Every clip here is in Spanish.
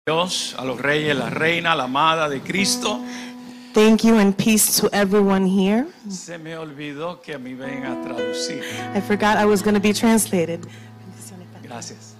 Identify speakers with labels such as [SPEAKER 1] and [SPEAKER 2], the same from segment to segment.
[SPEAKER 1] Dios, a los reyes, la reina, la amada de Cristo.
[SPEAKER 2] Thank you and peace to everyone here.
[SPEAKER 1] Se me olvidó que me ven a traducir.
[SPEAKER 2] I forgot I was going to be translated.
[SPEAKER 1] Gracias.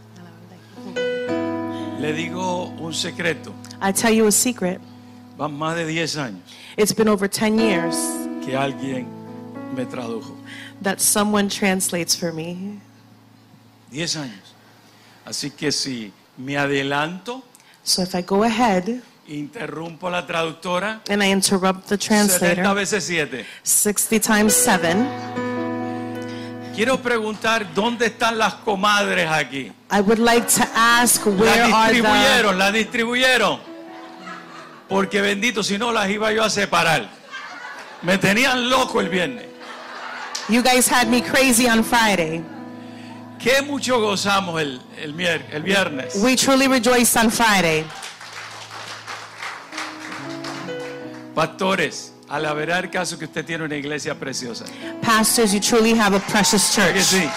[SPEAKER 1] Le digo un secreto.
[SPEAKER 2] I tell you a secret.
[SPEAKER 1] Van más de 10 años
[SPEAKER 2] It's been over 10 years
[SPEAKER 1] que alguien me tradujo.
[SPEAKER 2] that someone translates for me.
[SPEAKER 1] 10 años. Así que si me adelanto,
[SPEAKER 2] So if I go ahead
[SPEAKER 1] interrumpo a la traductora,
[SPEAKER 2] and I interrupt the
[SPEAKER 1] 70
[SPEAKER 2] translator
[SPEAKER 1] veces 7.
[SPEAKER 2] 60 times 7,
[SPEAKER 1] Quiero preguntar, ¿dónde están las comadres aquí?
[SPEAKER 2] I would like to ask where are the...
[SPEAKER 1] Las distribuyeron. Porque bendito, si no las iba yo a separar. Me tenían loco el viernes.
[SPEAKER 2] You guys had me crazy on Friday.
[SPEAKER 1] Qué mucho gozamos el viernes.
[SPEAKER 2] We truly rejoiced on Friday.
[SPEAKER 1] Pastores, al haber el caso que usted tiene una iglesia preciosa.
[SPEAKER 2] Pastors, you truly have a precious
[SPEAKER 1] ¿Verdad que
[SPEAKER 2] church.
[SPEAKER 1] sí?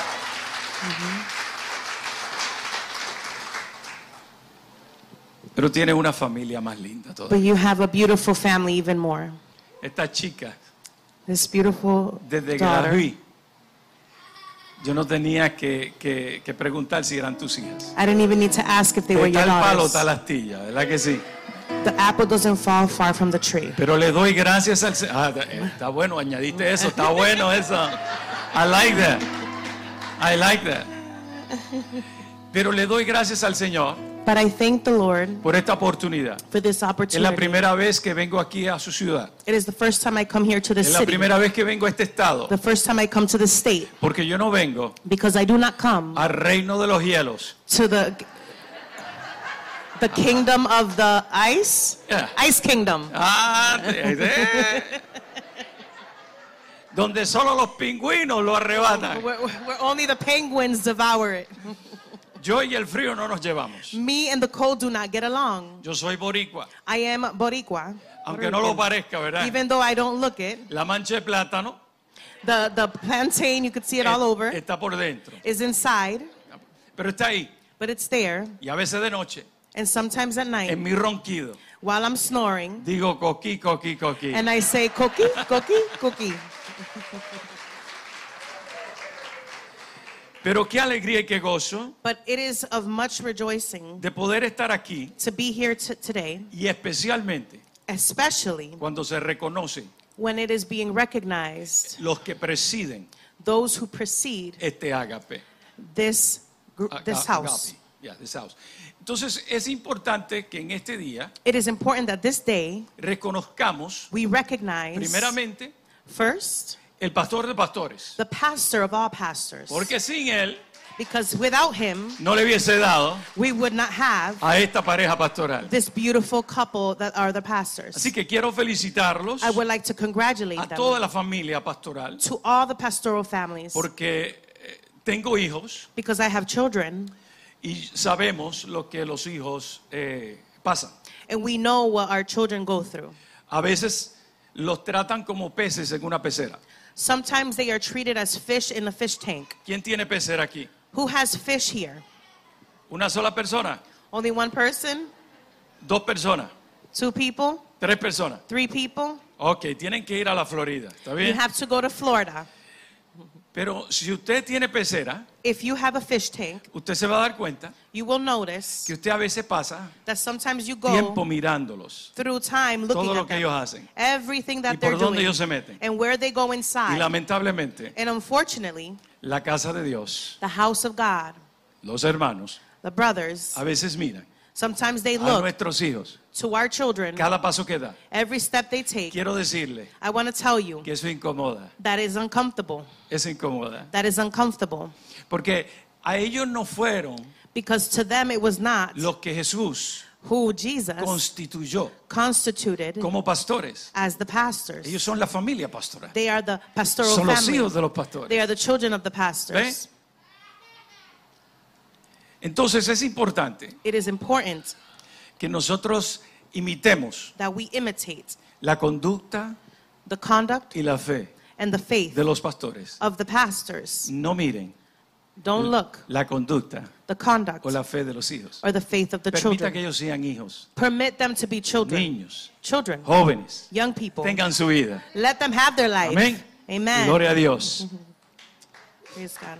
[SPEAKER 1] Pero tiene una familia más linda
[SPEAKER 2] But
[SPEAKER 1] todavía.
[SPEAKER 2] you have a beautiful family even more.
[SPEAKER 1] Esta chica,
[SPEAKER 2] This beautiful
[SPEAKER 1] desde que la
[SPEAKER 2] daughter.
[SPEAKER 1] vi, yo no tenía que preguntar si eran tus hijas.
[SPEAKER 2] I didn't even need to ask if they were
[SPEAKER 1] De
[SPEAKER 2] your
[SPEAKER 1] tal palo,
[SPEAKER 2] daughters.
[SPEAKER 1] tal astilla, ¿verdad que sí?
[SPEAKER 2] The apple doesn't fall far from the tree.
[SPEAKER 1] Pero le doy gracias al Señor. Está bueno, añadiste eso, está bueno eso. I like that. I like that. Pero le doy gracias al Señor
[SPEAKER 2] But I thank the Lord
[SPEAKER 1] por esta oportunidad.
[SPEAKER 2] for this
[SPEAKER 1] Es la
[SPEAKER 2] opportunity.
[SPEAKER 1] primera vez que vengo aquí a su ciudad.
[SPEAKER 2] It is the first time I come here to the
[SPEAKER 1] Es la
[SPEAKER 2] city.
[SPEAKER 1] primera vez que vengo a este estado.
[SPEAKER 2] The first time I come to the state.
[SPEAKER 1] Porque yo no vengo
[SPEAKER 2] Because I do not come
[SPEAKER 1] al reino de los hielos.
[SPEAKER 2] to the kingdom of the ice.
[SPEAKER 1] Yeah.
[SPEAKER 2] Ice kingdom.
[SPEAKER 1] Donde solo los pingüinos lo arrebatan.
[SPEAKER 2] Where only the penguins devour it.
[SPEAKER 1] Yo y el frío no nos llevamos.
[SPEAKER 2] Me and the cold do not get along.
[SPEAKER 1] Yo soy boricua.
[SPEAKER 2] I am Boricua.
[SPEAKER 1] Aunque no lo parezca, ¿verdad?
[SPEAKER 2] Even though I don't look it.
[SPEAKER 1] La mancha de plátano
[SPEAKER 2] The plantain, you could see it all over,
[SPEAKER 1] está por dentro.
[SPEAKER 2] is inside,
[SPEAKER 1] Pero está ahí.
[SPEAKER 2] but it's there.
[SPEAKER 1] Y a veces de noche,
[SPEAKER 2] And sometimes at night,
[SPEAKER 1] en mi ronquido,
[SPEAKER 2] while I'm snoring,
[SPEAKER 1] digo coquí, coquí, coquí.
[SPEAKER 2] and I say, cookie, cookie, cookie.
[SPEAKER 1] Pero qué alegría y qué gozo
[SPEAKER 2] But it is of much rejoicing
[SPEAKER 1] de poder estar aquí
[SPEAKER 2] to be here today,
[SPEAKER 1] y especialmente
[SPEAKER 2] especially
[SPEAKER 1] cuando se reconoce
[SPEAKER 2] when it is being recognized
[SPEAKER 1] los que presiden
[SPEAKER 2] those who precede
[SPEAKER 1] este ágape.
[SPEAKER 2] this house.
[SPEAKER 1] Agape. Yeah, this house. Entonces es importante que en este día
[SPEAKER 2] It is important that this day
[SPEAKER 1] reconozcamos
[SPEAKER 2] we recognize
[SPEAKER 1] primeramente
[SPEAKER 2] first
[SPEAKER 1] el pastor de pastores.
[SPEAKER 2] the pastor of all pastors.
[SPEAKER 1] Porque sin él
[SPEAKER 2] Because without him,
[SPEAKER 1] no le hubiese dado
[SPEAKER 2] we would not have
[SPEAKER 1] a esta pareja pastoral.
[SPEAKER 2] this beautiful couple that are the pastors.
[SPEAKER 1] Así que quiero felicitarlos
[SPEAKER 2] I would like to congratulate
[SPEAKER 1] a
[SPEAKER 2] them,
[SPEAKER 1] toda la familia pastoral
[SPEAKER 2] to all the pastoral families,
[SPEAKER 1] porque tengo hijos
[SPEAKER 2] because I have children
[SPEAKER 1] y sabemos lo que los hijos pasan.
[SPEAKER 2] and we know what our children go through.
[SPEAKER 1] A veces los tratan como peces en una pecera.
[SPEAKER 2] Sometimes they are treated as fish in a fish tank.
[SPEAKER 1] ¿Quién tiene pecera aquí?
[SPEAKER 2] Who has fish here?
[SPEAKER 1] ¿Una sola persona?
[SPEAKER 2] Only one person?
[SPEAKER 1] 2 personas?
[SPEAKER 2] 2 people?
[SPEAKER 1] 3 personas?
[SPEAKER 2] 3 people?
[SPEAKER 1] Ok, tienen que ir a la Florida, ¿está
[SPEAKER 2] You
[SPEAKER 1] bien?
[SPEAKER 2] have to go to Florida.
[SPEAKER 1] Pero si usted tiene pecera,
[SPEAKER 2] If you have a fish tank,
[SPEAKER 1] usted se va a dar cuenta
[SPEAKER 2] you will notice
[SPEAKER 1] que usted a veces pasa
[SPEAKER 2] that sometimes you
[SPEAKER 1] tiempo
[SPEAKER 2] go
[SPEAKER 1] mirándolos,
[SPEAKER 2] through time looking
[SPEAKER 1] todo lo
[SPEAKER 2] at
[SPEAKER 1] que
[SPEAKER 2] them,
[SPEAKER 1] ellos hacen
[SPEAKER 2] everything
[SPEAKER 1] y
[SPEAKER 2] that they're
[SPEAKER 1] por dónde
[SPEAKER 2] doing
[SPEAKER 1] ellos se meten.
[SPEAKER 2] and where they go
[SPEAKER 1] Y
[SPEAKER 2] inside.
[SPEAKER 1] lamentablemente,
[SPEAKER 2] And unfortunately,
[SPEAKER 1] la casa de Dios,
[SPEAKER 2] the house of God,
[SPEAKER 1] los hermanos,
[SPEAKER 2] the brothers,
[SPEAKER 1] a veces miran
[SPEAKER 2] sometimes they
[SPEAKER 1] a
[SPEAKER 2] look
[SPEAKER 1] nuestros hijos,
[SPEAKER 2] to our children,
[SPEAKER 1] cada paso que da.
[SPEAKER 2] every step they take.
[SPEAKER 1] Quiero decirle
[SPEAKER 2] I want to tell you
[SPEAKER 1] que eso incomoda,
[SPEAKER 2] that is uncomfortable.
[SPEAKER 1] eso incomoda.
[SPEAKER 2] That is uncomfortable.
[SPEAKER 1] Porque a ellos no fueron
[SPEAKER 2] Because to them it was not
[SPEAKER 1] los que Jesús
[SPEAKER 2] who Jesus
[SPEAKER 1] constituyó
[SPEAKER 2] constituted
[SPEAKER 1] como pastores.
[SPEAKER 2] as the pastors.
[SPEAKER 1] Ellos son la familia pastoral.
[SPEAKER 2] They are the pastoral
[SPEAKER 1] Son los
[SPEAKER 2] family.
[SPEAKER 1] hijos de los
[SPEAKER 2] They
[SPEAKER 1] pastores.
[SPEAKER 2] are the children of the pastors.
[SPEAKER 1] Entonces es importante
[SPEAKER 2] It is important
[SPEAKER 1] que nosotros imitemos
[SPEAKER 2] that we imitate
[SPEAKER 1] la conducta
[SPEAKER 2] the conduct
[SPEAKER 1] y la fe
[SPEAKER 2] and the faith
[SPEAKER 1] de los pastores.
[SPEAKER 2] of the pastors.
[SPEAKER 1] No miren
[SPEAKER 2] Don't look
[SPEAKER 1] la conducta
[SPEAKER 2] the conduct
[SPEAKER 1] o la fe de los hijos.
[SPEAKER 2] or the faith of the
[SPEAKER 1] Permita que
[SPEAKER 2] children.
[SPEAKER 1] ellos sean hijos,
[SPEAKER 2] Permit them to be children,
[SPEAKER 1] niños,
[SPEAKER 2] children,
[SPEAKER 1] jóvenes,
[SPEAKER 2] young people.
[SPEAKER 1] tengan su vida.
[SPEAKER 2] Let them have their life.
[SPEAKER 1] Amén.
[SPEAKER 2] Amen.
[SPEAKER 1] Gloria a Dios.
[SPEAKER 2] Praise God.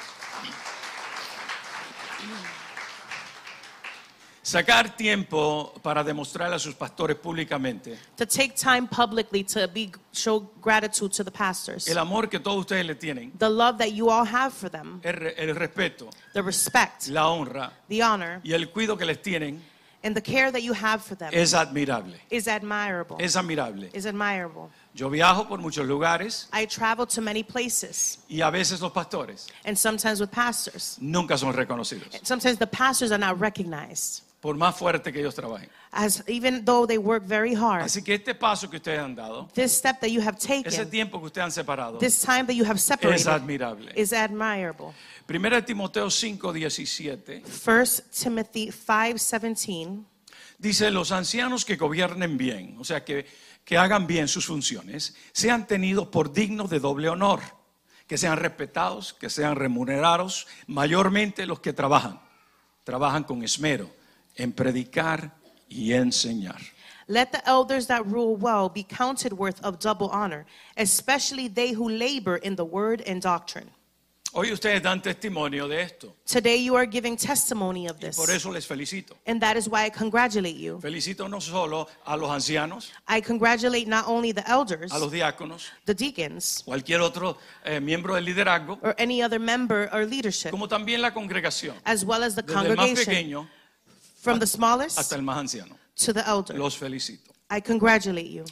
[SPEAKER 1] Sacar tiempo para demostrar a sus pastores públicamente
[SPEAKER 2] To take time publicly to show gratitude to the pastors.
[SPEAKER 1] el amor que todos ustedes le tienen,
[SPEAKER 2] The love that you all have for them,
[SPEAKER 1] el respeto,
[SPEAKER 2] the respect,
[SPEAKER 1] la honra
[SPEAKER 2] the honor,
[SPEAKER 1] y el cuidado que les tienen
[SPEAKER 2] and the care that you have for them
[SPEAKER 1] es admirable.
[SPEAKER 2] is admirable.
[SPEAKER 1] Es admirable.
[SPEAKER 2] Is admirable.
[SPEAKER 1] Yo viajo por muchos lugares
[SPEAKER 2] I travel to many places,
[SPEAKER 1] y a veces los pastores
[SPEAKER 2] and sometimes with pastors.
[SPEAKER 1] nunca son reconocidos,
[SPEAKER 2] Sometimes the pastors are not recognized,
[SPEAKER 1] por más fuerte que ellos trabajen.
[SPEAKER 2] as even though they work very hard.
[SPEAKER 1] Así que este paso que ustedes han dado,
[SPEAKER 2] This step that you have
[SPEAKER 1] ese
[SPEAKER 2] taken,
[SPEAKER 1] tiempo que ustedes han separado,
[SPEAKER 2] this time that you have
[SPEAKER 1] es
[SPEAKER 2] separated,
[SPEAKER 1] admirable.
[SPEAKER 2] is admirable.
[SPEAKER 1] Primera de Timoteo 5:17
[SPEAKER 2] 1 Timothy 5:17
[SPEAKER 1] dice: los ancianos que gobiernen bien, o sea, que hagan bien sus funciones, sean tenidos por dignos de doble honor, que sean respetados, que sean remunerados, mayormente los que trabajan con esmero en predicar y enseñar.
[SPEAKER 2] Let the elders that rule well be counted worth of double honor, especially they who labor in the word and doctrine.
[SPEAKER 1] Hoy ustedes dan testimonio de esto,
[SPEAKER 2] Today you are giving testimony of
[SPEAKER 1] y
[SPEAKER 2] this,
[SPEAKER 1] por eso les felicito.
[SPEAKER 2] and that is why I congratulate you.
[SPEAKER 1] Felicito no solo a los ancianos,
[SPEAKER 2] I congratulate not only the elders,
[SPEAKER 1] a los diáconos,
[SPEAKER 2] the deacons,
[SPEAKER 1] cualquier otro miembro del liderazgo,
[SPEAKER 2] or any other member or leadership,
[SPEAKER 1] como también la congregación,
[SPEAKER 2] as well as the
[SPEAKER 1] desde el más
[SPEAKER 2] congregation,
[SPEAKER 1] pequeño
[SPEAKER 2] from the smallest
[SPEAKER 1] hasta el más anciano.
[SPEAKER 2] to the elder.
[SPEAKER 1] Los felicito.
[SPEAKER 2] I congratulate you.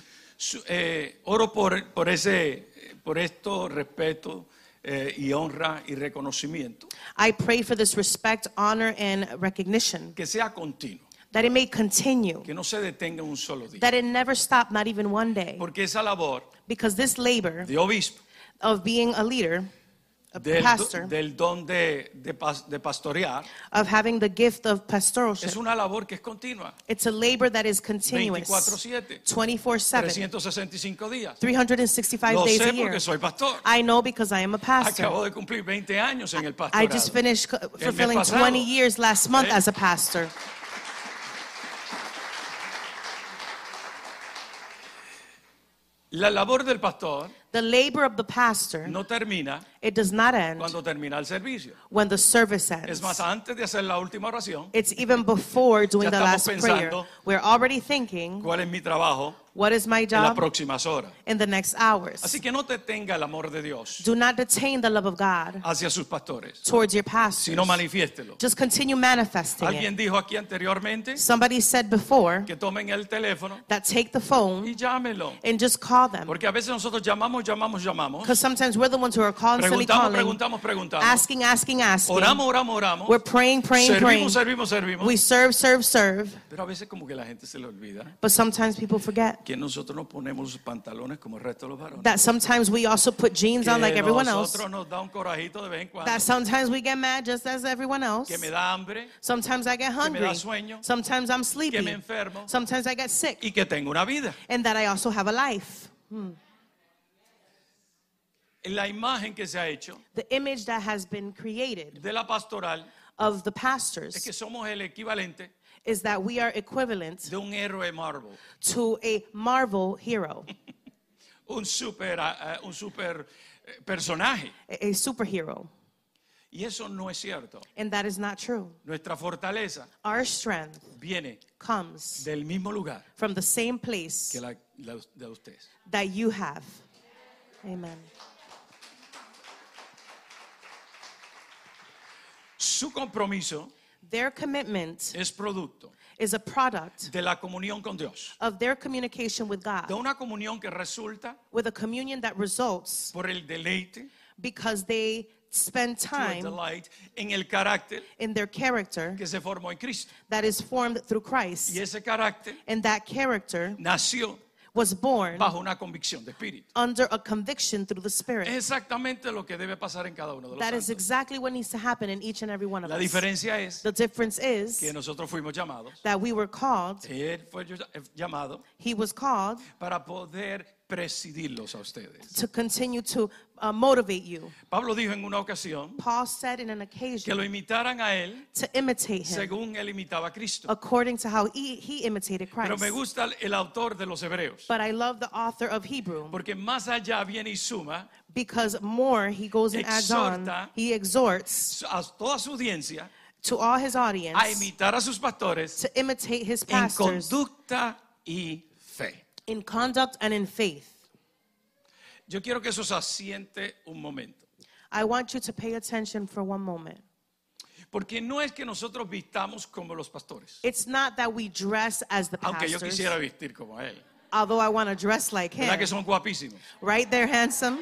[SPEAKER 1] Oro por esto, respeto y honra y reconocimiento,
[SPEAKER 2] I pray for this respect, honor, and recognition,
[SPEAKER 1] que sea continuo,
[SPEAKER 2] that it may continue,
[SPEAKER 1] que no se detenga un solo día,
[SPEAKER 2] that it never stop, not even one day.
[SPEAKER 1] porque esa labor
[SPEAKER 2] Because this labor
[SPEAKER 1] de obispo,
[SPEAKER 2] of being a leader, a pastor,
[SPEAKER 1] del don de pastorear,
[SPEAKER 2] of having the gift of pastoralship,
[SPEAKER 1] es una labor que es continua,
[SPEAKER 2] it's a labor that is continuous,
[SPEAKER 1] 24/7,
[SPEAKER 2] 24/7,
[SPEAKER 1] 365 días.
[SPEAKER 2] 365
[SPEAKER 1] Lo
[SPEAKER 2] days
[SPEAKER 1] sé
[SPEAKER 2] a year.
[SPEAKER 1] porque soy pastor.
[SPEAKER 2] I know because I am a pastor.
[SPEAKER 1] Acabo de cumplir 20 años en el
[SPEAKER 2] I just
[SPEAKER 1] pastorado.
[SPEAKER 2] finished fulfilling
[SPEAKER 1] pasado.
[SPEAKER 2] 20 years last month as a pastor.
[SPEAKER 1] La labor del pastor
[SPEAKER 2] The labor of the pastor,
[SPEAKER 1] no termina
[SPEAKER 2] it does not end
[SPEAKER 1] cuando termina el servicio.
[SPEAKER 2] when the service
[SPEAKER 1] Es
[SPEAKER 2] ends.
[SPEAKER 1] más, antes de hacer la última oración,
[SPEAKER 2] It's even before doing
[SPEAKER 1] Ya
[SPEAKER 2] the
[SPEAKER 1] estamos
[SPEAKER 2] last prayer.
[SPEAKER 1] pensando
[SPEAKER 2] We're already thinking,
[SPEAKER 1] ¿cuál es mi trabajo
[SPEAKER 2] what is my
[SPEAKER 1] en las
[SPEAKER 2] job
[SPEAKER 1] próximas horas?
[SPEAKER 2] in the next hours?
[SPEAKER 1] Así que no te tenga el amor de Dios
[SPEAKER 2] Do not detain the love of God
[SPEAKER 1] hacia sus pastores,
[SPEAKER 2] towards your pastors.
[SPEAKER 1] sino manifiéstelo.
[SPEAKER 2] Just continue manifesting
[SPEAKER 1] Alguien
[SPEAKER 2] it.
[SPEAKER 1] dijo aquí anteriormente
[SPEAKER 2] Somebody said before
[SPEAKER 1] que tomen el teléfono
[SPEAKER 2] that take the phone
[SPEAKER 1] y llámenlo.
[SPEAKER 2] and just call them.
[SPEAKER 1] Porque a veces nosotros llamamos.
[SPEAKER 2] Because sometimes we're the ones who are constantly calling,
[SPEAKER 1] Preguntamos.
[SPEAKER 2] asking.
[SPEAKER 1] Oramos.
[SPEAKER 2] We're praying.
[SPEAKER 1] Servimos.
[SPEAKER 2] We serve.
[SPEAKER 1] Pero a veces como que la gente se le olvida
[SPEAKER 2] But sometimes people forget
[SPEAKER 1] que nosotros nos ponemos los pantalones como el resto de los varones.
[SPEAKER 2] that sometimes we also put jeans on like
[SPEAKER 1] Que
[SPEAKER 2] everyone else.
[SPEAKER 1] nosotros nos da un corajito de vez en cuando.
[SPEAKER 2] That sometimes we get mad just as everyone else.
[SPEAKER 1] Que me da hambre
[SPEAKER 2] Sometimes I get
[SPEAKER 1] me
[SPEAKER 2] hungry.
[SPEAKER 1] da sueño,
[SPEAKER 2] Sometimes I'm
[SPEAKER 1] que
[SPEAKER 2] sleepy.
[SPEAKER 1] me enfermo
[SPEAKER 2] Sometimes I get sick.
[SPEAKER 1] y que tengo una vida.
[SPEAKER 2] And that I also have a life.
[SPEAKER 1] La imagen que se ha hecho
[SPEAKER 2] The image that has been created
[SPEAKER 1] de la pastoral
[SPEAKER 2] of the
[SPEAKER 1] es
[SPEAKER 2] pastors
[SPEAKER 1] que somos el equivalente
[SPEAKER 2] is that we are equivalent
[SPEAKER 1] de un héroe Marvel,
[SPEAKER 2] to a Marvel hero,
[SPEAKER 1] un super personaje.
[SPEAKER 2] a superhero.
[SPEAKER 1] Y eso no es cierto.
[SPEAKER 2] And that is not true.
[SPEAKER 1] Nuestra fortaleza
[SPEAKER 2] Our strength
[SPEAKER 1] viene
[SPEAKER 2] comes
[SPEAKER 1] del mismo lugar
[SPEAKER 2] from the same place
[SPEAKER 1] que la de ustedes.
[SPEAKER 2] that you have. Amen.
[SPEAKER 1] Su compromiso
[SPEAKER 2] Their commitment
[SPEAKER 1] es producto
[SPEAKER 2] is a product
[SPEAKER 1] de la comunión con Dios,
[SPEAKER 2] of their communication with
[SPEAKER 1] de
[SPEAKER 2] God,
[SPEAKER 1] una comunión que resulta
[SPEAKER 2] with a communion that results
[SPEAKER 1] por el deleite,
[SPEAKER 2] because they spend
[SPEAKER 1] through a
[SPEAKER 2] time
[SPEAKER 1] delight, en el carácter
[SPEAKER 2] in their character
[SPEAKER 1] que se formó en Cristo.
[SPEAKER 2] that is formed through Christ.
[SPEAKER 1] Y ese carácter
[SPEAKER 2] And that character
[SPEAKER 1] nació
[SPEAKER 2] was born
[SPEAKER 1] bajo una convicción de espíritu.
[SPEAKER 2] under a conviction through the Spirit.
[SPEAKER 1] Es exactamente lo que debe pasar en cada uno de los
[SPEAKER 2] That is
[SPEAKER 1] santos.
[SPEAKER 2] exactly what needs to happen in each and every one of
[SPEAKER 1] La
[SPEAKER 2] us.
[SPEAKER 1] diferencia es
[SPEAKER 2] The difference is
[SPEAKER 1] que nosotros fuimos llamados,
[SPEAKER 2] that we were called,
[SPEAKER 1] él fue llamado
[SPEAKER 2] he was called
[SPEAKER 1] para poder presidirlos a ustedes.
[SPEAKER 2] to continue to motivate you.
[SPEAKER 1] Pablo dijo en una ocasión
[SPEAKER 2] Paul said in an
[SPEAKER 1] que
[SPEAKER 2] occasion
[SPEAKER 1] lo imitaran a él
[SPEAKER 2] to imitate him
[SPEAKER 1] según él imitaba a Cristo.
[SPEAKER 2] according to how he imitated
[SPEAKER 1] Pero
[SPEAKER 2] Christ.
[SPEAKER 1] me gusta el autor de los Hebreos,
[SPEAKER 2] But I love the author of Hebrew
[SPEAKER 1] porque más allá viene y suma
[SPEAKER 2] because more he goes and adds on.
[SPEAKER 1] Exhorta
[SPEAKER 2] He exhorts
[SPEAKER 1] a toda su audiencia
[SPEAKER 2] to all his audience
[SPEAKER 1] a imitar a sus pastores
[SPEAKER 2] to imitate his
[SPEAKER 1] en
[SPEAKER 2] pastors
[SPEAKER 1] conducta y fe.
[SPEAKER 2] in conduct and in faith.
[SPEAKER 1] Yo quiero que eso se asiente un momento,
[SPEAKER 2] I want you to pay attention for one moment.
[SPEAKER 1] porque no es que nosotros vistamos como los pastores,
[SPEAKER 2] It's not that we dress as the
[SPEAKER 1] aunque yo
[SPEAKER 2] pastors,
[SPEAKER 1] quisiera vestir como él.
[SPEAKER 2] although I want to dress like
[SPEAKER 1] ¿Verdad
[SPEAKER 2] him.
[SPEAKER 1] que son guapísimos?
[SPEAKER 2] Right? They're handsome.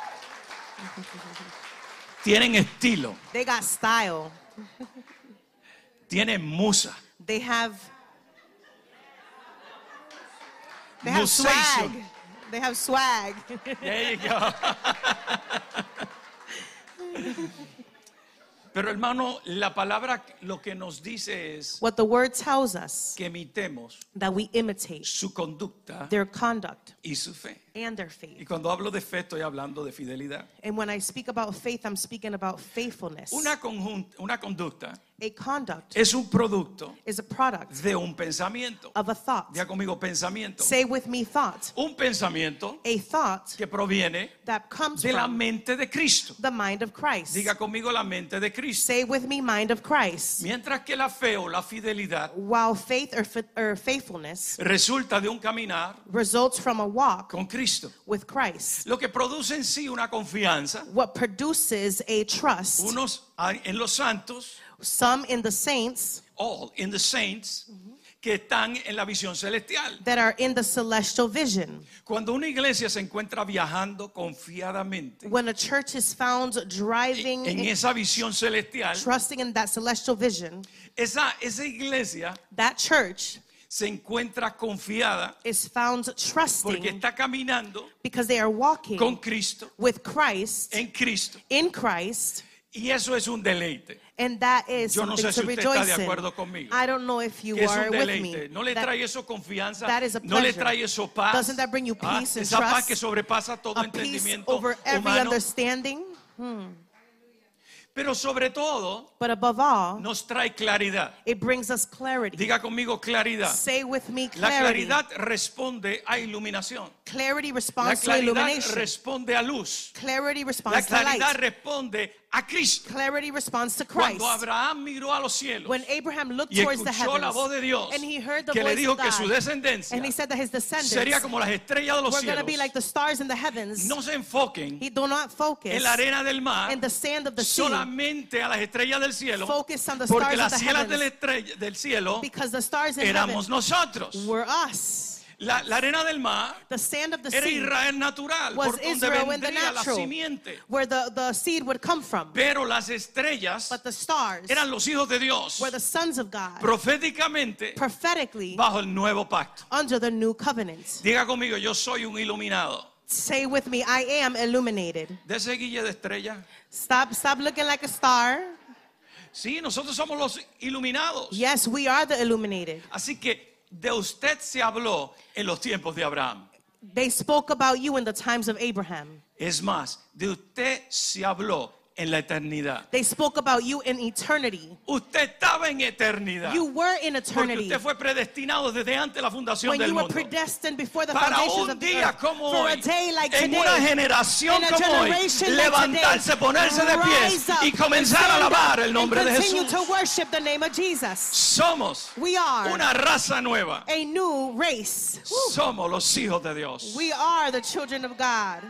[SPEAKER 1] Tienen estilo,
[SPEAKER 2] They got style.
[SPEAKER 1] tienen musa,
[SPEAKER 2] They have
[SPEAKER 1] musation.
[SPEAKER 2] swag. They have swag.
[SPEAKER 1] There you go. Pero hermano, la palabra lo que nos dice es
[SPEAKER 2] What the word tells us,
[SPEAKER 1] que imitemos
[SPEAKER 2] that we imitate
[SPEAKER 1] su conducta
[SPEAKER 2] their conduct
[SPEAKER 1] y su fe.
[SPEAKER 2] and their
[SPEAKER 1] Y
[SPEAKER 2] faith.
[SPEAKER 1] cuando hablo de fe estoy hablando de fidelidad.
[SPEAKER 2] And when I speak about faith, I'm speaking about faithfulness.
[SPEAKER 1] Una conducta
[SPEAKER 2] A conduct
[SPEAKER 1] es un producto
[SPEAKER 2] is a product
[SPEAKER 1] de un pensamiento.
[SPEAKER 2] of a thought.
[SPEAKER 1] Diga conmigo pensamiento.
[SPEAKER 2] Say with me thought.
[SPEAKER 1] Un pensamiento
[SPEAKER 2] A thought
[SPEAKER 1] que proviene
[SPEAKER 2] that comes
[SPEAKER 1] de la
[SPEAKER 2] from
[SPEAKER 1] mente de Cristo.
[SPEAKER 2] the mind of Christ.
[SPEAKER 1] Diga conmigo la mente de Cristo.
[SPEAKER 2] Say with me mind of Christ.
[SPEAKER 1] Mientras que la fe o la fidelidad
[SPEAKER 2] While faith or faithfulness
[SPEAKER 1] resulta de un caminar
[SPEAKER 2] results from a walk
[SPEAKER 1] con Cristo.
[SPEAKER 2] with Christ.
[SPEAKER 1] Lo que produce en sí una confianza,
[SPEAKER 2] What produces a trust,
[SPEAKER 1] unos en los santos,
[SPEAKER 2] some in the saints
[SPEAKER 1] all in the saints, que están en la visión celestial.
[SPEAKER 2] that are in the celestial vision.
[SPEAKER 1] Cuando una iglesia se encuentra viajando confiadamente
[SPEAKER 2] When a church is found driving,
[SPEAKER 1] en esa visión celestial,
[SPEAKER 2] trusting in that celestial vision,
[SPEAKER 1] esa iglesia
[SPEAKER 2] that church
[SPEAKER 1] se encuentra confiada
[SPEAKER 2] is found
[SPEAKER 1] porque
[SPEAKER 2] trusting
[SPEAKER 1] está caminando
[SPEAKER 2] because they are walking
[SPEAKER 1] con Cristo,
[SPEAKER 2] with Christ,
[SPEAKER 1] en Cristo,
[SPEAKER 2] in Christ,
[SPEAKER 1] y eso es un deleite.
[SPEAKER 2] and that is
[SPEAKER 1] Yo no
[SPEAKER 2] something
[SPEAKER 1] sé si
[SPEAKER 2] to
[SPEAKER 1] usted está
[SPEAKER 2] rejoice
[SPEAKER 1] de
[SPEAKER 2] in.
[SPEAKER 1] acuerdo conmigo.
[SPEAKER 2] I don't know if you
[SPEAKER 1] Que es
[SPEAKER 2] are
[SPEAKER 1] un
[SPEAKER 2] with
[SPEAKER 1] deleite.
[SPEAKER 2] me.
[SPEAKER 1] No le
[SPEAKER 2] That-
[SPEAKER 1] trae eso confianza,
[SPEAKER 2] that is a
[SPEAKER 1] no le
[SPEAKER 2] pleasure.
[SPEAKER 1] trae eso paz.
[SPEAKER 2] Doesn't that bring you peace and
[SPEAKER 1] esa paz
[SPEAKER 2] trust?
[SPEAKER 1] que sobrepasa todo
[SPEAKER 2] a peace
[SPEAKER 1] entendimiento
[SPEAKER 2] over every
[SPEAKER 1] humano.
[SPEAKER 2] understanding,
[SPEAKER 1] Pero sobre todo
[SPEAKER 2] but above all,
[SPEAKER 1] nos trae claridad.
[SPEAKER 2] it brings us clarity.
[SPEAKER 1] Diga conmigo claridad.
[SPEAKER 2] Say with me
[SPEAKER 1] La
[SPEAKER 2] clarity.
[SPEAKER 1] claridad responde a iluminación.
[SPEAKER 2] Clarity
[SPEAKER 1] La
[SPEAKER 2] responds to
[SPEAKER 1] claridad
[SPEAKER 2] illumination.
[SPEAKER 1] responde a luz.
[SPEAKER 2] Clarity
[SPEAKER 1] La
[SPEAKER 2] responds to
[SPEAKER 1] claridad
[SPEAKER 2] light.
[SPEAKER 1] responde a Cristo.
[SPEAKER 2] Clarity responds to Christ.
[SPEAKER 1] Cuando Abraham miró a los cielos
[SPEAKER 2] When Abraham looked
[SPEAKER 1] y
[SPEAKER 2] towards the
[SPEAKER 1] escuchó la
[SPEAKER 2] heavens
[SPEAKER 1] voz de Dios
[SPEAKER 2] and he heard the
[SPEAKER 1] que le
[SPEAKER 2] voice
[SPEAKER 1] dijo
[SPEAKER 2] of
[SPEAKER 1] que su
[SPEAKER 2] God,
[SPEAKER 1] descendencia
[SPEAKER 2] and he said that his descendants
[SPEAKER 1] sería como las estrellas de los
[SPEAKER 2] were going to
[SPEAKER 1] cielos,
[SPEAKER 2] be like the stars in the heavens,
[SPEAKER 1] no se enfoquen
[SPEAKER 2] he do not focus
[SPEAKER 1] en la arena del mar,
[SPEAKER 2] in the sand of the sea,
[SPEAKER 1] solamente a las estrellas del cielo,
[SPEAKER 2] focus on the
[SPEAKER 1] porque
[SPEAKER 2] stars
[SPEAKER 1] las
[SPEAKER 2] of the
[SPEAKER 1] cielas
[SPEAKER 2] heavens,
[SPEAKER 1] del cielo
[SPEAKER 2] because the stars in
[SPEAKER 1] éramos
[SPEAKER 2] heaven
[SPEAKER 1] nosotros.
[SPEAKER 2] were us.
[SPEAKER 1] La arena del mar
[SPEAKER 2] The sand of the
[SPEAKER 1] era
[SPEAKER 2] sea
[SPEAKER 1] Israel natural,
[SPEAKER 2] was
[SPEAKER 1] por donde
[SPEAKER 2] Israel in the
[SPEAKER 1] vendría la
[SPEAKER 2] natural,
[SPEAKER 1] simiente.
[SPEAKER 2] where the seed would come from.
[SPEAKER 1] Pero las estrellas
[SPEAKER 2] But the stars
[SPEAKER 1] eran los hijos de Dios,
[SPEAKER 2] were the sons of God,
[SPEAKER 1] proféticamente
[SPEAKER 2] prophetically
[SPEAKER 1] bajo el nuevo pacto.
[SPEAKER 2] under the new covenant.
[SPEAKER 1] Diga conmigo, yo soy un iluminado.
[SPEAKER 2] Say with me, I am illuminated.
[SPEAKER 1] De ese guille de estrella.
[SPEAKER 2] Stop looking like a star.
[SPEAKER 1] Sí, nosotros somos los iluminados.
[SPEAKER 2] Yes, we are the illuminated.
[SPEAKER 1] Así que de usted se habló en los tiempos de Abraham.
[SPEAKER 2] They spoke about you in the times of Abraham.
[SPEAKER 1] Es más, de usted se habló en la eternidad.
[SPEAKER 2] They spoke about you in eternity.
[SPEAKER 1] Usted estaba en eternidad.
[SPEAKER 2] You were in
[SPEAKER 1] Porque
[SPEAKER 2] eternity
[SPEAKER 1] usted fue predestinado desde antes de la fundación
[SPEAKER 2] when
[SPEAKER 1] del
[SPEAKER 2] you were
[SPEAKER 1] mundo.
[SPEAKER 2] predestined before the
[SPEAKER 1] Para
[SPEAKER 2] foundations
[SPEAKER 1] un
[SPEAKER 2] of the
[SPEAKER 1] día
[SPEAKER 2] earth.
[SPEAKER 1] como
[SPEAKER 2] For
[SPEAKER 1] hoy,
[SPEAKER 2] a day like
[SPEAKER 1] en
[SPEAKER 2] today,
[SPEAKER 1] una generación
[SPEAKER 2] in a
[SPEAKER 1] como hoy,
[SPEAKER 2] generation like
[SPEAKER 1] levantarse,
[SPEAKER 2] today,
[SPEAKER 1] ponerse de pies
[SPEAKER 2] rise up
[SPEAKER 1] y comenzar a
[SPEAKER 2] and stand
[SPEAKER 1] alabar
[SPEAKER 2] up
[SPEAKER 1] el nombre
[SPEAKER 2] and
[SPEAKER 1] de
[SPEAKER 2] continue
[SPEAKER 1] Jesús.
[SPEAKER 2] to worship the name of Jesus.
[SPEAKER 1] Somos
[SPEAKER 2] We are
[SPEAKER 1] una raza nueva.
[SPEAKER 2] a new race.
[SPEAKER 1] Somos los hijos de Dios.
[SPEAKER 2] We are the children of God.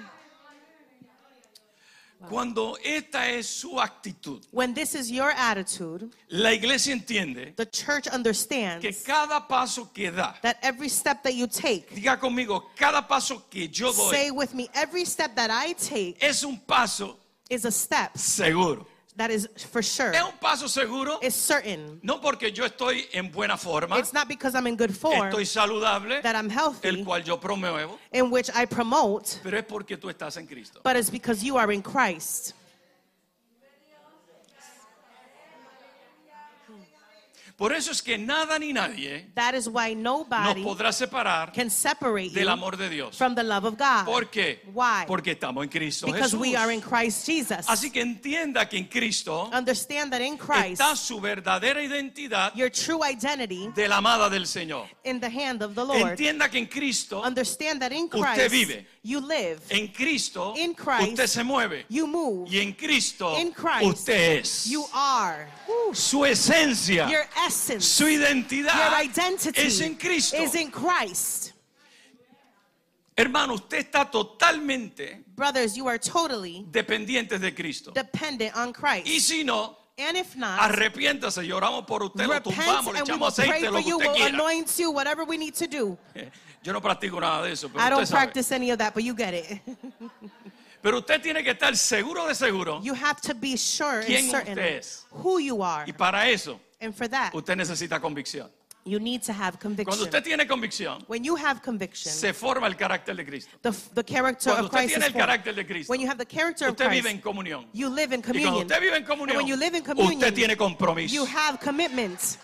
[SPEAKER 1] Cuando esta es su actitud,
[SPEAKER 2] When this is your attitude,
[SPEAKER 1] la iglesia entiende
[SPEAKER 2] the church understands
[SPEAKER 1] que cada paso que da,
[SPEAKER 2] that every step that you take,
[SPEAKER 1] diga conmigo, cada paso que yo
[SPEAKER 2] say
[SPEAKER 1] doy
[SPEAKER 2] with me, every step that I take
[SPEAKER 1] es un paso
[SPEAKER 2] is a step
[SPEAKER 1] seguro.
[SPEAKER 2] that is for sure.
[SPEAKER 1] Es un paso seguro,
[SPEAKER 2] It's certain.
[SPEAKER 1] no porque yo estoy en buena forma,
[SPEAKER 2] It's not because I'm in good form
[SPEAKER 1] estoy saludable,
[SPEAKER 2] that I'm
[SPEAKER 1] el
[SPEAKER 2] healthy,
[SPEAKER 1] cual yo promuevo,
[SPEAKER 2] in which I promote,
[SPEAKER 1] pero es porque tú estás en Cristo.
[SPEAKER 2] but it's because you are in Christ.
[SPEAKER 1] Por eso es que nada ni nadie
[SPEAKER 2] That is why
[SPEAKER 1] nos
[SPEAKER 2] nobody
[SPEAKER 1] podrá separar
[SPEAKER 2] can separate
[SPEAKER 1] del
[SPEAKER 2] you
[SPEAKER 1] amor de Dios.
[SPEAKER 2] from the love of God.
[SPEAKER 1] ¿Por qué?
[SPEAKER 2] Why?
[SPEAKER 1] Porque estamos en Cristo
[SPEAKER 2] Because
[SPEAKER 1] Jesús.
[SPEAKER 2] we are in Christ Jesus.
[SPEAKER 1] Así que entienda que en Cristo
[SPEAKER 2] Understand that in Christ,
[SPEAKER 1] está su verdadera identidad
[SPEAKER 2] your true identity
[SPEAKER 1] de la amada del Señor.
[SPEAKER 2] in the hand of the Lord.
[SPEAKER 1] Entienda que en Cristo,
[SPEAKER 2] Understand that in
[SPEAKER 1] Usted
[SPEAKER 2] Christ,
[SPEAKER 1] vive.
[SPEAKER 2] you live,
[SPEAKER 1] en Cristo,
[SPEAKER 2] In Christ,
[SPEAKER 1] usted se mueve.
[SPEAKER 2] you move,
[SPEAKER 1] Y en Cristo,
[SPEAKER 2] In Christ,
[SPEAKER 1] usted es.
[SPEAKER 2] you are. Woo.
[SPEAKER 1] Su esencia,
[SPEAKER 2] Your essence,
[SPEAKER 1] su
[SPEAKER 2] your
[SPEAKER 1] identidad
[SPEAKER 2] identity
[SPEAKER 1] es en Cristo.
[SPEAKER 2] is in Christ.
[SPEAKER 1] Hermano, usted está totalmente
[SPEAKER 2] Brothers, you are totally
[SPEAKER 1] dependiente de Cristo.
[SPEAKER 2] dependent on Christ.
[SPEAKER 1] Y si no,
[SPEAKER 2] And if not,
[SPEAKER 1] arrepiéntase, lloramos por usted, lo
[SPEAKER 2] repent
[SPEAKER 1] tumbamos, le
[SPEAKER 2] and we will
[SPEAKER 1] echamos
[SPEAKER 2] pray
[SPEAKER 1] aceite,
[SPEAKER 2] for
[SPEAKER 1] lo que
[SPEAKER 2] you,
[SPEAKER 1] usted
[SPEAKER 2] we'll
[SPEAKER 1] quiera.
[SPEAKER 2] anoint you, whatever we need to do.
[SPEAKER 1] Yo no practico nada de eso, pero
[SPEAKER 2] I
[SPEAKER 1] usted
[SPEAKER 2] don't
[SPEAKER 1] sabe.
[SPEAKER 2] practice any of that, but you get it.
[SPEAKER 1] Pero usted tiene que estar seguro de seguro.
[SPEAKER 2] You have to be sure
[SPEAKER 1] ¿Quién
[SPEAKER 2] and certain
[SPEAKER 1] usted es?
[SPEAKER 2] who you are.
[SPEAKER 1] Y para eso,
[SPEAKER 2] And for that,
[SPEAKER 1] usted necesita convicción.
[SPEAKER 2] you need to have
[SPEAKER 1] Cuando
[SPEAKER 2] conviction.
[SPEAKER 1] usted tiene convicción,
[SPEAKER 2] When you have conviction,
[SPEAKER 1] se forma el carácter de Cristo.
[SPEAKER 2] the character
[SPEAKER 1] Cuando
[SPEAKER 2] of
[SPEAKER 1] usted
[SPEAKER 2] Christ
[SPEAKER 1] tiene
[SPEAKER 2] is
[SPEAKER 1] el
[SPEAKER 2] formed.
[SPEAKER 1] carácter de Cristo,
[SPEAKER 2] When you have the character of
[SPEAKER 1] usted vive en
[SPEAKER 2] Christ,
[SPEAKER 1] comunión.
[SPEAKER 2] you live in
[SPEAKER 1] Y cuando
[SPEAKER 2] communion.
[SPEAKER 1] usted vive en
[SPEAKER 2] And
[SPEAKER 1] comunión,
[SPEAKER 2] when you live in communion,
[SPEAKER 1] usted tiene compromiso.
[SPEAKER 2] you have commitments.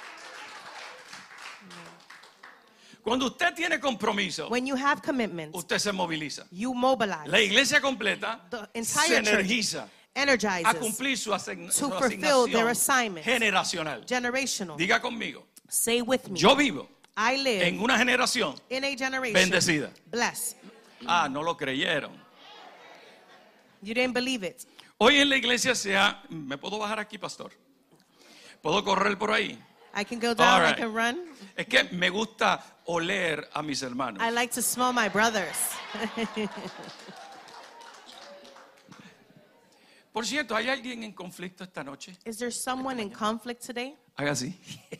[SPEAKER 1] Cuando usted tiene compromiso,
[SPEAKER 2] When you have commitments,
[SPEAKER 1] usted se moviliza.
[SPEAKER 2] you mobilize.
[SPEAKER 1] La iglesia completa
[SPEAKER 2] The
[SPEAKER 1] se
[SPEAKER 2] entire church
[SPEAKER 1] energiza a
[SPEAKER 2] energizes
[SPEAKER 1] cumplir su
[SPEAKER 2] to fulfill their
[SPEAKER 1] asignación
[SPEAKER 2] assignments.
[SPEAKER 1] generacional.
[SPEAKER 2] Generational.
[SPEAKER 1] Diga conmigo,
[SPEAKER 2] Say with me.
[SPEAKER 1] yo vivo
[SPEAKER 2] I live
[SPEAKER 1] en una generación
[SPEAKER 2] in a generation
[SPEAKER 1] bendecida.
[SPEAKER 2] blessed.
[SPEAKER 1] Ah, no lo creyeron.
[SPEAKER 2] You didn't believe it.
[SPEAKER 1] Hoy en la iglesia ¿me puedo bajar aquí, pastor? ¿Puedo correr por ahí?
[SPEAKER 2] I can go down,
[SPEAKER 1] All right.
[SPEAKER 2] I can run.
[SPEAKER 1] Es que me gusta oler a mis hermanos.
[SPEAKER 2] I like to smell my brothers.
[SPEAKER 1] Por cierto, ¿hay alguien en conflicto esta noche?
[SPEAKER 2] Is there someone in conflict today?
[SPEAKER 1] Haga así.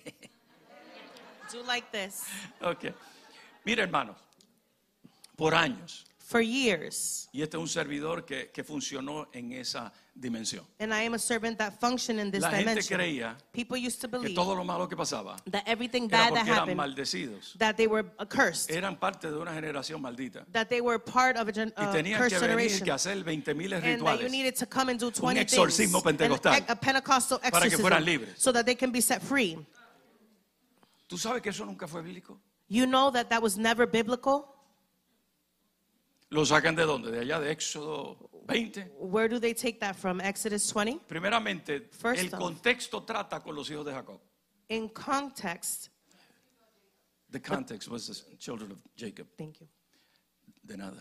[SPEAKER 2] Do like this.
[SPEAKER 1] Ok. Mira, hermanos, por años,
[SPEAKER 2] For years,
[SPEAKER 1] y este es un servidor que funcionó en esa dimensión,
[SPEAKER 2] and I am a servant that functioned in this
[SPEAKER 1] la gente
[SPEAKER 2] dimension.
[SPEAKER 1] creía
[SPEAKER 2] People used to
[SPEAKER 1] que
[SPEAKER 2] believe
[SPEAKER 1] todo lo malo que pasaba
[SPEAKER 2] that everything
[SPEAKER 1] era
[SPEAKER 2] bad that
[SPEAKER 1] porque eran
[SPEAKER 2] happened,
[SPEAKER 1] maldecidos.
[SPEAKER 2] that they were cursed,
[SPEAKER 1] Eran parte de una generación maldita.
[SPEAKER 2] that they were part of a
[SPEAKER 1] Y tenían
[SPEAKER 2] cursed
[SPEAKER 1] que venir
[SPEAKER 2] generation,
[SPEAKER 1] que hacer 20,000
[SPEAKER 2] and that you
[SPEAKER 1] rituales
[SPEAKER 2] needed to come and do 20
[SPEAKER 1] exorcismo
[SPEAKER 2] things,
[SPEAKER 1] pentecostal,
[SPEAKER 2] a Pentecostal
[SPEAKER 1] para que
[SPEAKER 2] exorcism,
[SPEAKER 1] fueran libres.
[SPEAKER 2] so that they can be set free.
[SPEAKER 1] ¿Tú sabes que eso nunca fue bíblico?
[SPEAKER 2] You know that that was never biblical.
[SPEAKER 1] ¿Lo sacan de dónde? De allá, de Éxodo 20.
[SPEAKER 2] Where do they take that from? Exodus 20?
[SPEAKER 1] Primeramente,
[SPEAKER 2] First
[SPEAKER 1] el
[SPEAKER 2] off.
[SPEAKER 1] contexto trata con los hijos de Jacob.
[SPEAKER 2] In context,
[SPEAKER 1] The context was the children of Jacob.
[SPEAKER 2] thank you.
[SPEAKER 1] De nada.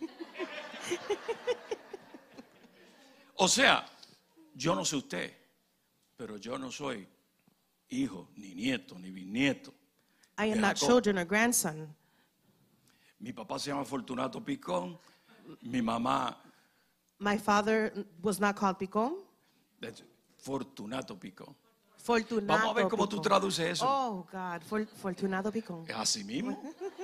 [SPEAKER 1] O sea, yo no sé usted, pero yo no soy hijo, ni nieto, ni bisnieto.
[SPEAKER 2] I am
[SPEAKER 1] de
[SPEAKER 2] not
[SPEAKER 1] Jacob.
[SPEAKER 2] children or grandson.
[SPEAKER 1] Mi papá se llama Fortunato Picón, mi mamá
[SPEAKER 2] My father was not called Picón.
[SPEAKER 1] Fortunato Picón.
[SPEAKER 2] Fortunato
[SPEAKER 1] Vamos a ver cómo tú
[SPEAKER 2] Picón.
[SPEAKER 1] traduces eso.
[SPEAKER 2] Oh, God. Fortunato Picón.
[SPEAKER 1] Es así mismo.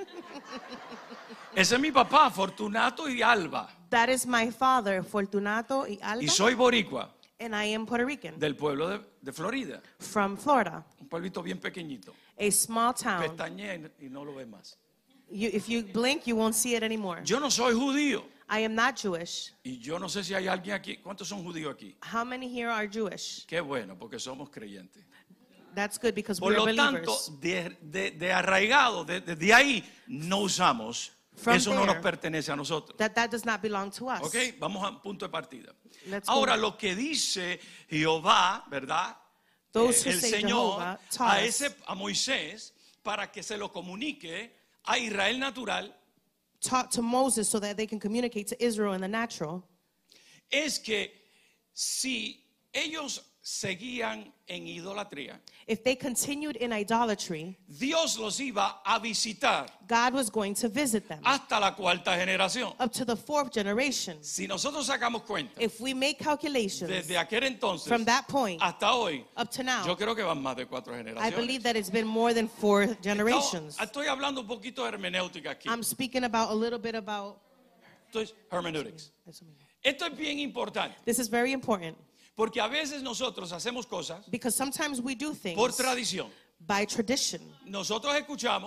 [SPEAKER 1] Ese es mi papá, Fortunato y Alba.
[SPEAKER 2] That is my father, Fortunato y Alba.
[SPEAKER 1] Y soy boricua,
[SPEAKER 2] And I am Puerto Rican
[SPEAKER 1] del pueblo de Florida.
[SPEAKER 2] from Florida,
[SPEAKER 1] Un pueblito bien pequeñito.
[SPEAKER 2] a small town.
[SPEAKER 1] Pestañé y no lo ves más.
[SPEAKER 2] If you blink, you won't see it anymore.
[SPEAKER 1] Yo no soy judío.
[SPEAKER 2] I am not Jewish.
[SPEAKER 1] Y yo no sé si hay alguien aquí. ¿Cuántos son judíos aquí?
[SPEAKER 2] How many here are Jewish?
[SPEAKER 1] Qué bueno, porque somos creyentes.
[SPEAKER 2] That's good because
[SPEAKER 1] Por
[SPEAKER 2] we are
[SPEAKER 1] lo tanto,
[SPEAKER 2] believers.
[SPEAKER 1] de arraigado, de ahí no usamos.
[SPEAKER 2] From
[SPEAKER 1] Eso no nos
[SPEAKER 2] there,
[SPEAKER 1] pertenece a nosotros.
[SPEAKER 2] That does not belong to us.
[SPEAKER 1] Ok, vamos a punto de partida.
[SPEAKER 2] Let's go.
[SPEAKER 1] Ahora, lo que dice Jehová, ¿verdad?
[SPEAKER 2] Those who
[SPEAKER 1] El
[SPEAKER 2] say
[SPEAKER 1] Señor
[SPEAKER 2] Jehovah taught
[SPEAKER 1] a,
[SPEAKER 2] us,
[SPEAKER 1] a Moisés para que se lo comunique a Israel natural
[SPEAKER 2] taught to Moses so that they can communicate to Israel in the natural,
[SPEAKER 1] es que si ellos seguían en idolatría,
[SPEAKER 2] if they continued in idolatry,
[SPEAKER 1] Dios los iba a visitar
[SPEAKER 2] God was going to visit them
[SPEAKER 1] hasta la cuarta generación.
[SPEAKER 2] up to the fourth generation.
[SPEAKER 1] Si nosotros sacamos cuenta
[SPEAKER 2] If we make calculations
[SPEAKER 1] desde aquel entonces
[SPEAKER 2] from that point
[SPEAKER 1] hasta hoy,
[SPEAKER 2] up to
[SPEAKER 1] yo
[SPEAKER 2] now,
[SPEAKER 1] creo que van más de 4
[SPEAKER 2] I
[SPEAKER 1] generaciones.
[SPEAKER 2] believe that it's been more than 4 generations.
[SPEAKER 1] Estoy hablando un poquito de hermenéutica aquí.
[SPEAKER 2] I'm speaking about a little bit about.
[SPEAKER 1] Esto es hermeneutics. Esto es bien importante
[SPEAKER 2] This is very important
[SPEAKER 1] porque a veces nosotros hacemos cosas
[SPEAKER 2] because sometimes we do things
[SPEAKER 1] por tradición.
[SPEAKER 2] by tradition.
[SPEAKER 1] Nosotros escuchamos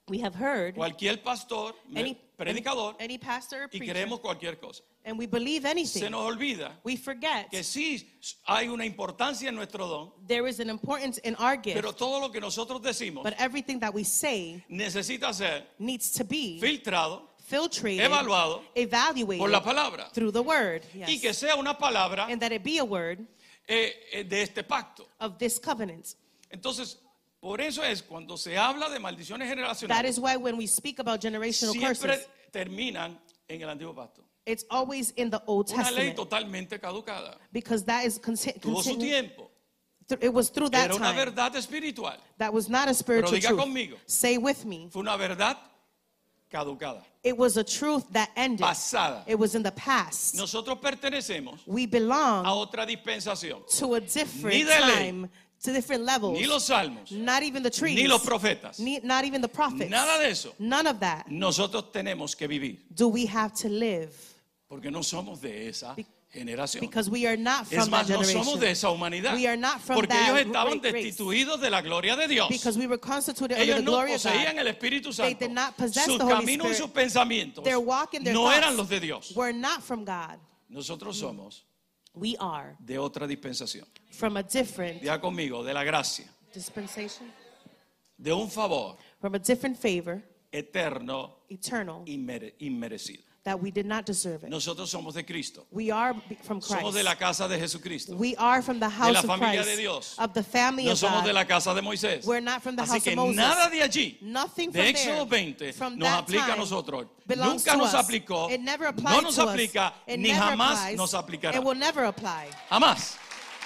[SPEAKER 2] We have heard
[SPEAKER 1] cualquier pastor, predicador,
[SPEAKER 2] any pastor or
[SPEAKER 1] y
[SPEAKER 2] preacher,
[SPEAKER 1] creemos cualquier cosa.
[SPEAKER 2] and we believe
[SPEAKER 1] Se
[SPEAKER 2] anything.
[SPEAKER 1] nos olvida
[SPEAKER 2] We forget
[SPEAKER 1] que sí hay una importancia en nuestro don,
[SPEAKER 2] there is an importance in our gift,
[SPEAKER 1] pero todo lo que nosotros decimos
[SPEAKER 2] but everything that we say
[SPEAKER 1] necesita ser
[SPEAKER 2] needs to be
[SPEAKER 1] filtrado
[SPEAKER 2] filtrated,
[SPEAKER 1] evaluado
[SPEAKER 2] evaluated
[SPEAKER 1] por la palabra
[SPEAKER 2] through the word.
[SPEAKER 1] y
[SPEAKER 2] Yes.
[SPEAKER 1] que sea una palabra
[SPEAKER 2] And that it be a word
[SPEAKER 1] de este pacto.
[SPEAKER 2] of this covenant.
[SPEAKER 1] Entonces, por eso es cuando se habla de maldiciones
[SPEAKER 2] That
[SPEAKER 1] generacionales,
[SPEAKER 2] is why when we speak about generational
[SPEAKER 1] siempre
[SPEAKER 2] curses,
[SPEAKER 1] terminan en el antiguo pacto.
[SPEAKER 2] it's always in the Old
[SPEAKER 1] Una ley
[SPEAKER 2] Testament,
[SPEAKER 1] totalmente caducada.
[SPEAKER 2] because that is
[SPEAKER 1] Tuvo su tiempo.
[SPEAKER 2] it was through that
[SPEAKER 1] Era una
[SPEAKER 2] time.
[SPEAKER 1] verdad espiritual.
[SPEAKER 2] That was not a spiritual
[SPEAKER 1] diga
[SPEAKER 2] truth.
[SPEAKER 1] conmigo.
[SPEAKER 2] Say with me.
[SPEAKER 1] Fue una verdad caducada,
[SPEAKER 2] It was a truth that ended.
[SPEAKER 1] pasada.
[SPEAKER 2] It was in the past.
[SPEAKER 1] Nosotros pertenecemos
[SPEAKER 2] We
[SPEAKER 1] a
[SPEAKER 2] belong
[SPEAKER 1] otra dispensación.
[SPEAKER 2] to a different
[SPEAKER 1] Ni de ley,
[SPEAKER 2] time, to different levels.
[SPEAKER 1] Ni los salmos,
[SPEAKER 2] Not even the trees.
[SPEAKER 1] ni los profetas,
[SPEAKER 2] Not even the prophets.
[SPEAKER 1] nada de eso.
[SPEAKER 2] None of that
[SPEAKER 1] Nosotros tenemos que vivir,
[SPEAKER 2] do we have to live,
[SPEAKER 1] porque no somos de esa generación.
[SPEAKER 2] because we are not
[SPEAKER 1] Es
[SPEAKER 2] from
[SPEAKER 1] más,
[SPEAKER 2] that
[SPEAKER 1] no
[SPEAKER 2] generation.
[SPEAKER 1] somos de esa humanidad,
[SPEAKER 2] We are not from
[SPEAKER 1] porque
[SPEAKER 2] that
[SPEAKER 1] ellos estaban
[SPEAKER 2] great race.
[SPEAKER 1] destituidos de la gloria de Dios.
[SPEAKER 2] Because we were constituted under
[SPEAKER 1] Ellos
[SPEAKER 2] the
[SPEAKER 1] no
[SPEAKER 2] glory of
[SPEAKER 1] poseían
[SPEAKER 2] God.
[SPEAKER 1] el Espíritu
[SPEAKER 2] They
[SPEAKER 1] Santo.
[SPEAKER 2] did not possess
[SPEAKER 1] Sus
[SPEAKER 2] the Holy
[SPEAKER 1] caminos y
[SPEAKER 2] Spirit.
[SPEAKER 1] sus pensamientos
[SPEAKER 2] Their walk and their
[SPEAKER 1] no
[SPEAKER 2] thoughts
[SPEAKER 1] eran los de Dios.
[SPEAKER 2] were not from God.
[SPEAKER 1] Nosotros somos
[SPEAKER 2] We are
[SPEAKER 1] de otra dispensación.
[SPEAKER 2] from a different
[SPEAKER 1] Diga conmigo, de la gracia,
[SPEAKER 2] dispensation,
[SPEAKER 1] de un favor
[SPEAKER 2] from a different favor,
[SPEAKER 1] eterno,
[SPEAKER 2] eternal,
[SPEAKER 1] inmerecido.
[SPEAKER 2] that we did not deserve it.
[SPEAKER 1] Nosotros somos de Cristo.
[SPEAKER 2] We are from
[SPEAKER 1] Somos de
[SPEAKER 2] Christ.
[SPEAKER 1] la casa de Jesucristo.
[SPEAKER 2] We are from the
[SPEAKER 1] De
[SPEAKER 2] house
[SPEAKER 1] la
[SPEAKER 2] of
[SPEAKER 1] familia
[SPEAKER 2] Christ,
[SPEAKER 1] de Dios.
[SPEAKER 2] of the family
[SPEAKER 1] No
[SPEAKER 2] of
[SPEAKER 1] somos de
[SPEAKER 2] God.
[SPEAKER 1] la casa de Moisés.
[SPEAKER 2] We're not from the
[SPEAKER 1] Así
[SPEAKER 2] house
[SPEAKER 1] que
[SPEAKER 2] of Moses.
[SPEAKER 1] nada de allí,
[SPEAKER 2] Nothing
[SPEAKER 1] de
[SPEAKER 2] from
[SPEAKER 1] Éxodo
[SPEAKER 2] there,
[SPEAKER 1] 20,
[SPEAKER 2] from
[SPEAKER 1] nos
[SPEAKER 2] that
[SPEAKER 1] aplica a
[SPEAKER 2] time,
[SPEAKER 1] nosotros.
[SPEAKER 2] belongs
[SPEAKER 1] Nunca
[SPEAKER 2] to
[SPEAKER 1] nos
[SPEAKER 2] us.
[SPEAKER 1] aplicó,
[SPEAKER 2] It never applied
[SPEAKER 1] no nos
[SPEAKER 2] to us.
[SPEAKER 1] aplica,
[SPEAKER 2] It
[SPEAKER 1] ni
[SPEAKER 2] never
[SPEAKER 1] jamás
[SPEAKER 2] applies.
[SPEAKER 1] nos aplicará.
[SPEAKER 2] It will never apply.
[SPEAKER 1] Jamás.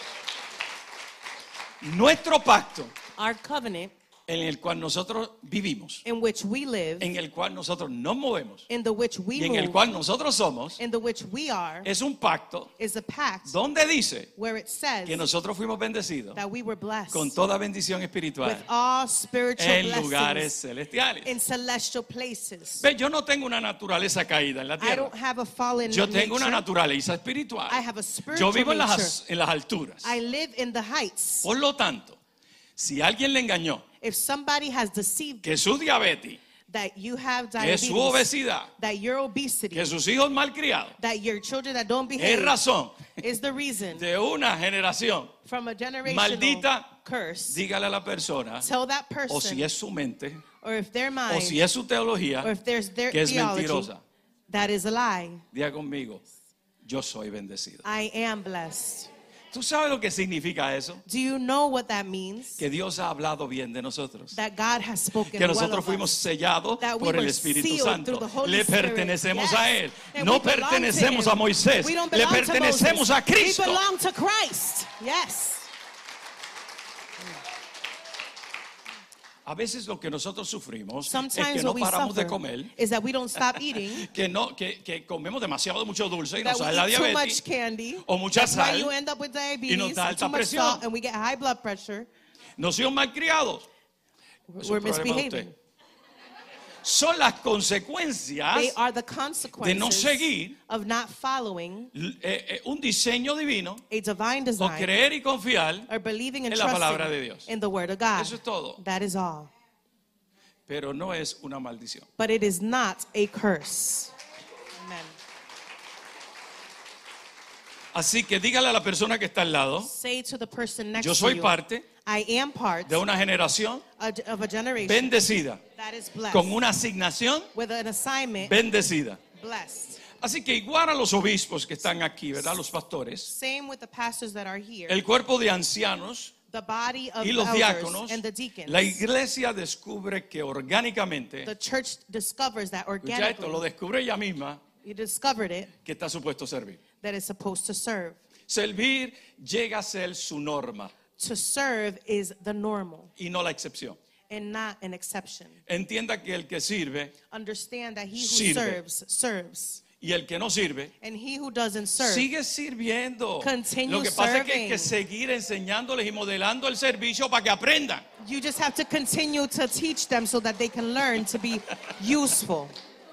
[SPEAKER 1] Nuestro pacto
[SPEAKER 2] Our covenant,
[SPEAKER 1] en el cual nosotros vivimos,
[SPEAKER 2] in which we live,
[SPEAKER 1] en el cual nosotros nos movemos
[SPEAKER 2] in the which we
[SPEAKER 1] y en el
[SPEAKER 2] move,
[SPEAKER 1] cual nosotros somos,
[SPEAKER 2] in the which we are,
[SPEAKER 1] es un pacto
[SPEAKER 2] is a pact
[SPEAKER 1] donde dice
[SPEAKER 2] where it says
[SPEAKER 1] que nosotros fuimos bendecidos
[SPEAKER 2] that we were blessed
[SPEAKER 1] con toda bendición
[SPEAKER 2] with
[SPEAKER 1] espiritual
[SPEAKER 2] all spiritual
[SPEAKER 1] en lugares
[SPEAKER 2] blessings
[SPEAKER 1] celestiales.
[SPEAKER 2] in celestial places.
[SPEAKER 1] Ve, yo no tengo una naturaleza caída en la
[SPEAKER 2] I
[SPEAKER 1] tierra.
[SPEAKER 2] don't have a fallen
[SPEAKER 1] Yo tengo una
[SPEAKER 2] nature.
[SPEAKER 1] naturaleza espiritual.
[SPEAKER 2] I have a
[SPEAKER 1] Yo
[SPEAKER 2] spiritual
[SPEAKER 1] vivo en
[SPEAKER 2] nature.
[SPEAKER 1] en las alturas.
[SPEAKER 2] I live in the heights.
[SPEAKER 1] Por lo tanto, si alguien le engañó
[SPEAKER 2] If somebody has deceived
[SPEAKER 1] que su diabetes,
[SPEAKER 2] that you have
[SPEAKER 1] que
[SPEAKER 2] diabetes,
[SPEAKER 1] su obesidad,
[SPEAKER 2] that your obesity,
[SPEAKER 1] que sus hijos malcriados,
[SPEAKER 2] that your children that don't
[SPEAKER 1] es
[SPEAKER 2] behave
[SPEAKER 1] razón
[SPEAKER 2] is the reason
[SPEAKER 1] de una generación
[SPEAKER 2] from a generational
[SPEAKER 1] maldita,
[SPEAKER 2] curse,
[SPEAKER 1] dígale a la persona,
[SPEAKER 2] tell that
[SPEAKER 1] o si
[SPEAKER 2] person,
[SPEAKER 1] es su mente,
[SPEAKER 2] or if their
[SPEAKER 1] o
[SPEAKER 2] mind,
[SPEAKER 1] si es su teología,
[SPEAKER 2] or if there's their
[SPEAKER 1] que es
[SPEAKER 2] theology,
[SPEAKER 1] mentirosa.
[SPEAKER 2] that is a lie.
[SPEAKER 1] Diga conmigo, yo soy bendecido.
[SPEAKER 2] I am blessed.
[SPEAKER 1] ¿Tú sabes lo que significa eso?
[SPEAKER 2] Do you know what that means?
[SPEAKER 1] Que Dios ha hablado bien de nosotros.
[SPEAKER 2] That God has spoken
[SPEAKER 1] Que
[SPEAKER 2] well
[SPEAKER 1] nosotros
[SPEAKER 2] of
[SPEAKER 1] fuimos
[SPEAKER 2] us.
[SPEAKER 1] sellados
[SPEAKER 2] That we
[SPEAKER 1] por el
[SPEAKER 2] were
[SPEAKER 1] Espíritu
[SPEAKER 2] sealed
[SPEAKER 1] Santo.
[SPEAKER 2] through the Holy
[SPEAKER 1] Le
[SPEAKER 2] Spirit.
[SPEAKER 1] pertenecemos
[SPEAKER 2] Yes.
[SPEAKER 1] a Él.
[SPEAKER 2] And
[SPEAKER 1] No
[SPEAKER 2] we belong to
[SPEAKER 1] pertenecemos
[SPEAKER 2] Him.
[SPEAKER 1] a Moisés.
[SPEAKER 2] We don't
[SPEAKER 1] Le
[SPEAKER 2] belong to
[SPEAKER 1] pertenecemos
[SPEAKER 2] Moses.
[SPEAKER 1] a Cristo.
[SPEAKER 2] We belong to Christ. Yes.
[SPEAKER 1] A veces lo que nosotros sufrimos es
[SPEAKER 2] Sometimes
[SPEAKER 1] que no
[SPEAKER 2] what we
[SPEAKER 1] paramos de
[SPEAKER 2] suffer
[SPEAKER 1] comer,
[SPEAKER 2] is that we don't stop eating,
[SPEAKER 1] que comemos demasiado mucho dulce y
[SPEAKER 2] that
[SPEAKER 1] nos
[SPEAKER 2] we
[SPEAKER 1] sale la
[SPEAKER 2] eat too much
[SPEAKER 1] diabetes
[SPEAKER 2] candy.
[SPEAKER 1] o mucha
[SPEAKER 2] That's why
[SPEAKER 1] sal
[SPEAKER 2] you end up with diabetes,
[SPEAKER 1] nos da
[SPEAKER 2] and
[SPEAKER 1] alta
[SPEAKER 2] too much
[SPEAKER 1] presión.
[SPEAKER 2] salt, and we get high blood pressure.
[SPEAKER 1] Nos hemos malcriados. Eso es
[SPEAKER 2] We're
[SPEAKER 1] un problema de
[SPEAKER 2] misbehaving.
[SPEAKER 1] usted. Son las consecuencias
[SPEAKER 2] They are the
[SPEAKER 1] de no
[SPEAKER 2] consequences
[SPEAKER 1] seguir
[SPEAKER 2] of not following
[SPEAKER 1] un diseño divino
[SPEAKER 2] a divine
[SPEAKER 1] o
[SPEAKER 2] design
[SPEAKER 1] creer y confiar.
[SPEAKER 2] or believing and
[SPEAKER 1] en la palabra de
[SPEAKER 2] trusting
[SPEAKER 1] Dios.
[SPEAKER 2] in the word of God.
[SPEAKER 1] Eso es todo.
[SPEAKER 2] That is all.
[SPEAKER 1] Pero no es una maldición.
[SPEAKER 2] But it is not a curse. Amen.
[SPEAKER 1] Así que dígale a la persona que está al lado,
[SPEAKER 2] Say to the person next
[SPEAKER 1] yo
[SPEAKER 2] to
[SPEAKER 1] soy
[SPEAKER 2] you,
[SPEAKER 1] parte
[SPEAKER 2] I am part
[SPEAKER 1] de una generación
[SPEAKER 2] of a generation
[SPEAKER 1] bendecida,
[SPEAKER 2] that is blessed
[SPEAKER 1] con una asignación
[SPEAKER 2] with an assignment
[SPEAKER 1] bendecida.
[SPEAKER 2] blessed.
[SPEAKER 1] Así que igual a los obispos que están aquí, ¿verdad? Los pastores,
[SPEAKER 2] Same with the pastors that are here.
[SPEAKER 1] el cuerpo de ancianos
[SPEAKER 2] The body of
[SPEAKER 1] y los
[SPEAKER 2] elders
[SPEAKER 1] diáconos,
[SPEAKER 2] and the deacons.
[SPEAKER 1] la iglesia descubre que orgánicamente,
[SPEAKER 2] The church discovers that
[SPEAKER 1] escucha esto, lo
[SPEAKER 2] organically,
[SPEAKER 1] descubre ella misma,
[SPEAKER 2] you discovered it,
[SPEAKER 1] que está supuesto servir.
[SPEAKER 2] that it's supposed to serve.
[SPEAKER 1] Servir llega a ser su norma
[SPEAKER 2] To serve is the normal
[SPEAKER 1] y no la excepción.
[SPEAKER 2] and not an exception.
[SPEAKER 1] Entienda que el que sirve
[SPEAKER 2] Understand that he who
[SPEAKER 1] Sirve.
[SPEAKER 2] serves, serves.
[SPEAKER 1] y el que no sirve
[SPEAKER 2] And he who doesn't serve,
[SPEAKER 1] sigue sirviendo.
[SPEAKER 2] Continue
[SPEAKER 1] Lo que pasa es que hay que
[SPEAKER 2] serving.
[SPEAKER 1] seguir enseñándoles y modelando el servicio para que aprendan.
[SPEAKER 2] you just have to continue to teach them so that they can learn to be useful.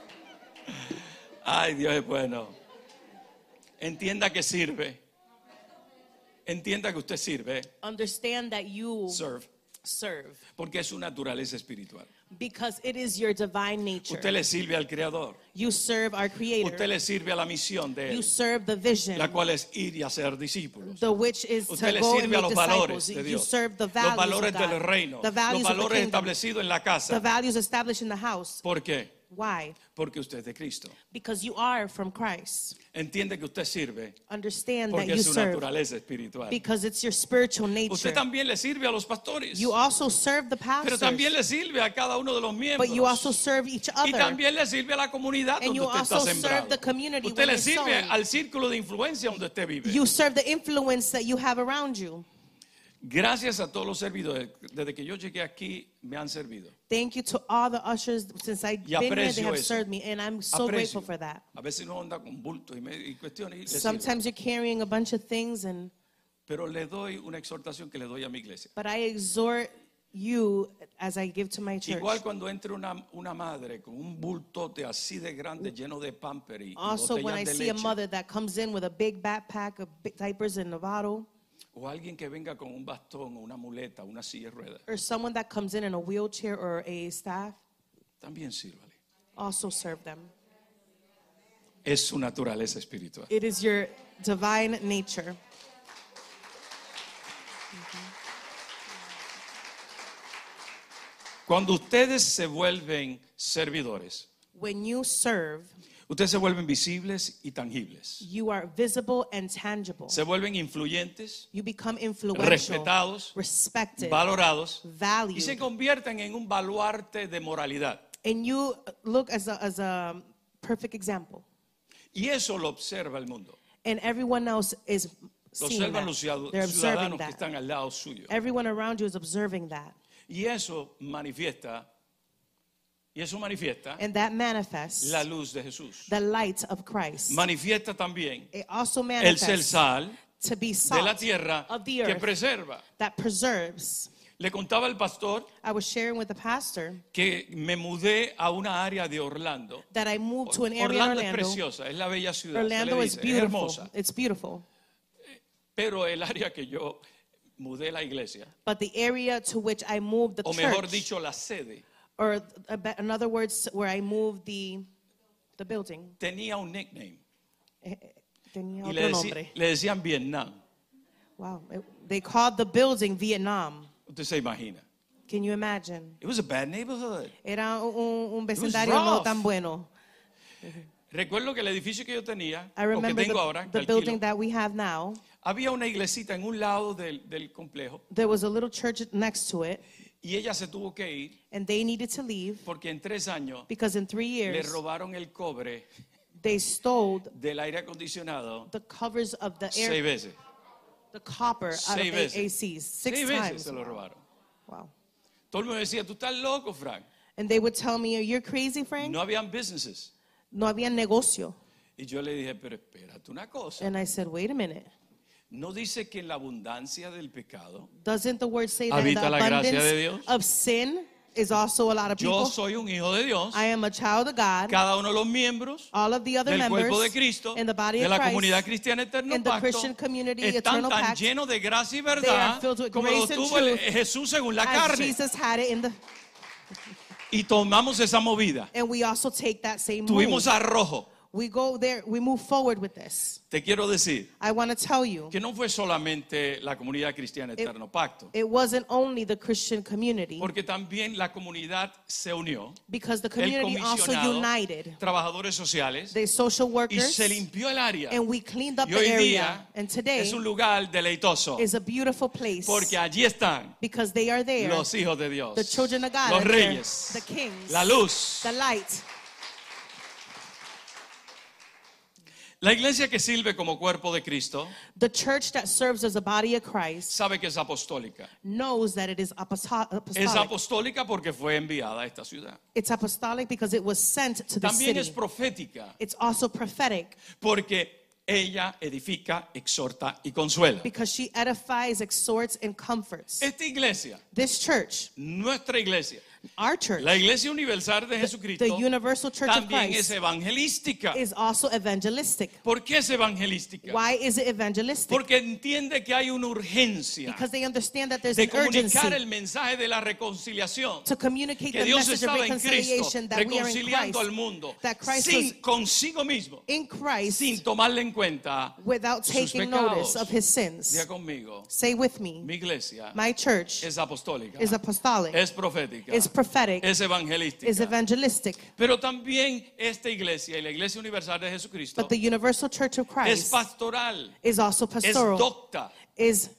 [SPEAKER 1] Ay, Dios es bueno. Entienda que sirve. Entienda que usted sirve.
[SPEAKER 2] Understand that you
[SPEAKER 1] Serve.
[SPEAKER 2] serve
[SPEAKER 1] Porque es su naturaleza espiritual.
[SPEAKER 2] Because it is your divine nature.
[SPEAKER 1] Usted le sirve al Creador.
[SPEAKER 2] You serve our Creator.
[SPEAKER 1] Usted le sirve a la misión de
[SPEAKER 2] You
[SPEAKER 1] Él,
[SPEAKER 2] serve the vision,
[SPEAKER 1] la cual es ir y hacer discípulos.
[SPEAKER 2] the which is
[SPEAKER 1] Usted
[SPEAKER 2] to
[SPEAKER 1] le
[SPEAKER 2] go and
[SPEAKER 1] sirve a
[SPEAKER 2] make
[SPEAKER 1] los valores
[SPEAKER 2] disciples.
[SPEAKER 1] de
[SPEAKER 2] You
[SPEAKER 1] Dios,
[SPEAKER 2] serve the
[SPEAKER 1] los
[SPEAKER 2] values
[SPEAKER 1] valores
[SPEAKER 2] of
[SPEAKER 1] del
[SPEAKER 2] God,
[SPEAKER 1] reino,
[SPEAKER 2] the
[SPEAKER 1] los
[SPEAKER 2] values of the
[SPEAKER 1] valores
[SPEAKER 2] kingdom,
[SPEAKER 1] establecidos en la
[SPEAKER 2] the
[SPEAKER 1] casa.
[SPEAKER 2] values established in the house.
[SPEAKER 1] ¿Por qué?
[SPEAKER 2] Why?
[SPEAKER 1] Porque usted es de Cristo.
[SPEAKER 2] Because you are from Christ.
[SPEAKER 1] Entiende que usted sirve
[SPEAKER 2] Understand that
[SPEAKER 1] porque
[SPEAKER 2] you
[SPEAKER 1] es su
[SPEAKER 2] serve
[SPEAKER 1] naturaleza espiritual.
[SPEAKER 2] because it's your spiritual nature.
[SPEAKER 1] Usted también le sirve a los pastores,
[SPEAKER 2] You also serve the
[SPEAKER 1] pero
[SPEAKER 2] pastors,
[SPEAKER 1] también le sirve a cada uno de los
[SPEAKER 2] but you also
[SPEAKER 1] miembros.
[SPEAKER 2] serve each
[SPEAKER 1] Y
[SPEAKER 2] other.
[SPEAKER 1] también le sirve a la comunidad
[SPEAKER 2] And
[SPEAKER 1] donde
[SPEAKER 2] you
[SPEAKER 1] usted está
[SPEAKER 2] also serve
[SPEAKER 1] sembrado.
[SPEAKER 2] the community
[SPEAKER 1] Usted
[SPEAKER 2] where
[SPEAKER 1] le
[SPEAKER 2] you're
[SPEAKER 1] sirve
[SPEAKER 2] sowing.
[SPEAKER 1] al círculo de influencia donde usted vive.
[SPEAKER 2] You serve the influence that you have around you.
[SPEAKER 1] Gracias a todos los servidores. Desde que yo llegué aquí me han servido.
[SPEAKER 2] Thank you to all the ushers. Since I've been here, they
[SPEAKER 1] aprecio
[SPEAKER 2] have
[SPEAKER 1] eso.
[SPEAKER 2] served me, and I'm so
[SPEAKER 1] Aprecio.
[SPEAKER 2] grateful for that.
[SPEAKER 1] A veces uno anda con bultos y cuestiones. Y le sirve.
[SPEAKER 2] Sometimes you're carrying a bunch of things,
[SPEAKER 1] Pero le doy una exhortación que le doy a mi iglesia.
[SPEAKER 2] but I exhort you as I give to my church.
[SPEAKER 1] Igual cuando entre una madre con un bultote así de grande lleno de pamper y
[SPEAKER 2] Also, when I
[SPEAKER 1] botellas de
[SPEAKER 2] see a
[SPEAKER 1] leche,
[SPEAKER 2] mother that comes in with a big backpack of diapers and a bottle,
[SPEAKER 1] o alguien que venga con un bastón o una muleta, una silla de ruedas,
[SPEAKER 2] or someone that comes in a wheelchair or a staff,
[SPEAKER 1] también sírvale.
[SPEAKER 2] also serve them.
[SPEAKER 1] Es su naturaleza espiritual.
[SPEAKER 2] It is your divine nature.
[SPEAKER 1] Cuando ustedes se vuelven servidores,
[SPEAKER 2] When you serve,
[SPEAKER 1] ustedes se vuelven visibles y tangibles.
[SPEAKER 2] you are visible and tangible.
[SPEAKER 1] Se vuelven influyentes,
[SPEAKER 2] You become influential,
[SPEAKER 1] respetados,
[SPEAKER 2] respected,
[SPEAKER 1] valorados y
[SPEAKER 2] valued,
[SPEAKER 1] se convierten en un baluarte de moralidad.
[SPEAKER 2] and you look as a perfect example.
[SPEAKER 1] Y eso lo observa el mundo.
[SPEAKER 2] And everyone else is
[SPEAKER 1] Lo
[SPEAKER 2] seeing
[SPEAKER 1] observan los
[SPEAKER 2] that. They're observing
[SPEAKER 1] ciudadanos que
[SPEAKER 2] that.
[SPEAKER 1] están al lado suyo.
[SPEAKER 2] Everyone around you is observing that.
[SPEAKER 1] Y eso manifiesta
[SPEAKER 2] And that manifests
[SPEAKER 1] la luz de Jesús.
[SPEAKER 2] the light of Christ.
[SPEAKER 1] Manifiesta también
[SPEAKER 2] It also
[SPEAKER 1] el ser
[SPEAKER 2] manifests
[SPEAKER 1] sal
[SPEAKER 2] to be
[SPEAKER 1] de la
[SPEAKER 2] salt
[SPEAKER 1] tierra
[SPEAKER 2] of the
[SPEAKER 1] que
[SPEAKER 2] earth
[SPEAKER 1] preserva.
[SPEAKER 2] that preserves.
[SPEAKER 1] Le contaba al pastor
[SPEAKER 2] I was sharing with the pastor
[SPEAKER 1] que me mudé a una área de Orlando.
[SPEAKER 2] that I moved to an area in
[SPEAKER 1] Orlando es
[SPEAKER 2] Orlando.
[SPEAKER 1] preciosa, es la bella ciudad.
[SPEAKER 2] Orlando
[SPEAKER 1] se le
[SPEAKER 2] is
[SPEAKER 1] dice, es
[SPEAKER 2] beautiful.
[SPEAKER 1] hermosa.
[SPEAKER 2] It's beautiful.
[SPEAKER 1] Pero el área que yo mudé la iglesia,
[SPEAKER 2] But the area to which I moved the
[SPEAKER 1] o mejor
[SPEAKER 2] church,
[SPEAKER 1] dicho, la sede,
[SPEAKER 2] or in other words, where I moved the building,
[SPEAKER 1] tenía un nickname.
[SPEAKER 2] tenía
[SPEAKER 1] Y
[SPEAKER 2] otro nombre.
[SPEAKER 1] le decían Vietnam.
[SPEAKER 2] Wow. They called the building Vietnam.
[SPEAKER 1] Usted se imagina.
[SPEAKER 2] Can you imagine?
[SPEAKER 1] It was a bad neighborhood.
[SPEAKER 2] Era un vecindario no
[SPEAKER 1] rough.
[SPEAKER 2] tan bueno.
[SPEAKER 1] Recuerdo que el edificio que yo tenía,
[SPEAKER 2] I
[SPEAKER 1] o que
[SPEAKER 2] remember
[SPEAKER 1] tengo ahora, que
[SPEAKER 2] the building
[SPEAKER 1] alquilo,
[SPEAKER 2] that we have now.
[SPEAKER 1] había una iglesita en un lado del complejo
[SPEAKER 2] There was a little church next to it,
[SPEAKER 1] y ella se tuvo que ir
[SPEAKER 2] and they needed to leave
[SPEAKER 1] porque en 3 años
[SPEAKER 2] because in 3
[SPEAKER 1] le
[SPEAKER 2] years
[SPEAKER 1] robaron el cobre
[SPEAKER 2] they stole
[SPEAKER 1] del aire acondicionado
[SPEAKER 2] the covers of the
[SPEAKER 1] 6
[SPEAKER 2] air,
[SPEAKER 1] veces.
[SPEAKER 2] the copper out
[SPEAKER 1] 6
[SPEAKER 2] of the
[SPEAKER 1] veces.
[SPEAKER 2] ACs 6
[SPEAKER 1] 6 veces
[SPEAKER 2] times.
[SPEAKER 1] se lo robaron.
[SPEAKER 2] Wow.
[SPEAKER 1] Todo el mundo decía, tú estás loco, Frank.
[SPEAKER 2] And they would tell me, "You're crazy, Frank."
[SPEAKER 1] No habían businesses.
[SPEAKER 2] No había negocio.
[SPEAKER 1] Y yo le dije, pero espérate una cosa.
[SPEAKER 2] And I said, "Wait a minute.
[SPEAKER 1] ¿No dice que en la abundancia del pecado
[SPEAKER 2] Doesn't the word say that in the
[SPEAKER 1] habita la gracia de
[SPEAKER 2] abundance
[SPEAKER 1] Dios?
[SPEAKER 2] of sin is also a lot of
[SPEAKER 1] Yo
[SPEAKER 2] people?
[SPEAKER 1] soy un hijo de Dios?
[SPEAKER 2] I am a child of God.
[SPEAKER 1] Cada uno de los miembros
[SPEAKER 2] All of the other
[SPEAKER 1] del
[SPEAKER 2] members
[SPEAKER 1] cuerpo de Cristo,
[SPEAKER 2] in the body
[SPEAKER 1] de
[SPEAKER 2] of
[SPEAKER 1] la
[SPEAKER 2] Christ,
[SPEAKER 1] comunidad cristiana Eterno
[SPEAKER 2] in the
[SPEAKER 1] Pacto,
[SPEAKER 2] Christian community,
[SPEAKER 1] están
[SPEAKER 2] Eternal
[SPEAKER 1] tan
[SPEAKER 2] Pact,
[SPEAKER 1] llenos de gracia y
[SPEAKER 2] they
[SPEAKER 1] verdad
[SPEAKER 2] are filled with
[SPEAKER 1] como lo
[SPEAKER 2] grace and
[SPEAKER 1] tuvo
[SPEAKER 2] truth
[SPEAKER 1] Jesús según la
[SPEAKER 2] as
[SPEAKER 1] carne.
[SPEAKER 2] Jesus had it in the,
[SPEAKER 1] Y tomamos esa movida.
[SPEAKER 2] and we also take that same
[SPEAKER 1] Tuvimos
[SPEAKER 2] move.
[SPEAKER 1] arrojo.
[SPEAKER 2] We go there, we move forward with this.
[SPEAKER 1] Te quiero decir
[SPEAKER 2] I want to tell you,
[SPEAKER 1] que no fue solamente la comunidad cristiana Eterno Pacto,
[SPEAKER 2] it wasn't only the Christian community,
[SPEAKER 1] porque también la comunidad se unió.
[SPEAKER 2] because the
[SPEAKER 1] El
[SPEAKER 2] community also
[SPEAKER 1] comisionado,
[SPEAKER 2] united.
[SPEAKER 1] trabajadores sociales,
[SPEAKER 2] The social
[SPEAKER 1] y
[SPEAKER 2] workers,
[SPEAKER 1] se limpió el área.
[SPEAKER 2] and we cleaned up
[SPEAKER 1] Y
[SPEAKER 2] the
[SPEAKER 1] hoy
[SPEAKER 2] area.
[SPEAKER 1] día
[SPEAKER 2] And today
[SPEAKER 1] es un lugar deleitoso,
[SPEAKER 2] is a beautiful place
[SPEAKER 1] porque allí están
[SPEAKER 2] because they are there.
[SPEAKER 1] los hijos de Dios,
[SPEAKER 2] The children of God
[SPEAKER 1] los
[SPEAKER 2] are there,
[SPEAKER 1] reyes,
[SPEAKER 2] the kings,
[SPEAKER 1] la luz.
[SPEAKER 2] the light.
[SPEAKER 1] La iglesia que sirve como cuerpo de Cristo
[SPEAKER 2] The church that serves as a body of Christ
[SPEAKER 1] sabe que es apostólica.
[SPEAKER 2] knows that it is
[SPEAKER 1] Es
[SPEAKER 2] apostolic.
[SPEAKER 1] apostólica porque fue enviada a esta ciudad.
[SPEAKER 2] It's apostolic because it was sent to the
[SPEAKER 1] También es
[SPEAKER 2] city.
[SPEAKER 1] profética
[SPEAKER 2] It's also prophetic
[SPEAKER 1] porque ella edifica, exhorta y consuela.
[SPEAKER 2] because she edifies, exhorts, and comforts.
[SPEAKER 1] Esta iglesia,
[SPEAKER 2] This church,
[SPEAKER 1] nuestra iglesia,
[SPEAKER 2] Our church,
[SPEAKER 1] La Iglesia Universal de Jesucristo
[SPEAKER 2] the Universal Church of
[SPEAKER 1] también es
[SPEAKER 2] Christ,
[SPEAKER 1] evangelística.
[SPEAKER 2] is also evangelistic.
[SPEAKER 1] ¿Por qué es evangelística?
[SPEAKER 2] Why is it evangelistic?
[SPEAKER 1] Porque entiende que hay una urgencia
[SPEAKER 2] Because they understand that there's
[SPEAKER 1] de
[SPEAKER 2] an urgency
[SPEAKER 1] comunicar el mensaje de la reconciliación.
[SPEAKER 2] to communicate
[SPEAKER 1] Que
[SPEAKER 2] the
[SPEAKER 1] Dios
[SPEAKER 2] message of
[SPEAKER 1] estaba en Cristo,
[SPEAKER 2] reconciliation, that we are in
[SPEAKER 1] reconciliando al
[SPEAKER 2] Christ,
[SPEAKER 1] mundo
[SPEAKER 2] that Christ
[SPEAKER 1] sin
[SPEAKER 2] was
[SPEAKER 1] consigo mismo,
[SPEAKER 2] in Christ
[SPEAKER 1] sin tomarle en cuenta
[SPEAKER 2] without
[SPEAKER 1] sus
[SPEAKER 2] taking
[SPEAKER 1] pecados.
[SPEAKER 2] notice of his sins.
[SPEAKER 1] Diga conmigo,
[SPEAKER 2] Say with me,
[SPEAKER 1] mi iglesia
[SPEAKER 2] my church
[SPEAKER 1] es apostólica,
[SPEAKER 2] is apostolic,
[SPEAKER 1] es profética,
[SPEAKER 2] is prophetic,
[SPEAKER 1] es evangelística.
[SPEAKER 2] is evangelistic.
[SPEAKER 1] Pero también esta iglesia y la Iglesia Universal de Jesucristo
[SPEAKER 2] But the Universal Church of
[SPEAKER 1] es
[SPEAKER 2] Christ
[SPEAKER 1] pastoral,
[SPEAKER 2] is also
[SPEAKER 1] es
[SPEAKER 2] pastoral.
[SPEAKER 1] docta.
[SPEAKER 2] Is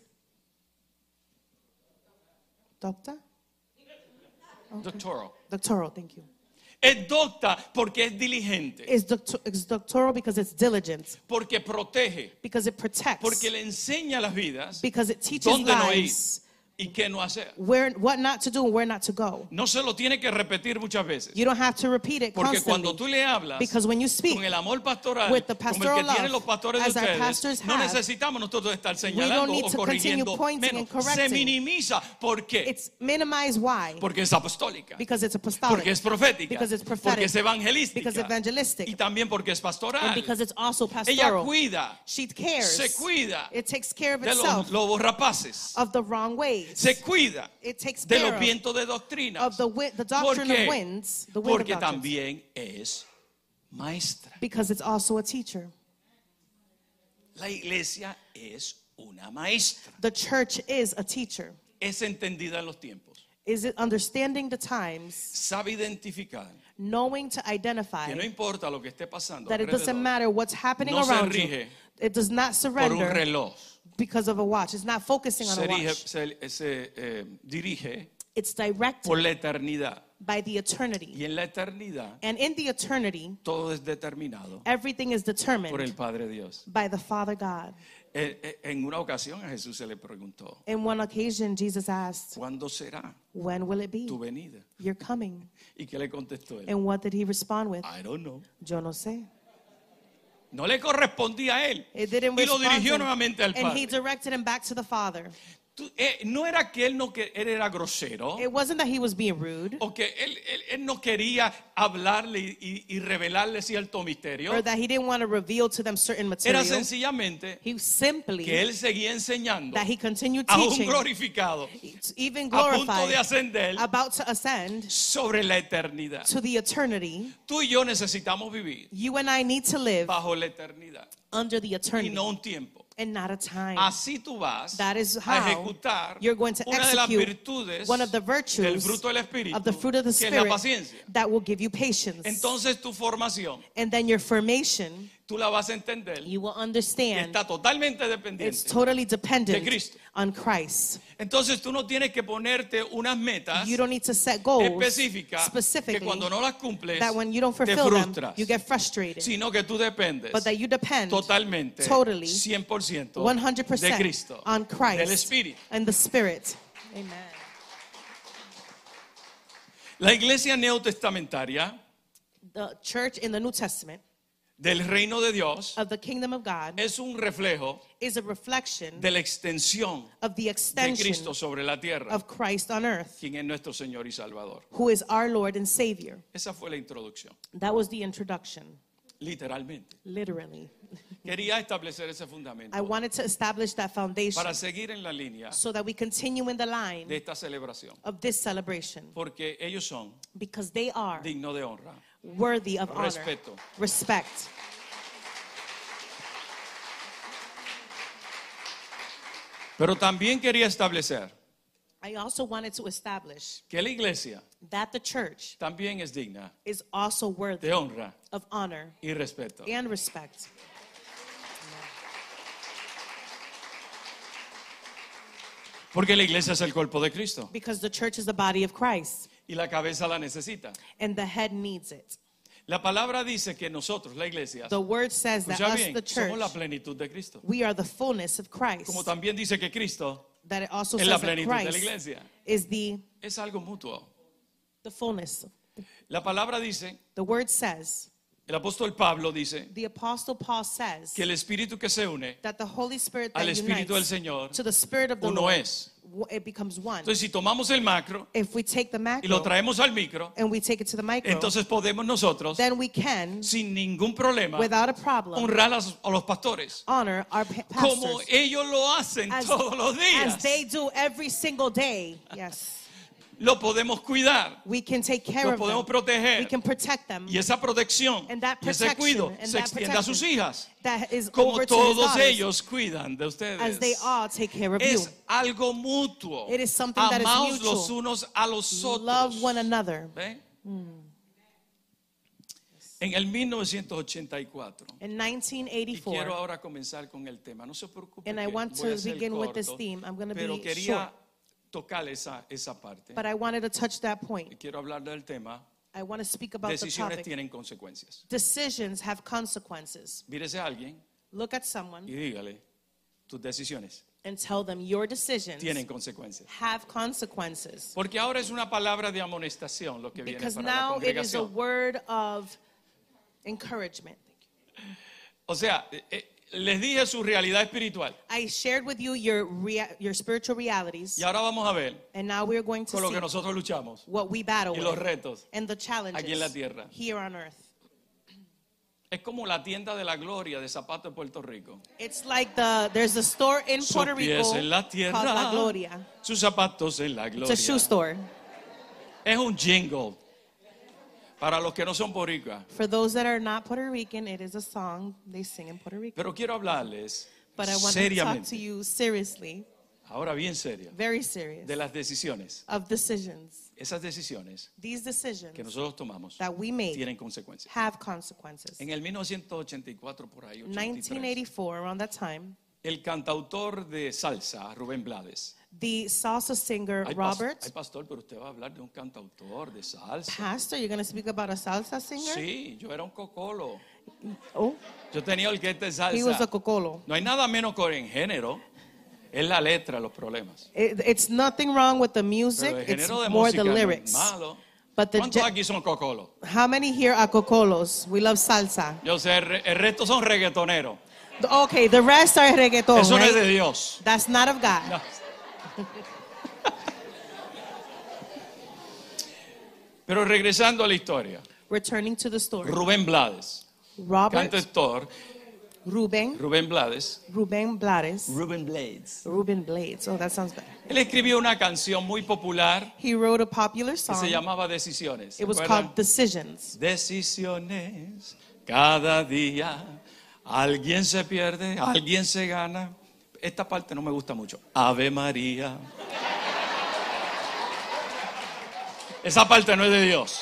[SPEAKER 2] doctor?
[SPEAKER 1] Doctoral.
[SPEAKER 2] Doctoral, thank you.
[SPEAKER 1] Es docta porque es diligente,
[SPEAKER 2] Is doctoral because it's diligent,
[SPEAKER 1] porque protege,
[SPEAKER 2] because it protects,
[SPEAKER 1] porque le enseña a las vidas
[SPEAKER 2] because it teaches
[SPEAKER 1] dónde no ir
[SPEAKER 2] lives
[SPEAKER 1] y qué no hacer.
[SPEAKER 2] what not to do and where not to go.
[SPEAKER 1] No se lo tiene que repetir muchas veces,
[SPEAKER 2] You don't have to repeat it
[SPEAKER 1] porque cuando
[SPEAKER 2] constantly.
[SPEAKER 1] tú le hablas
[SPEAKER 2] Because when you speak
[SPEAKER 1] con el amor pastoral,
[SPEAKER 2] with the
[SPEAKER 1] como el
[SPEAKER 2] pastoral
[SPEAKER 1] que tienen
[SPEAKER 2] love,
[SPEAKER 1] los pastores de
[SPEAKER 2] as our
[SPEAKER 1] ustedes,
[SPEAKER 2] pastors
[SPEAKER 1] no
[SPEAKER 2] have,
[SPEAKER 1] necesitamos nosotros estar
[SPEAKER 2] don't
[SPEAKER 1] señalando
[SPEAKER 2] need
[SPEAKER 1] o
[SPEAKER 2] to continue
[SPEAKER 1] corrigiendo
[SPEAKER 2] pointing
[SPEAKER 1] menos.
[SPEAKER 2] and correcting.
[SPEAKER 1] Se minimiza. ¿Por qué?
[SPEAKER 2] It's minimized. Why?
[SPEAKER 1] Porque es apostólica,
[SPEAKER 2] Because it's apostolic.
[SPEAKER 1] porque es profética,
[SPEAKER 2] Because it's
[SPEAKER 1] porque
[SPEAKER 2] prophetic.
[SPEAKER 1] es evangelística
[SPEAKER 2] Because evangelistic.
[SPEAKER 1] y también porque es
[SPEAKER 2] And
[SPEAKER 1] pastoral.
[SPEAKER 2] because it's also
[SPEAKER 1] Ella
[SPEAKER 2] pastoral.
[SPEAKER 1] cuida,
[SPEAKER 2] She cares.
[SPEAKER 1] se cuida
[SPEAKER 2] It takes care of
[SPEAKER 1] de
[SPEAKER 2] itself,
[SPEAKER 1] los lobos rapaces,
[SPEAKER 2] of the wrong ways.
[SPEAKER 1] se cuida
[SPEAKER 2] It takes
[SPEAKER 1] de
[SPEAKER 2] care
[SPEAKER 1] los vientos de doctrina.
[SPEAKER 2] of the doctrine of winds, the wind
[SPEAKER 1] Porque
[SPEAKER 2] of doctrines.
[SPEAKER 1] también es maestra.
[SPEAKER 2] Because it's also a teacher.
[SPEAKER 1] La iglesia es una maestra.
[SPEAKER 2] The church is a teacher.
[SPEAKER 1] Es entendida en los tiempos.
[SPEAKER 2] Is it understanding the times,
[SPEAKER 1] Sabe identificar
[SPEAKER 2] knowing to identify
[SPEAKER 1] que no importa lo que esté pasando
[SPEAKER 2] that it doesn't
[SPEAKER 1] alrededor,
[SPEAKER 2] matter what's happening
[SPEAKER 1] no se
[SPEAKER 2] around
[SPEAKER 1] rige
[SPEAKER 2] you. It does not
[SPEAKER 1] por un
[SPEAKER 2] surrender
[SPEAKER 1] reloj.
[SPEAKER 2] because of a watch. It's not focusing on
[SPEAKER 1] Se
[SPEAKER 2] a
[SPEAKER 1] dirige,
[SPEAKER 2] watch.
[SPEAKER 1] se dirige
[SPEAKER 2] It's directed
[SPEAKER 1] por la eternidad.
[SPEAKER 2] by the eternity.
[SPEAKER 1] Y en la eternidad
[SPEAKER 2] And in the eternity,
[SPEAKER 1] todo es determinado
[SPEAKER 2] everything is
[SPEAKER 1] por el
[SPEAKER 2] determined
[SPEAKER 1] Padre Dios.
[SPEAKER 2] by the Father God.
[SPEAKER 1] En una ocasión a Jesús se le preguntó,
[SPEAKER 2] In one occasion, Jesus asked,
[SPEAKER 1] ¿cuándo será
[SPEAKER 2] when will it be?
[SPEAKER 1] tu venida?
[SPEAKER 2] You're coming.
[SPEAKER 1] ¿Y qué le contestó él?
[SPEAKER 2] And what did he respond with?
[SPEAKER 1] I don't know.
[SPEAKER 2] Yo no sé.
[SPEAKER 1] No le correspondía a él.
[SPEAKER 2] It didn't
[SPEAKER 1] Y lo
[SPEAKER 2] respond
[SPEAKER 1] dirigió
[SPEAKER 2] to him.
[SPEAKER 1] nuevamente al
[SPEAKER 2] And he
[SPEAKER 1] Padre.
[SPEAKER 2] directed him back to the Father.
[SPEAKER 1] No era que él era grosero
[SPEAKER 2] It wasn't that he was being rude
[SPEAKER 1] o que él no quería hablarle y revelarle cierto misterio.
[SPEAKER 2] or that he didn't want to reveal to them certain
[SPEAKER 1] Era
[SPEAKER 2] material.
[SPEAKER 1] sencillamente
[SPEAKER 2] He simply,
[SPEAKER 1] que él seguía enseñando
[SPEAKER 2] that he continued
[SPEAKER 1] a un
[SPEAKER 2] teaching,
[SPEAKER 1] glorificado
[SPEAKER 2] even
[SPEAKER 1] a punto de
[SPEAKER 2] glorified,
[SPEAKER 1] ascender
[SPEAKER 2] about to ascend
[SPEAKER 1] sobre la eternidad.
[SPEAKER 2] to the eternity.
[SPEAKER 1] Tú y yo necesitamos vivir
[SPEAKER 2] You and I need to live
[SPEAKER 1] bajo la eternidad
[SPEAKER 2] under the
[SPEAKER 1] y
[SPEAKER 2] eternity
[SPEAKER 1] no un tiempo.
[SPEAKER 2] and not a time.
[SPEAKER 1] Así tú vas
[SPEAKER 2] That is
[SPEAKER 1] a
[SPEAKER 2] how
[SPEAKER 1] ejecutar
[SPEAKER 2] you're going to
[SPEAKER 1] una de las
[SPEAKER 2] execute
[SPEAKER 1] virtudes
[SPEAKER 2] one of the
[SPEAKER 1] del
[SPEAKER 2] virtues
[SPEAKER 1] fruto del Espíritu,
[SPEAKER 2] of the fruit of the
[SPEAKER 1] que es la
[SPEAKER 2] Spirit
[SPEAKER 1] paciencia.
[SPEAKER 2] that will give you patience.
[SPEAKER 1] Entonces tu formación,
[SPEAKER 2] And then your formation,
[SPEAKER 1] tú la vas a entender
[SPEAKER 2] you will
[SPEAKER 1] que
[SPEAKER 2] understand
[SPEAKER 1] está totalmente
[SPEAKER 2] it's
[SPEAKER 1] dependiente
[SPEAKER 2] totally
[SPEAKER 1] de
[SPEAKER 2] dependent
[SPEAKER 1] Cristo.
[SPEAKER 2] on Christ.
[SPEAKER 1] Entonces tú no tienes que ponerte unas metas
[SPEAKER 2] You don't need to set goals
[SPEAKER 1] específicas que
[SPEAKER 2] specifically
[SPEAKER 1] cuando no las cumples
[SPEAKER 2] that when you don't
[SPEAKER 1] te
[SPEAKER 2] fulfill them,
[SPEAKER 1] frustras,
[SPEAKER 2] you get frustrated.
[SPEAKER 1] sino que tú dependes
[SPEAKER 2] But that you depend
[SPEAKER 1] totalmente,
[SPEAKER 2] totally,
[SPEAKER 1] 100% de
[SPEAKER 2] 100%
[SPEAKER 1] Cristo,
[SPEAKER 2] on
[SPEAKER 1] del
[SPEAKER 2] Christ
[SPEAKER 1] Espíritu.
[SPEAKER 2] and the Spirit. Amen.
[SPEAKER 1] La iglesia neotestamentaria
[SPEAKER 2] The church in the New Testament
[SPEAKER 1] del reino de Dios
[SPEAKER 2] of the kingdom of God
[SPEAKER 1] es un reflejo
[SPEAKER 2] is a reflection
[SPEAKER 1] de la extensión
[SPEAKER 2] of the
[SPEAKER 1] de
[SPEAKER 2] extension
[SPEAKER 1] Cristo sobre la tierra,
[SPEAKER 2] of Christ on earth,
[SPEAKER 1] quien es nuestro Señor y Salvador.
[SPEAKER 2] who is our Lord and Savior.
[SPEAKER 1] Esa fue la introducción,
[SPEAKER 2] That was the introduction,
[SPEAKER 1] literalmente.
[SPEAKER 2] literally.
[SPEAKER 1] Quería establecer ese fundamento
[SPEAKER 2] I wanted to establish that foundation
[SPEAKER 1] para seguir en la línea
[SPEAKER 2] so that we continue in the
[SPEAKER 1] de
[SPEAKER 2] line
[SPEAKER 1] esta celebración,
[SPEAKER 2] of this celebration
[SPEAKER 1] porque ellos son
[SPEAKER 2] because they are
[SPEAKER 1] dignos de honra,
[SPEAKER 2] worthy of honor,
[SPEAKER 1] respeto.
[SPEAKER 2] respect.
[SPEAKER 1] Pero también quería establecer
[SPEAKER 2] I also wanted to establish
[SPEAKER 1] que la iglesia
[SPEAKER 2] that the church
[SPEAKER 1] también es digna
[SPEAKER 2] is also worthy
[SPEAKER 1] de honra
[SPEAKER 2] of honor
[SPEAKER 1] y respeto.
[SPEAKER 2] and respect.
[SPEAKER 1] Porque la iglesia es el cuerpo de Cristo
[SPEAKER 2] Because the church is the body of Christ
[SPEAKER 1] y la cabeza la necesita.
[SPEAKER 2] and the head needs it.
[SPEAKER 1] La palabra dice que nosotros, la iglesia,
[SPEAKER 2] The word says that
[SPEAKER 1] escucha
[SPEAKER 2] us,
[SPEAKER 1] bien,
[SPEAKER 2] the church,
[SPEAKER 1] somos la plenitud de Cristo.
[SPEAKER 2] we are the fullness of Christ.
[SPEAKER 1] Como también dice que Cristo
[SPEAKER 2] That it also
[SPEAKER 1] es
[SPEAKER 2] says
[SPEAKER 1] la
[SPEAKER 2] that
[SPEAKER 1] plenitud de la
[SPEAKER 2] Christ
[SPEAKER 1] iglesia.
[SPEAKER 2] is the
[SPEAKER 1] Es algo mutuo.
[SPEAKER 2] fullness.
[SPEAKER 1] La palabra dice,
[SPEAKER 2] The word says,
[SPEAKER 1] el apóstol Pablo dice
[SPEAKER 2] the apostle Paul says
[SPEAKER 1] que el espíritu que se une
[SPEAKER 2] that the Holy Spirit
[SPEAKER 1] al
[SPEAKER 2] that
[SPEAKER 1] espíritu del
[SPEAKER 2] unites
[SPEAKER 1] Señor
[SPEAKER 2] to the Spirit of the
[SPEAKER 1] uno
[SPEAKER 2] Lord,
[SPEAKER 1] es.
[SPEAKER 2] it becomes one.
[SPEAKER 1] Entonces, si tomamos el macro
[SPEAKER 2] If we take the
[SPEAKER 1] y lo
[SPEAKER 2] macro
[SPEAKER 1] traemos al micro,
[SPEAKER 2] and we take it to the micro,
[SPEAKER 1] entonces podemos nosotros,
[SPEAKER 2] then we can,
[SPEAKER 1] sin ningún problema,
[SPEAKER 2] without a problem,
[SPEAKER 1] honrar a los pastores
[SPEAKER 2] honor our
[SPEAKER 1] como
[SPEAKER 2] pastors
[SPEAKER 1] ellos lo hacen todos los días.
[SPEAKER 2] as they do every single day. Yes.
[SPEAKER 1] Lo podemos cuidar,
[SPEAKER 2] We can take care
[SPEAKER 1] lo
[SPEAKER 2] of
[SPEAKER 1] podemos
[SPEAKER 2] them.
[SPEAKER 1] proteger.
[SPEAKER 2] We can protect them.
[SPEAKER 1] Y esa protección
[SPEAKER 2] And that
[SPEAKER 1] y ese cuido
[SPEAKER 2] protection and
[SPEAKER 1] se
[SPEAKER 2] that
[SPEAKER 1] extiende a sus
[SPEAKER 2] protection
[SPEAKER 1] hijas,
[SPEAKER 2] that is
[SPEAKER 1] como
[SPEAKER 2] over to his
[SPEAKER 1] todos
[SPEAKER 2] daughters,
[SPEAKER 1] ellos cuidan de ustedes.
[SPEAKER 2] as they all take care of you.
[SPEAKER 1] Es algo mutuo.
[SPEAKER 2] It is something that is
[SPEAKER 1] Amaos
[SPEAKER 2] mutual.
[SPEAKER 1] los unos a los otros.
[SPEAKER 2] Love one another.
[SPEAKER 1] ¿Ve? En el 1984.
[SPEAKER 2] In
[SPEAKER 1] Y
[SPEAKER 2] 1984,
[SPEAKER 1] quiero ahora comenzar con el tema. No se preocupe.
[SPEAKER 2] and I
[SPEAKER 1] que
[SPEAKER 2] want
[SPEAKER 1] voy a
[SPEAKER 2] to
[SPEAKER 1] ser
[SPEAKER 2] begin with this
[SPEAKER 1] corto,
[SPEAKER 2] theme. I'm going to
[SPEAKER 1] pero
[SPEAKER 2] be
[SPEAKER 1] quería
[SPEAKER 2] short,
[SPEAKER 1] tocar esa parte.
[SPEAKER 2] but I wanted to touch that
[SPEAKER 1] Y
[SPEAKER 2] point.
[SPEAKER 1] quiero hablar del tema.
[SPEAKER 2] I want to speak about the
[SPEAKER 1] Decisiones
[SPEAKER 2] topic.
[SPEAKER 1] tienen consecuencias.
[SPEAKER 2] Decisions have consequences.
[SPEAKER 1] Mírese a alguien
[SPEAKER 2] Look at someone
[SPEAKER 1] y dígale, tus decisiones
[SPEAKER 2] and tell them your decisions
[SPEAKER 1] tienen consecuencias.
[SPEAKER 2] have consequences.
[SPEAKER 1] Porque ahora es una palabra de amonestación lo que viene
[SPEAKER 2] Because
[SPEAKER 1] para la
[SPEAKER 2] now it is a
[SPEAKER 1] congregación.
[SPEAKER 2] word of encouragement.
[SPEAKER 1] O sea, les dije su realidad espiritual.
[SPEAKER 2] I shared with you your spiritual realities,
[SPEAKER 1] Y ahora vamos a ver
[SPEAKER 2] and now we're going to
[SPEAKER 1] con lo
[SPEAKER 2] see
[SPEAKER 1] que nosotros luchamos
[SPEAKER 2] what we battle
[SPEAKER 1] y los
[SPEAKER 2] with
[SPEAKER 1] retos.
[SPEAKER 2] and the challenges
[SPEAKER 1] aquí en la tierra.
[SPEAKER 2] here on earth.
[SPEAKER 1] Es como la tienda de la gloria de zapatos de Puerto Rico.
[SPEAKER 2] It's like there's a store in
[SPEAKER 1] Sus
[SPEAKER 2] Puerto
[SPEAKER 1] pies
[SPEAKER 2] Rico
[SPEAKER 1] en la
[SPEAKER 2] called
[SPEAKER 1] tierra,
[SPEAKER 2] La Gloria.
[SPEAKER 1] sus zapatos en la
[SPEAKER 2] It's
[SPEAKER 1] gloria.
[SPEAKER 2] a shoe store.
[SPEAKER 1] Es un jingle para los que no son boricuas.
[SPEAKER 2] For those that are not Puerto Rican, it is a song they sing in Puerto Rico.
[SPEAKER 1] Pero quiero hablarles
[SPEAKER 2] But I want to talk to
[SPEAKER 1] seriamente,
[SPEAKER 2] you seriously,
[SPEAKER 1] ahora bien serio,
[SPEAKER 2] very serious,
[SPEAKER 1] de las decisiones.
[SPEAKER 2] of decisions.
[SPEAKER 1] Esas decisiones
[SPEAKER 2] These
[SPEAKER 1] que
[SPEAKER 2] decisions
[SPEAKER 1] nosotros tomamos
[SPEAKER 2] that we make
[SPEAKER 1] tienen consecuencias.
[SPEAKER 2] have consequences.
[SPEAKER 1] En el 1984, por ahí, 83,
[SPEAKER 2] 1984, around that time,
[SPEAKER 1] el cantautor de salsa, Rubén Blades.
[SPEAKER 2] the salsa singer
[SPEAKER 1] Ay,
[SPEAKER 2] Robert,
[SPEAKER 1] pastor, pero usted va a hablar de un cantautor de salsa.
[SPEAKER 2] pastor, you're going to speak about a salsa singer?
[SPEAKER 1] Sí, yo era un cocolo.
[SPEAKER 2] Oh,
[SPEAKER 1] Yo tenía orquesta de
[SPEAKER 2] he was a
[SPEAKER 1] salsa.
[SPEAKER 2] cocolo.
[SPEAKER 1] No hay nada menos que en género. Es la letra, los problemas.
[SPEAKER 2] It's nothing wrong with the music,
[SPEAKER 1] Pero el
[SPEAKER 2] it's
[SPEAKER 1] género de
[SPEAKER 2] more
[SPEAKER 1] música
[SPEAKER 2] the
[SPEAKER 1] no es
[SPEAKER 2] lyrics.
[SPEAKER 1] malo.
[SPEAKER 2] But the
[SPEAKER 1] ¿Cuántos aquí son cocolos?
[SPEAKER 2] how many here are cocolos? We love salsa.
[SPEAKER 1] Yo sé, el resto son reggaetoneros.
[SPEAKER 2] Okay, the rest are reggaeton,
[SPEAKER 1] Eso no es
[SPEAKER 2] right?
[SPEAKER 1] de Dios.
[SPEAKER 2] That's not of God.
[SPEAKER 1] No. Pero regresando a la historia,
[SPEAKER 2] Returning to the story.
[SPEAKER 1] Rubén Blades,
[SPEAKER 2] Robert
[SPEAKER 1] cantautor,
[SPEAKER 2] Rubén
[SPEAKER 1] Blades,
[SPEAKER 2] Blades.
[SPEAKER 1] Rubén Blades.
[SPEAKER 2] Ruben Blades. Oh, that sounds better.
[SPEAKER 1] Él escribió una canción muy popular
[SPEAKER 2] He wrote a popular
[SPEAKER 1] que
[SPEAKER 2] song.
[SPEAKER 1] se llamaba Decisiones. ¿Se
[SPEAKER 2] It was
[SPEAKER 1] acuerdan?
[SPEAKER 2] called Decisions.
[SPEAKER 1] Decisiones, cada día alguien se pierde, alguien se gana. Esta parte no me gusta mucho. Ave María. Esa parte no es de Dios.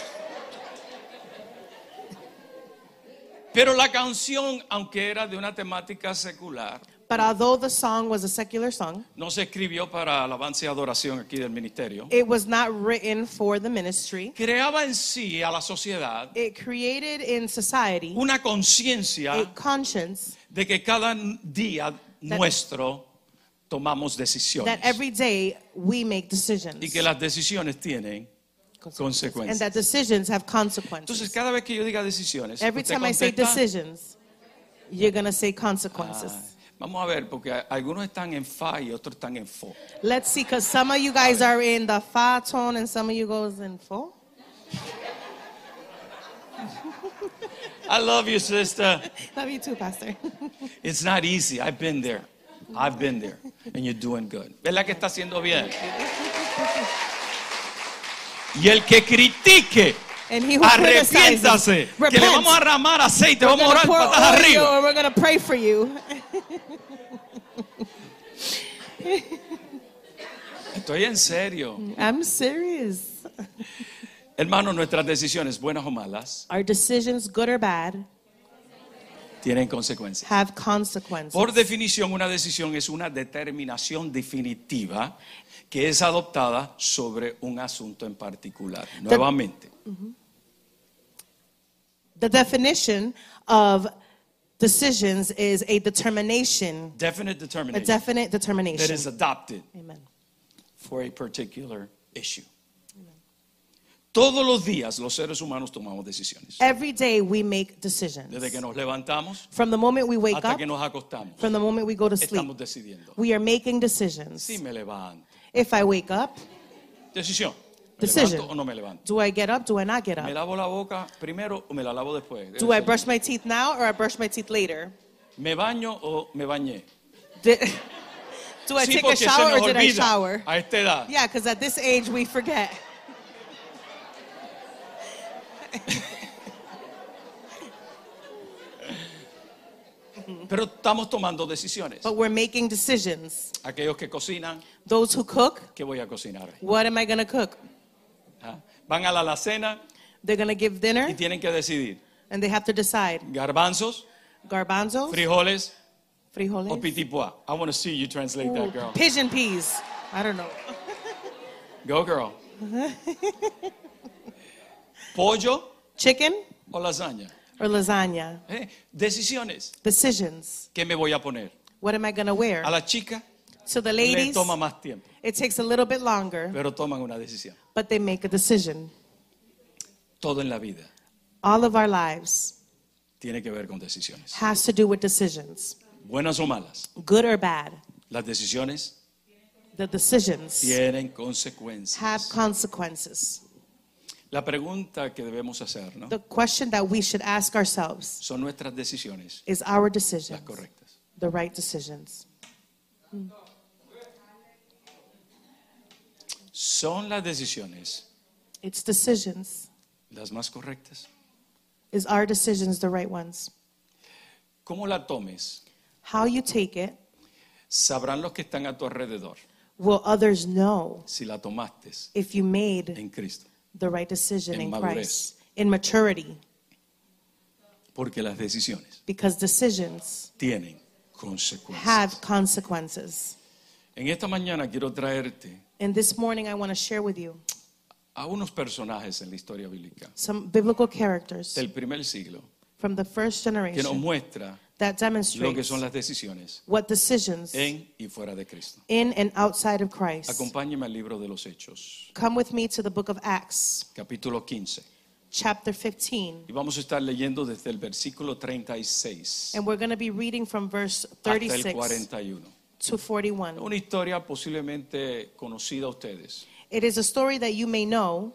[SPEAKER 1] Pero la canción, aunque era de una temática secular,
[SPEAKER 2] But although the song was a secular song,
[SPEAKER 1] no se escribió para alabanza y adoración aquí del ministerio.
[SPEAKER 2] it was not written for the ministry.
[SPEAKER 1] Creaba en sí a la sociedad
[SPEAKER 2] It created in society
[SPEAKER 1] una conciencia
[SPEAKER 2] a conscience
[SPEAKER 1] de que cada día nuestro tomamos decisiones
[SPEAKER 2] that every day we make decisions.
[SPEAKER 1] y que las decisiones tienen
[SPEAKER 2] And
[SPEAKER 1] consecuencias.
[SPEAKER 2] that decisions have
[SPEAKER 1] Entonces,
[SPEAKER 2] consequences.
[SPEAKER 1] cada vez que yo diga decisiones,
[SPEAKER 2] Every
[SPEAKER 1] usted
[SPEAKER 2] time I say
[SPEAKER 1] contesta,
[SPEAKER 2] decisions, you're going to say consequences.
[SPEAKER 1] vamos a ver, porque algunos están en fa y otros están en fo.
[SPEAKER 2] Let's see, because some of you guys are in the fa tone and some of you goes in fo.
[SPEAKER 1] I love you, sister.
[SPEAKER 2] Love you too, Pastor.
[SPEAKER 1] It's not easy. I've been there. And you're doing good. ¿Verdad que está haciendo bien? Y el que critique,
[SPEAKER 2] And he who
[SPEAKER 1] arrepiéntase,
[SPEAKER 2] criticizes,
[SPEAKER 1] que le
[SPEAKER 2] repent.
[SPEAKER 1] vamos a derramar aceite,
[SPEAKER 2] We're
[SPEAKER 1] vamos a
[SPEAKER 2] going
[SPEAKER 1] orar
[SPEAKER 2] to pour
[SPEAKER 1] patas
[SPEAKER 2] oil
[SPEAKER 1] arriba.
[SPEAKER 2] and we're going to pray for you.
[SPEAKER 1] Estoy en serio.
[SPEAKER 2] I'm serious.
[SPEAKER 1] Hermanos, nuestras decisiones, buenas o malas,
[SPEAKER 2] Our decisions, good or bad,
[SPEAKER 1] tienen consecuencias.
[SPEAKER 2] have consequences.
[SPEAKER 1] Por definición, una decisión es una determinación definitiva que es adoptada sobre un asunto en particular. Nuevamente,
[SPEAKER 2] The definition of decisions is a determination,
[SPEAKER 1] definite
[SPEAKER 2] a
[SPEAKER 1] determination
[SPEAKER 2] definite
[SPEAKER 1] that
[SPEAKER 2] determination.
[SPEAKER 1] is adopted
[SPEAKER 2] Amen.
[SPEAKER 1] for a particular issue. Todos los días los seres humanos tomamos decisiones.
[SPEAKER 2] Every day we make decisions.
[SPEAKER 1] Desde que nos levantamos
[SPEAKER 2] From the moment we wake
[SPEAKER 1] hasta
[SPEAKER 2] up,
[SPEAKER 1] que nos acostamos,
[SPEAKER 2] from the moment we go to sleep,
[SPEAKER 1] estamos decidiendo.
[SPEAKER 2] we are making decisions.
[SPEAKER 1] Si me levanto.
[SPEAKER 2] If I wake up,
[SPEAKER 1] Decisión. ¿Me
[SPEAKER 2] Decision.
[SPEAKER 1] levanto o no me levanto?
[SPEAKER 2] do I get up? Do I not get
[SPEAKER 1] ¿Me
[SPEAKER 2] up?
[SPEAKER 1] lavo la boca primero o me la lavo después?
[SPEAKER 2] Do I brush my teeth now or I brush my teeth later?
[SPEAKER 1] ¿Me baño o me bañé?
[SPEAKER 2] Do I
[SPEAKER 1] Sí,
[SPEAKER 2] take a
[SPEAKER 1] porque se
[SPEAKER 2] shower
[SPEAKER 1] nos
[SPEAKER 2] or did I
[SPEAKER 1] olvida
[SPEAKER 2] shower?
[SPEAKER 1] a esta edad.
[SPEAKER 2] Yeah, because at this age we forget.
[SPEAKER 1] Pero estamos tomando decisiones.
[SPEAKER 2] But we're making decisions.
[SPEAKER 1] Aquellos que cocinan,
[SPEAKER 2] Those who cook,
[SPEAKER 1] ¿qué voy a cocinar?
[SPEAKER 2] what am I going to cook?
[SPEAKER 1] ¿Ah? Van a la alacena
[SPEAKER 2] They're going to give
[SPEAKER 1] y
[SPEAKER 2] dinner
[SPEAKER 1] tienen que decidir.
[SPEAKER 2] and they have to decide.
[SPEAKER 1] Garbanzos,
[SPEAKER 2] Garbanzos,
[SPEAKER 1] frijoles o
[SPEAKER 2] frijoles,
[SPEAKER 1] pitipua. I want to see you translate that, girl.
[SPEAKER 2] pigeon peas. I don't know.
[SPEAKER 1] Go, girl. Pollo
[SPEAKER 2] Chicken
[SPEAKER 1] o lasaña.
[SPEAKER 2] or lasagna?
[SPEAKER 1] Decisiones.
[SPEAKER 2] Decisions.
[SPEAKER 1] ¿Qué me voy a poner?
[SPEAKER 2] What am I going to wear?
[SPEAKER 1] A la chica
[SPEAKER 2] So the
[SPEAKER 1] le
[SPEAKER 2] ladies,
[SPEAKER 1] toma más tiempo,
[SPEAKER 2] it takes a little bit longer,
[SPEAKER 1] pero toman una decisión.
[SPEAKER 2] but they make a decision.
[SPEAKER 1] Todo en la vida
[SPEAKER 2] All of our lives
[SPEAKER 1] tiene que ver con decisiones.
[SPEAKER 2] has to do with decisions,
[SPEAKER 1] Buenas o malas.
[SPEAKER 2] good or bad.
[SPEAKER 1] Las decisiones
[SPEAKER 2] The decisions
[SPEAKER 1] tienen consecuencias.
[SPEAKER 2] have consequences.
[SPEAKER 1] La pregunta que debemos hacer, ¿no?
[SPEAKER 2] The question that we should ask ourselves
[SPEAKER 1] ¿Son nuestras decisiones
[SPEAKER 2] is our
[SPEAKER 1] las
[SPEAKER 2] decisions
[SPEAKER 1] correctas?
[SPEAKER 2] the right decisions?
[SPEAKER 1] ¿Son las decisiones
[SPEAKER 2] It's decisions.
[SPEAKER 1] las más correctas?
[SPEAKER 2] Is our decisions the right ones?
[SPEAKER 1] ¿Cómo la tomes?
[SPEAKER 2] How you take it,
[SPEAKER 1] Sabrán los que están a tu alrededor
[SPEAKER 2] will others know
[SPEAKER 1] si la tomaste
[SPEAKER 2] if you made
[SPEAKER 1] en Cristo.
[SPEAKER 2] the right decision
[SPEAKER 1] En
[SPEAKER 2] in
[SPEAKER 1] madurez.
[SPEAKER 2] Christ, in maturity,
[SPEAKER 1] Porque las decisiones
[SPEAKER 2] because decisions
[SPEAKER 1] tienen consecuencias.
[SPEAKER 2] have consequences.
[SPEAKER 1] En esta mañana quiero traerte
[SPEAKER 2] And this morning I want to share with you
[SPEAKER 1] a unos personajes en la historia bíblica
[SPEAKER 2] some biblical characters
[SPEAKER 1] del primer siglo
[SPEAKER 2] from the first
[SPEAKER 1] que nos
[SPEAKER 2] generation
[SPEAKER 1] muestra
[SPEAKER 2] that
[SPEAKER 1] lo que
[SPEAKER 2] demonstrates
[SPEAKER 1] son las decisiones
[SPEAKER 2] what decisions
[SPEAKER 1] en y fuera de Cristo.
[SPEAKER 2] in and outside of Christ.
[SPEAKER 1] Acompáñeme al libro de los Hechos,
[SPEAKER 2] Come with me to the book of Acts,
[SPEAKER 1] capítulo 15.
[SPEAKER 2] chapter 15.
[SPEAKER 1] Y vamos a estar leyendo desde el versículo 36
[SPEAKER 2] And we're going to be reading from verse
[SPEAKER 1] hasta el
[SPEAKER 2] 36
[SPEAKER 1] 41.
[SPEAKER 2] to 41.
[SPEAKER 1] Una historia posiblemente conocida a ustedes.
[SPEAKER 2] It is a story that you may know.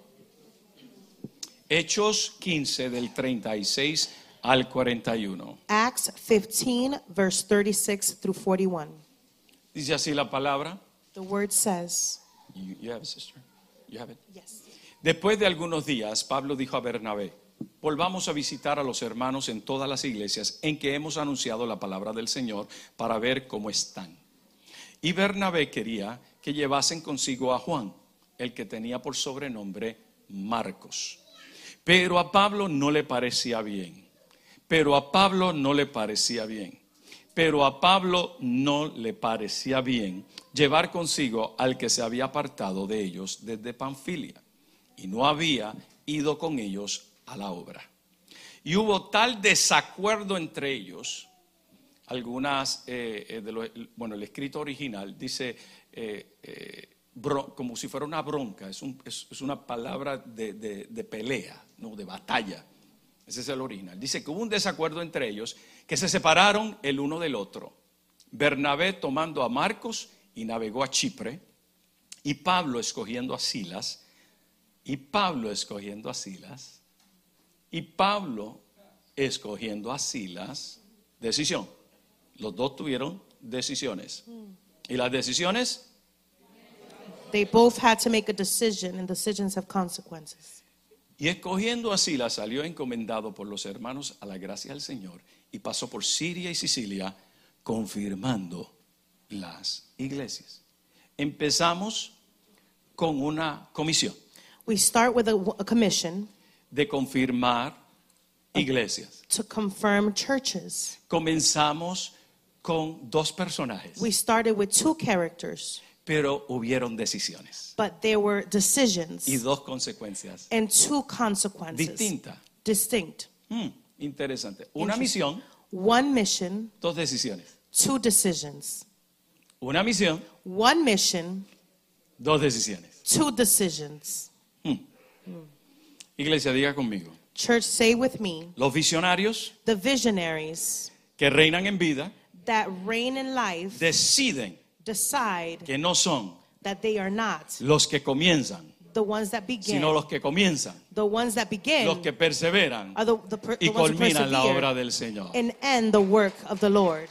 [SPEAKER 1] Hechos 15 del 36 al 41.
[SPEAKER 2] Acts 15, verse 36 through 41.
[SPEAKER 1] Dice así la palabra.
[SPEAKER 2] The word says,
[SPEAKER 1] You have it, sister? You have it?
[SPEAKER 2] yes.
[SPEAKER 1] Después de algunos días, Pablo dijo a Bernabé: volvamos a visitar a los hermanos en todas las iglesias en que hemos anunciado la palabra del Señor para ver cómo están. Y Bernabé quería que llevasen consigo a Juan, el que tenía por sobrenombre Marcos. Pero a Pablo no le parecía bien. Pero a Pablo no le parecía bien. Pero a Pablo no le parecía bien llevar consigo al que se había apartado de ellos desde Panfilia y no había ido con ellos a la obra. Y hubo tal desacuerdo entre ellos, algunas, el escrito original dice como si fuera una bronca, es una palabra de pelea, no, de batalla. Ese es el original. Dice que hubo un desacuerdo entre ellos, que se separaron el uno del otro. Bernabé tomando a Marcos y navegó a Chipre, y Pablo escogiendo a Silas, y Pablo escogiendo a Silas, y Pablo escogiendo a Silas. Decisión. Los dos tuvieron decisiones. Y las decisiones,
[SPEAKER 2] They both had to make a decision, and decisions have consequences.
[SPEAKER 1] y escogiendo a Silas salió encomendado por los hermanos a la gracia del Señor y pasó por Siria y Sicilia confirmando las iglesias. Empezamos con una comisión
[SPEAKER 2] We start with a commission
[SPEAKER 1] de confirmar iglesias.
[SPEAKER 2] to confirm churches.
[SPEAKER 1] Comenzamos con dos personajes,
[SPEAKER 2] We started with two characters,
[SPEAKER 1] pero hubieron decisiones
[SPEAKER 2] but there were decisions
[SPEAKER 1] y dos consecuencias
[SPEAKER 2] and two consequences.
[SPEAKER 1] distintas.
[SPEAKER 2] Distinct.
[SPEAKER 1] Interesante. Una misión,
[SPEAKER 2] One mission,
[SPEAKER 1] dos decisiones.
[SPEAKER 2] two decisions.
[SPEAKER 1] Una misión,
[SPEAKER 2] One mission,
[SPEAKER 1] dos decisiones.
[SPEAKER 2] two decisions.
[SPEAKER 1] Iglesia, diga conmigo.
[SPEAKER 2] Church, say with me,
[SPEAKER 1] Los visionarios
[SPEAKER 2] the visionaries
[SPEAKER 1] que reinan en vida
[SPEAKER 2] that reign in life
[SPEAKER 1] deciden
[SPEAKER 2] decide
[SPEAKER 1] que no son
[SPEAKER 2] that they are not
[SPEAKER 1] los que comienzan,
[SPEAKER 2] the ones that begin.
[SPEAKER 1] sino los que comienzan,
[SPEAKER 2] The ones that begin
[SPEAKER 1] los que perseveran
[SPEAKER 2] are the
[SPEAKER 1] y
[SPEAKER 2] ones who
[SPEAKER 1] culminan la
[SPEAKER 2] persevere
[SPEAKER 1] obra del Señor.
[SPEAKER 2] and end the work of the Lord.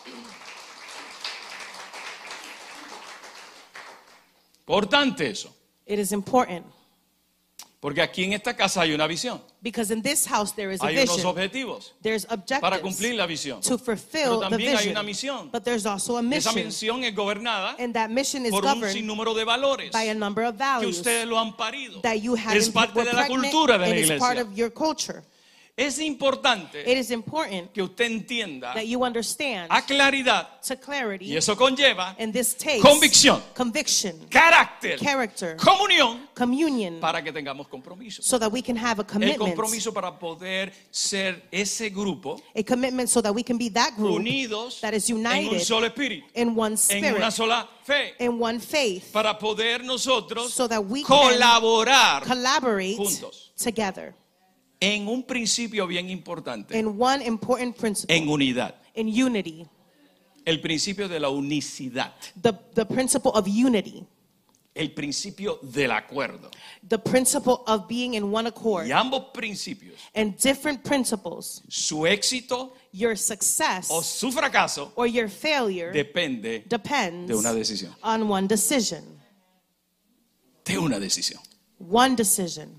[SPEAKER 1] Importante eso,
[SPEAKER 2] It is important
[SPEAKER 1] porque aquí en esta casa hay una visión,
[SPEAKER 2] because in this house there is a
[SPEAKER 1] hay unos
[SPEAKER 2] vision.
[SPEAKER 1] objetivos
[SPEAKER 2] There's
[SPEAKER 1] para
[SPEAKER 2] objectives
[SPEAKER 1] cumplir la visión.
[SPEAKER 2] to
[SPEAKER 1] Pero
[SPEAKER 2] fulfill the
[SPEAKER 1] también hay una
[SPEAKER 2] vision.
[SPEAKER 1] misión.
[SPEAKER 2] But there's also a
[SPEAKER 1] Esa
[SPEAKER 2] mission.
[SPEAKER 1] misión es gobernada
[SPEAKER 2] And that mission is
[SPEAKER 1] por un
[SPEAKER 2] governed
[SPEAKER 1] sinnúmero de valores
[SPEAKER 2] by a number of
[SPEAKER 1] que
[SPEAKER 2] values
[SPEAKER 1] ustedes lo han parido.
[SPEAKER 2] that you have
[SPEAKER 1] Es parte
[SPEAKER 2] were
[SPEAKER 1] de la
[SPEAKER 2] pregnant
[SPEAKER 1] cultura de
[SPEAKER 2] and
[SPEAKER 1] la
[SPEAKER 2] is part
[SPEAKER 1] iglesia.
[SPEAKER 2] of your culture.
[SPEAKER 1] Es importante
[SPEAKER 2] It is important
[SPEAKER 1] que usted entienda
[SPEAKER 2] that you understand
[SPEAKER 1] a claridad,
[SPEAKER 2] to clarity,
[SPEAKER 1] y eso conlleva
[SPEAKER 2] and this takes
[SPEAKER 1] convicción,
[SPEAKER 2] conviction,
[SPEAKER 1] carácter,
[SPEAKER 2] character,
[SPEAKER 1] comunión,
[SPEAKER 2] communion,
[SPEAKER 1] para que tengamos compromiso.
[SPEAKER 2] so that we can have a
[SPEAKER 1] El
[SPEAKER 2] commitment.
[SPEAKER 1] compromiso para poder ser ese grupo
[SPEAKER 2] A commitment so that we can be that group
[SPEAKER 1] unidos
[SPEAKER 2] that is
[SPEAKER 1] en un
[SPEAKER 2] united
[SPEAKER 1] solo espíritu,
[SPEAKER 2] in one
[SPEAKER 1] en una
[SPEAKER 2] spirit,
[SPEAKER 1] sola fe,
[SPEAKER 2] in one faith,
[SPEAKER 1] para poder nosotros
[SPEAKER 2] so that we can
[SPEAKER 1] colaborar
[SPEAKER 2] collaborate
[SPEAKER 1] juntos
[SPEAKER 2] together
[SPEAKER 1] en un principio bien importante,
[SPEAKER 2] in one important principle,
[SPEAKER 1] en unidad.
[SPEAKER 2] in unity,
[SPEAKER 1] El principio de la unicidad,
[SPEAKER 2] the principle of unity,
[SPEAKER 1] el principio del acuerdo.
[SPEAKER 2] the principle of being in one accord,
[SPEAKER 1] Y ambos principios,
[SPEAKER 2] and different principles,
[SPEAKER 1] su éxito
[SPEAKER 2] your success
[SPEAKER 1] o su fracaso,
[SPEAKER 2] or your failure
[SPEAKER 1] depende
[SPEAKER 2] depends
[SPEAKER 1] de una decisión.
[SPEAKER 2] on one decision.
[SPEAKER 1] De una decisión.
[SPEAKER 2] One decision.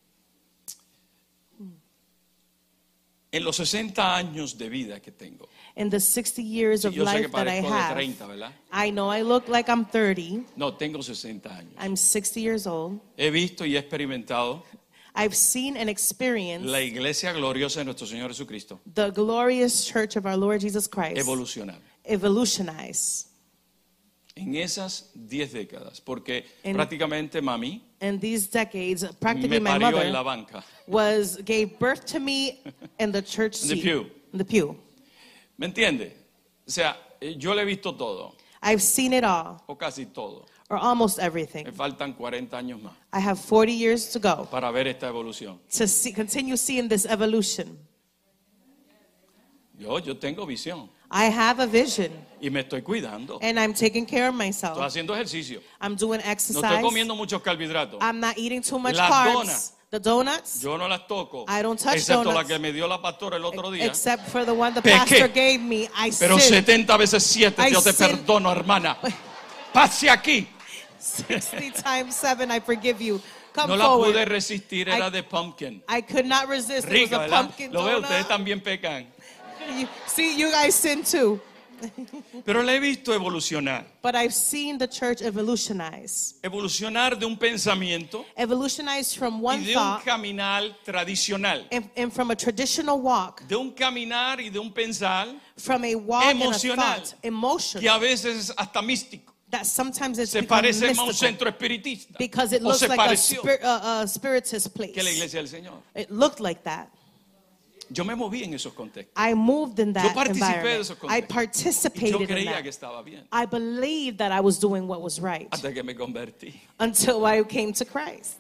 [SPEAKER 1] En los 60 años de vida que tengo,
[SPEAKER 2] In the 60 years of
[SPEAKER 1] yo sé que
[SPEAKER 2] life that I
[SPEAKER 1] parezco de
[SPEAKER 2] have,
[SPEAKER 1] 30, ¿verdad?
[SPEAKER 2] I know I look like I'm 30.
[SPEAKER 1] No, tengo 60 años.
[SPEAKER 2] I'm 60 years old.
[SPEAKER 1] He visto y he experimentado
[SPEAKER 2] I've seen and experienced
[SPEAKER 1] la iglesia gloriosa de nuestro Señor Jesucristo
[SPEAKER 2] the glorious church of our Lord Jesus Christ
[SPEAKER 1] evolucionar
[SPEAKER 2] evolutionize.
[SPEAKER 1] en esas 10 décadas, porque
[SPEAKER 2] En-
[SPEAKER 1] prácticamente mami
[SPEAKER 2] In these decades,
[SPEAKER 1] me
[SPEAKER 2] practically my
[SPEAKER 1] parió en la
[SPEAKER 2] mother
[SPEAKER 1] banca.
[SPEAKER 2] gave birth to me in the church
[SPEAKER 1] In the
[SPEAKER 2] seat,
[SPEAKER 1] pew.
[SPEAKER 2] in the pew.
[SPEAKER 1] ¿Me entiende? O sea, yo le he visto todo,
[SPEAKER 2] I've seen it all,
[SPEAKER 1] o casi todo.
[SPEAKER 2] or almost
[SPEAKER 1] Me
[SPEAKER 2] everything.
[SPEAKER 1] faltan 40 años más
[SPEAKER 2] I have 40 years to go
[SPEAKER 1] para ver esta evolución.
[SPEAKER 2] to continue seeing this evolution.
[SPEAKER 1] Yo tengo visión
[SPEAKER 2] I have a vision,
[SPEAKER 1] y me estoy cuidando.
[SPEAKER 2] and I'm taking care of
[SPEAKER 1] Estoy
[SPEAKER 2] myself.
[SPEAKER 1] haciendo ejercicio.
[SPEAKER 2] I'm doing
[SPEAKER 1] No estoy
[SPEAKER 2] exercise.
[SPEAKER 1] comiendo muchos carbohidratos.
[SPEAKER 2] I'm not eating too much
[SPEAKER 1] Las
[SPEAKER 2] carbs.
[SPEAKER 1] donuts.
[SPEAKER 2] The donuts,
[SPEAKER 1] Yo no las toco,
[SPEAKER 2] I don't touch
[SPEAKER 1] excepto la
[SPEAKER 2] donuts.
[SPEAKER 1] que me dio la pastora el otro día.
[SPEAKER 2] except for the one the
[SPEAKER 1] Pequé.
[SPEAKER 2] pastor gave me, I
[SPEAKER 1] Pero
[SPEAKER 2] sinned.
[SPEAKER 1] 70 veces 7
[SPEAKER 2] I
[SPEAKER 1] yo te
[SPEAKER 2] sin-
[SPEAKER 1] perdono, hermana. Pase aquí.
[SPEAKER 2] 60 times 7, I forgive you. Come
[SPEAKER 1] No la
[SPEAKER 2] forward.
[SPEAKER 1] pude resistir, era
[SPEAKER 2] I-
[SPEAKER 1] de pumpkin.
[SPEAKER 2] I could not resist. It
[SPEAKER 1] Rica,
[SPEAKER 2] was a
[SPEAKER 1] ¿verdad?
[SPEAKER 2] pumpkin
[SPEAKER 1] Lo veo,
[SPEAKER 2] donut.
[SPEAKER 1] ustedes también pecan.
[SPEAKER 2] See, you guys sin too.
[SPEAKER 1] Pero la he visto evolucionar.
[SPEAKER 2] But I've seen the church evolutionize.
[SPEAKER 1] Evolucionar de un pensamiento
[SPEAKER 2] Evolutionize from
[SPEAKER 1] y
[SPEAKER 2] one
[SPEAKER 1] de un
[SPEAKER 2] thought
[SPEAKER 1] caminar tradicional.
[SPEAKER 2] and from a traditional walk,
[SPEAKER 1] De un caminar y de un pensar
[SPEAKER 2] from a walk and a
[SPEAKER 1] Emocional.
[SPEAKER 2] thought, emotional,
[SPEAKER 1] que a veces es hasta místico.
[SPEAKER 2] that sometimes it's
[SPEAKER 1] Se
[SPEAKER 2] become
[SPEAKER 1] parece más a un
[SPEAKER 2] mystical
[SPEAKER 1] centro espiritista.
[SPEAKER 2] because it
[SPEAKER 1] O
[SPEAKER 2] looks
[SPEAKER 1] se
[SPEAKER 2] like
[SPEAKER 1] pareció
[SPEAKER 2] a spiritist place.
[SPEAKER 1] que la iglesia del Señor.
[SPEAKER 2] It looked like that.
[SPEAKER 1] Yo me moví en esos contextos.
[SPEAKER 2] I moved in that
[SPEAKER 1] participé de esos
[SPEAKER 2] environment. I
[SPEAKER 1] contextos. Y yo
[SPEAKER 2] participated in
[SPEAKER 1] creía que
[SPEAKER 2] that.
[SPEAKER 1] estaba bien.
[SPEAKER 2] I believed that I was doing what was right
[SPEAKER 1] Hasta que me convertí.
[SPEAKER 2] until I came to Christ.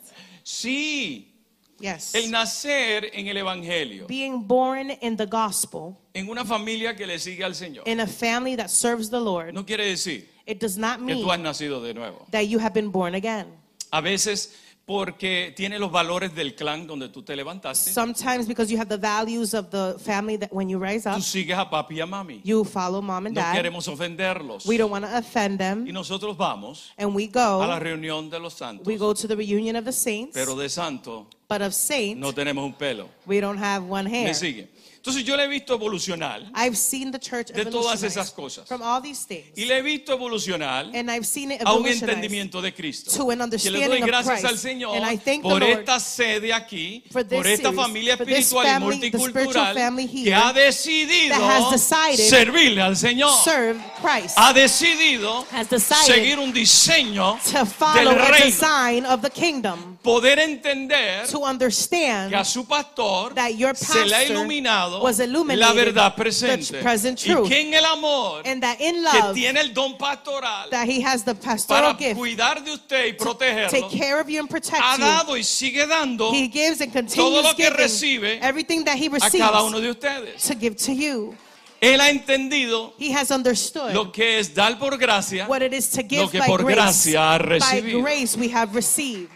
[SPEAKER 1] Sí,
[SPEAKER 2] Yes.
[SPEAKER 1] el nacer en el Evangelio,
[SPEAKER 2] Being born in the gospel,
[SPEAKER 1] en una familia que le sigue al Señor,
[SPEAKER 2] in a family that serves the Lord,
[SPEAKER 1] no quiere decir
[SPEAKER 2] it does not
[SPEAKER 1] que
[SPEAKER 2] mean
[SPEAKER 1] tú has nacido de nuevo.
[SPEAKER 2] that you have been born again.
[SPEAKER 1] A veces porque tiene los valores del clan donde tú te levantaste,
[SPEAKER 2] Sometimes because you have the values of the family that when you rise up,
[SPEAKER 1] tú sigues a papi y a mami.
[SPEAKER 2] you follow mom and
[SPEAKER 1] No
[SPEAKER 2] dad.
[SPEAKER 1] queremos ofenderlos.
[SPEAKER 2] We don't want to offend
[SPEAKER 1] Y
[SPEAKER 2] them.
[SPEAKER 1] nosotros vamos
[SPEAKER 2] And we
[SPEAKER 1] a la
[SPEAKER 2] go,
[SPEAKER 1] reunión de los santos,
[SPEAKER 2] we go to the reunion of the saints,
[SPEAKER 1] pero de santo
[SPEAKER 2] but of saints,
[SPEAKER 1] no tenemos un pelo.
[SPEAKER 2] we don't have one hair.
[SPEAKER 1] ¿Me sigue? Entonces yo le he visto evolucionar
[SPEAKER 2] I've seen the church
[SPEAKER 1] de todas
[SPEAKER 2] evolutionize
[SPEAKER 1] esas cosas.
[SPEAKER 2] from all these things.
[SPEAKER 1] Y le he visto evolucionar
[SPEAKER 2] And I've seen it
[SPEAKER 1] a un
[SPEAKER 2] evolutionize
[SPEAKER 1] entendimiento de Cristo.
[SPEAKER 2] to an
[SPEAKER 1] Que le
[SPEAKER 2] understanding
[SPEAKER 1] doy
[SPEAKER 2] of
[SPEAKER 1] gracias al
[SPEAKER 2] Christ.
[SPEAKER 1] Señor
[SPEAKER 2] And I thank the
[SPEAKER 1] por
[SPEAKER 2] Lord
[SPEAKER 1] esta sede aquí,
[SPEAKER 2] for this
[SPEAKER 1] por esta
[SPEAKER 2] series,
[SPEAKER 1] familia
[SPEAKER 2] for this
[SPEAKER 1] espiritual y
[SPEAKER 2] family, the spiritual
[SPEAKER 1] multicultural
[SPEAKER 2] family here
[SPEAKER 1] que ha decidido
[SPEAKER 2] that has decided
[SPEAKER 1] servirle al Señor.
[SPEAKER 2] serve Christ,
[SPEAKER 1] Ha decidido
[SPEAKER 2] has decided
[SPEAKER 1] seguir un diseño
[SPEAKER 2] to follow
[SPEAKER 1] del
[SPEAKER 2] a
[SPEAKER 1] reino.
[SPEAKER 2] design of the kingdom,
[SPEAKER 1] Poder entender
[SPEAKER 2] to
[SPEAKER 1] que a
[SPEAKER 2] understand
[SPEAKER 1] su pastor
[SPEAKER 2] that your
[SPEAKER 1] se le ha
[SPEAKER 2] pastor
[SPEAKER 1] iluminado iluminado
[SPEAKER 2] was illuminated,
[SPEAKER 1] la verdad
[SPEAKER 2] the
[SPEAKER 1] presente.
[SPEAKER 2] present
[SPEAKER 1] Y
[SPEAKER 2] truth.
[SPEAKER 1] que en el amor
[SPEAKER 2] And that in
[SPEAKER 1] que
[SPEAKER 2] love,
[SPEAKER 1] tiene el don pastoral
[SPEAKER 2] that he has the pastoral
[SPEAKER 1] para
[SPEAKER 2] gift
[SPEAKER 1] cuidar de usted y
[SPEAKER 2] to
[SPEAKER 1] protegerlo,
[SPEAKER 2] take care of you and protect
[SPEAKER 1] ha
[SPEAKER 2] you.
[SPEAKER 1] dado y sigue dando
[SPEAKER 2] He gives and
[SPEAKER 1] todo
[SPEAKER 2] continues
[SPEAKER 1] lo que
[SPEAKER 2] giving
[SPEAKER 1] recibe
[SPEAKER 2] everything that he
[SPEAKER 1] a
[SPEAKER 2] receives
[SPEAKER 1] cada uno de ustedes.
[SPEAKER 2] to give to you.
[SPEAKER 1] Él ha entendido
[SPEAKER 2] He has understood
[SPEAKER 1] lo que es dar por gracia,
[SPEAKER 2] what it is to give
[SPEAKER 1] lo que
[SPEAKER 2] by
[SPEAKER 1] por
[SPEAKER 2] grace.
[SPEAKER 1] gracia ha
[SPEAKER 2] By
[SPEAKER 1] recibido.
[SPEAKER 2] grace we have received.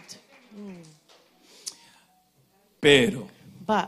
[SPEAKER 1] Pero
[SPEAKER 2] But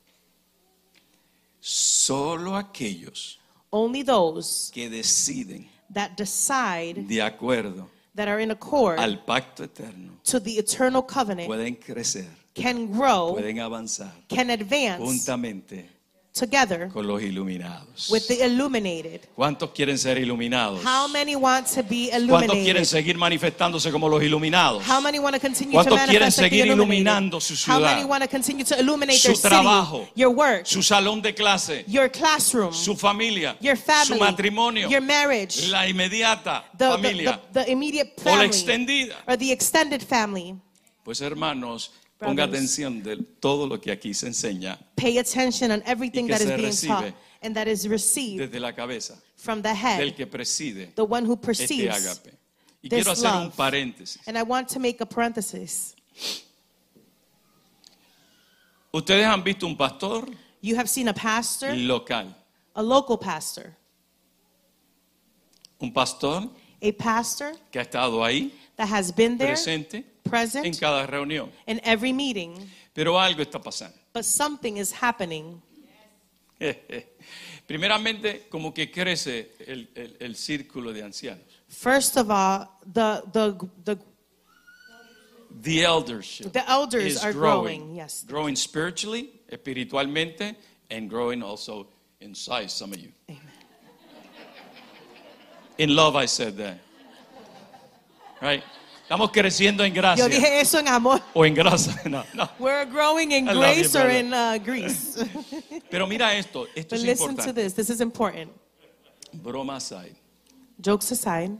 [SPEAKER 1] solo aquellos
[SPEAKER 2] only those
[SPEAKER 1] que deciden
[SPEAKER 2] that decide,
[SPEAKER 1] de acuerdo
[SPEAKER 2] that are in accord
[SPEAKER 1] al pacto eterno
[SPEAKER 2] to the eternal covenant,
[SPEAKER 1] pueden crecer,
[SPEAKER 2] can grow,
[SPEAKER 1] pueden avanzar
[SPEAKER 2] can advance
[SPEAKER 1] juntamente
[SPEAKER 2] together
[SPEAKER 1] con los iluminados.
[SPEAKER 2] with the illuminated.
[SPEAKER 1] ¿Cuántos quieren ser iluminados?
[SPEAKER 2] How many want to be
[SPEAKER 1] ¿Cuántos quieren
[SPEAKER 2] illuminated?
[SPEAKER 1] seguir manifestándose como los iluminados?
[SPEAKER 2] How many want to continue to
[SPEAKER 1] ¿Cuántos quieren
[SPEAKER 2] manifest like the
[SPEAKER 1] seguir
[SPEAKER 2] illuminated?
[SPEAKER 1] iluminando su
[SPEAKER 2] How
[SPEAKER 1] ciudad,
[SPEAKER 2] many want to continue to illuminate
[SPEAKER 1] su
[SPEAKER 2] their city,
[SPEAKER 1] trabajo,
[SPEAKER 2] your work,
[SPEAKER 1] su salón de clase,
[SPEAKER 2] your classroom,
[SPEAKER 1] su familia,
[SPEAKER 2] your family,
[SPEAKER 1] su matrimonio,
[SPEAKER 2] your marriage,
[SPEAKER 1] la inmediata
[SPEAKER 2] the
[SPEAKER 1] familia
[SPEAKER 2] immediate
[SPEAKER 1] o la
[SPEAKER 2] family,
[SPEAKER 1] extendida?
[SPEAKER 2] or the extended family?
[SPEAKER 1] Pues hermanos, ponga
[SPEAKER 2] Brothers.
[SPEAKER 1] atención de todo lo que aquí se enseña
[SPEAKER 2] Pay attention on everything
[SPEAKER 1] Y que
[SPEAKER 2] that is
[SPEAKER 1] se
[SPEAKER 2] being
[SPEAKER 1] recibe
[SPEAKER 2] taught and that is received
[SPEAKER 1] desde la cabeza
[SPEAKER 2] from the
[SPEAKER 1] del
[SPEAKER 2] head,
[SPEAKER 1] que preside
[SPEAKER 2] the one who
[SPEAKER 1] este
[SPEAKER 2] perceives.
[SPEAKER 1] ágape. Y
[SPEAKER 2] this
[SPEAKER 1] quiero hacer un
[SPEAKER 2] love.
[SPEAKER 1] paréntesis.
[SPEAKER 2] And I want to make a parenthesis.
[SPEAKER 1] Ustedes han visto un pastor
[SPEAKER 2] You have seen a pastor,
[SPEAKER 1] local,
[SPEAKER 2] a local pastor,
[SPEAKER 1] un pastor
[SPEAKER 2] a pastor
[SPEAKER 1] que ha estado ahí
[SPEAKER 2] that has been there,
[SPEAKER 1] presente en
[SPEAKER 2] present
[SPEAKER 1] cada reunión.
[SPEAKER 2] in every meeting,
[SPEAKER 1] Pero algo está pasando.
[SPEAKER 2] but something is happening.
[SPEAKER 1] Primeramente, como que crece el círculo de ancianos.
[SPEAKER 2] First of all, the
[SPEAKER 1] The eldership
[SPEAKER 2] elders
[SPEAKER 1] is
[SPEAKER 2] are growing, yes.
[SPEAKER 1] growing spiritually, espiritualmente, and growing also in size, some of you.
[SPEAKER 2] Amen.
[SPEAKER 1] In love, I said that. Right? Estamos creciendo en
[SPEAKER 2] Yo
[SPEAKER 1] gracia.
[SPEAKER 2] dije eso en amor.
[SPEAKER 1] O en grasa. No, no.
[SPEAKER 2] We're growing in
[SPEAKER 1] I love
[SPEAKER 2] grace
[SPEAKER 1] you,
[SPEAKER 2] or
[SPEAKER 1] brother.
[SPEAKER 2] in grease.
[SPEAKER 1] Pero mira esto
[SPEAKER 2] But
[SPEAKER 1] es
[SPEAKER 2] listen to
[SPEAKER 1] importante.
[SPEAKER 2] this. This is important.
[SPEAKER 1] Broma aside.
[SPEAKER 2] Jokes aside,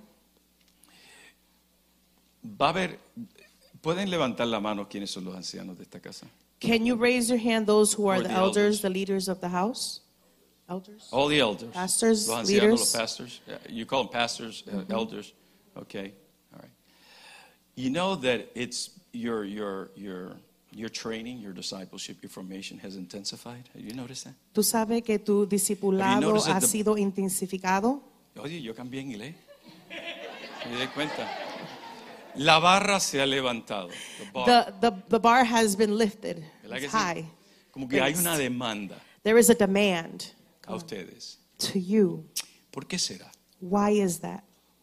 [SPEAKER 1] Va a haber, pueden levantar la mano quienes son los ancianos de esta casa.
[SPEAKER 2] can you raise your hand, those who are
[SPEAKER 1] Or
[SPEAKER 2] the
[SPEAKER 1] the
[SPEAKER 2] elders,
[SPEAKER 1] elders.
[SPEAKER 2] the leaders of the house? Elders?
[SPEAKER 1] All the elders.
[SPEAKER 2] Pastors,
[SPEAKER 1] Los ancianos,
[SPEAKER 2] leaders.
[SPEAKER 1] los pastors. You call them pastors, elders. Okay. All right. You know that it's your training, your discipleship, your formation has intensified. Have you noticed that?
[SPEAKER 2] ¿Tú sabes que tu discipulado
[SPEAKER 1] noticed that
[SPEAKER 2] ha
[SPEAKER 1] the-
[SPEAKER 2] sido intensificado?
[SPEAKER 1] Oye, yo cambié en inglés. Me di cuenta. La barra se ha levantado. The bar.
[SPEAKER 2] The bar has been lifted.
[SPEAKER 1] ¿Verdad que
[SPEAKER 2] It's
[SPEAKER 1] sí?
[SPEAKER 2] high.
[SPEAKER 1] Como que hay
[SPEAKER 2] raised.
[SPEAKER 1] una demanda
[SPEAKER 2] There is a demand
[SPEAKER 1] a ustedes.
[SPEAKER 2] to you.
[SPEAKER 1] ¿Por qué será?
[SPEAKER 2] Why is that?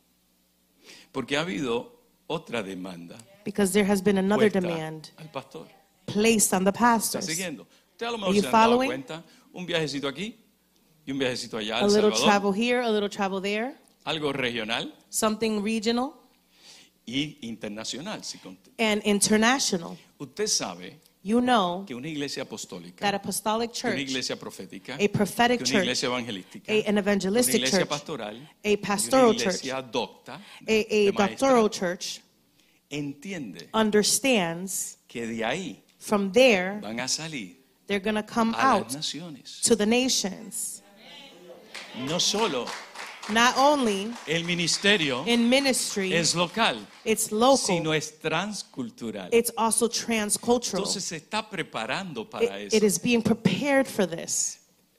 [SPEAKER 1] Porque ha habido otra demanda
[SPEAKER 2] Because there has been another
[SPEAKER 1] puesta
[SPEAKER 2] demand
[SPEAKER 1] al pastor.
[SPEAKER 2] placed on the
[SPEAKER 1] ¿Está
[SPEAKER 2] pastors.
[SPEAKER 1] siguiendo? Usted a lo
[SPEAKER 2] Are
[SPEAKER 1] mejor
[SPEAKER 2] you
[SPEAKER 1] se han dado
[SPEAKER 2] following?
[SPEAKER 1] cuenta. Un viajecito aquí y un viajecito allá
[SPEAKER 2] A
[SPEAKER 1] al
[SPEAKER 2] little
[SPEAKER 1] Salvador.
[SPEAKER 2] travel here, a little travel there,
[SPEAKER 1] Algo regional
[SPEAKER 2] something regional
[SPEAKER 1] y internacional.
[SPEAKER 2] and international.
[SPEAKER 1] Usted sabe
[SPEAKER 2] You know
[SPEAKER 1] que una iglesia apostólica,
[SPEAKER 2] that apostolic
[SPEAKER 1] que una
[SPEAKER 2] church,
[SPEAKER 1] iglesia profética,
[SPEAKER 2] a prophetic
[SPEAKER 1] que una
[SPEAKER 2] church,
[SPEAKER 1] iglesia evangelística,
[SPEAKER 2] an
[SPEAKER 1] una
[SPEAKER 2] evangelistic
[SPEAKER 1] iglesia
[SPEAKER 2] church,
[SPEAKER 1] pastoral,
[SPEAKER 2] a
[SPEAKER 1] y
[SPEAKER 2] pastoral
[SPEAKER 1] una iglesia
[SPEAKER 2] church,
[SPEAKER 1] docta,
[SPEAKER 2] a
[SPEAKER 1] de maestra,
[SPEAKER 2] doctoral church
[SPEAKER 1] entiende
[SPEAKER 2] understands
[SPEAKER 1] que de ahí
[SPEAKER 2] from there
[SPEAKER 1] van a salir
[SPEAKER 2] they're going to come
[SPEAKER 1] a
[SPEAKER 2] out
[SPEAKER 1] las naciones.
[SPEAKER 2] to the nations.
[SPEAKER 1] No solo
[SPEAKER 2] Not only
[SPEAKER 1] el ministerio
[SPEAKER 2] in ministry,
[SPEAKER 1] es local,
[SPEAKER 2] it's local,
[SPEAKER 1] sino es transcultural.
[SPEAKER 2] it's also transcultural.
[SPEAKER 1] Entonces se está preparando para
[SPEAKER 2] It
[SPEAKER 1] eso.
[SPEAKER 2] is being prepared for this.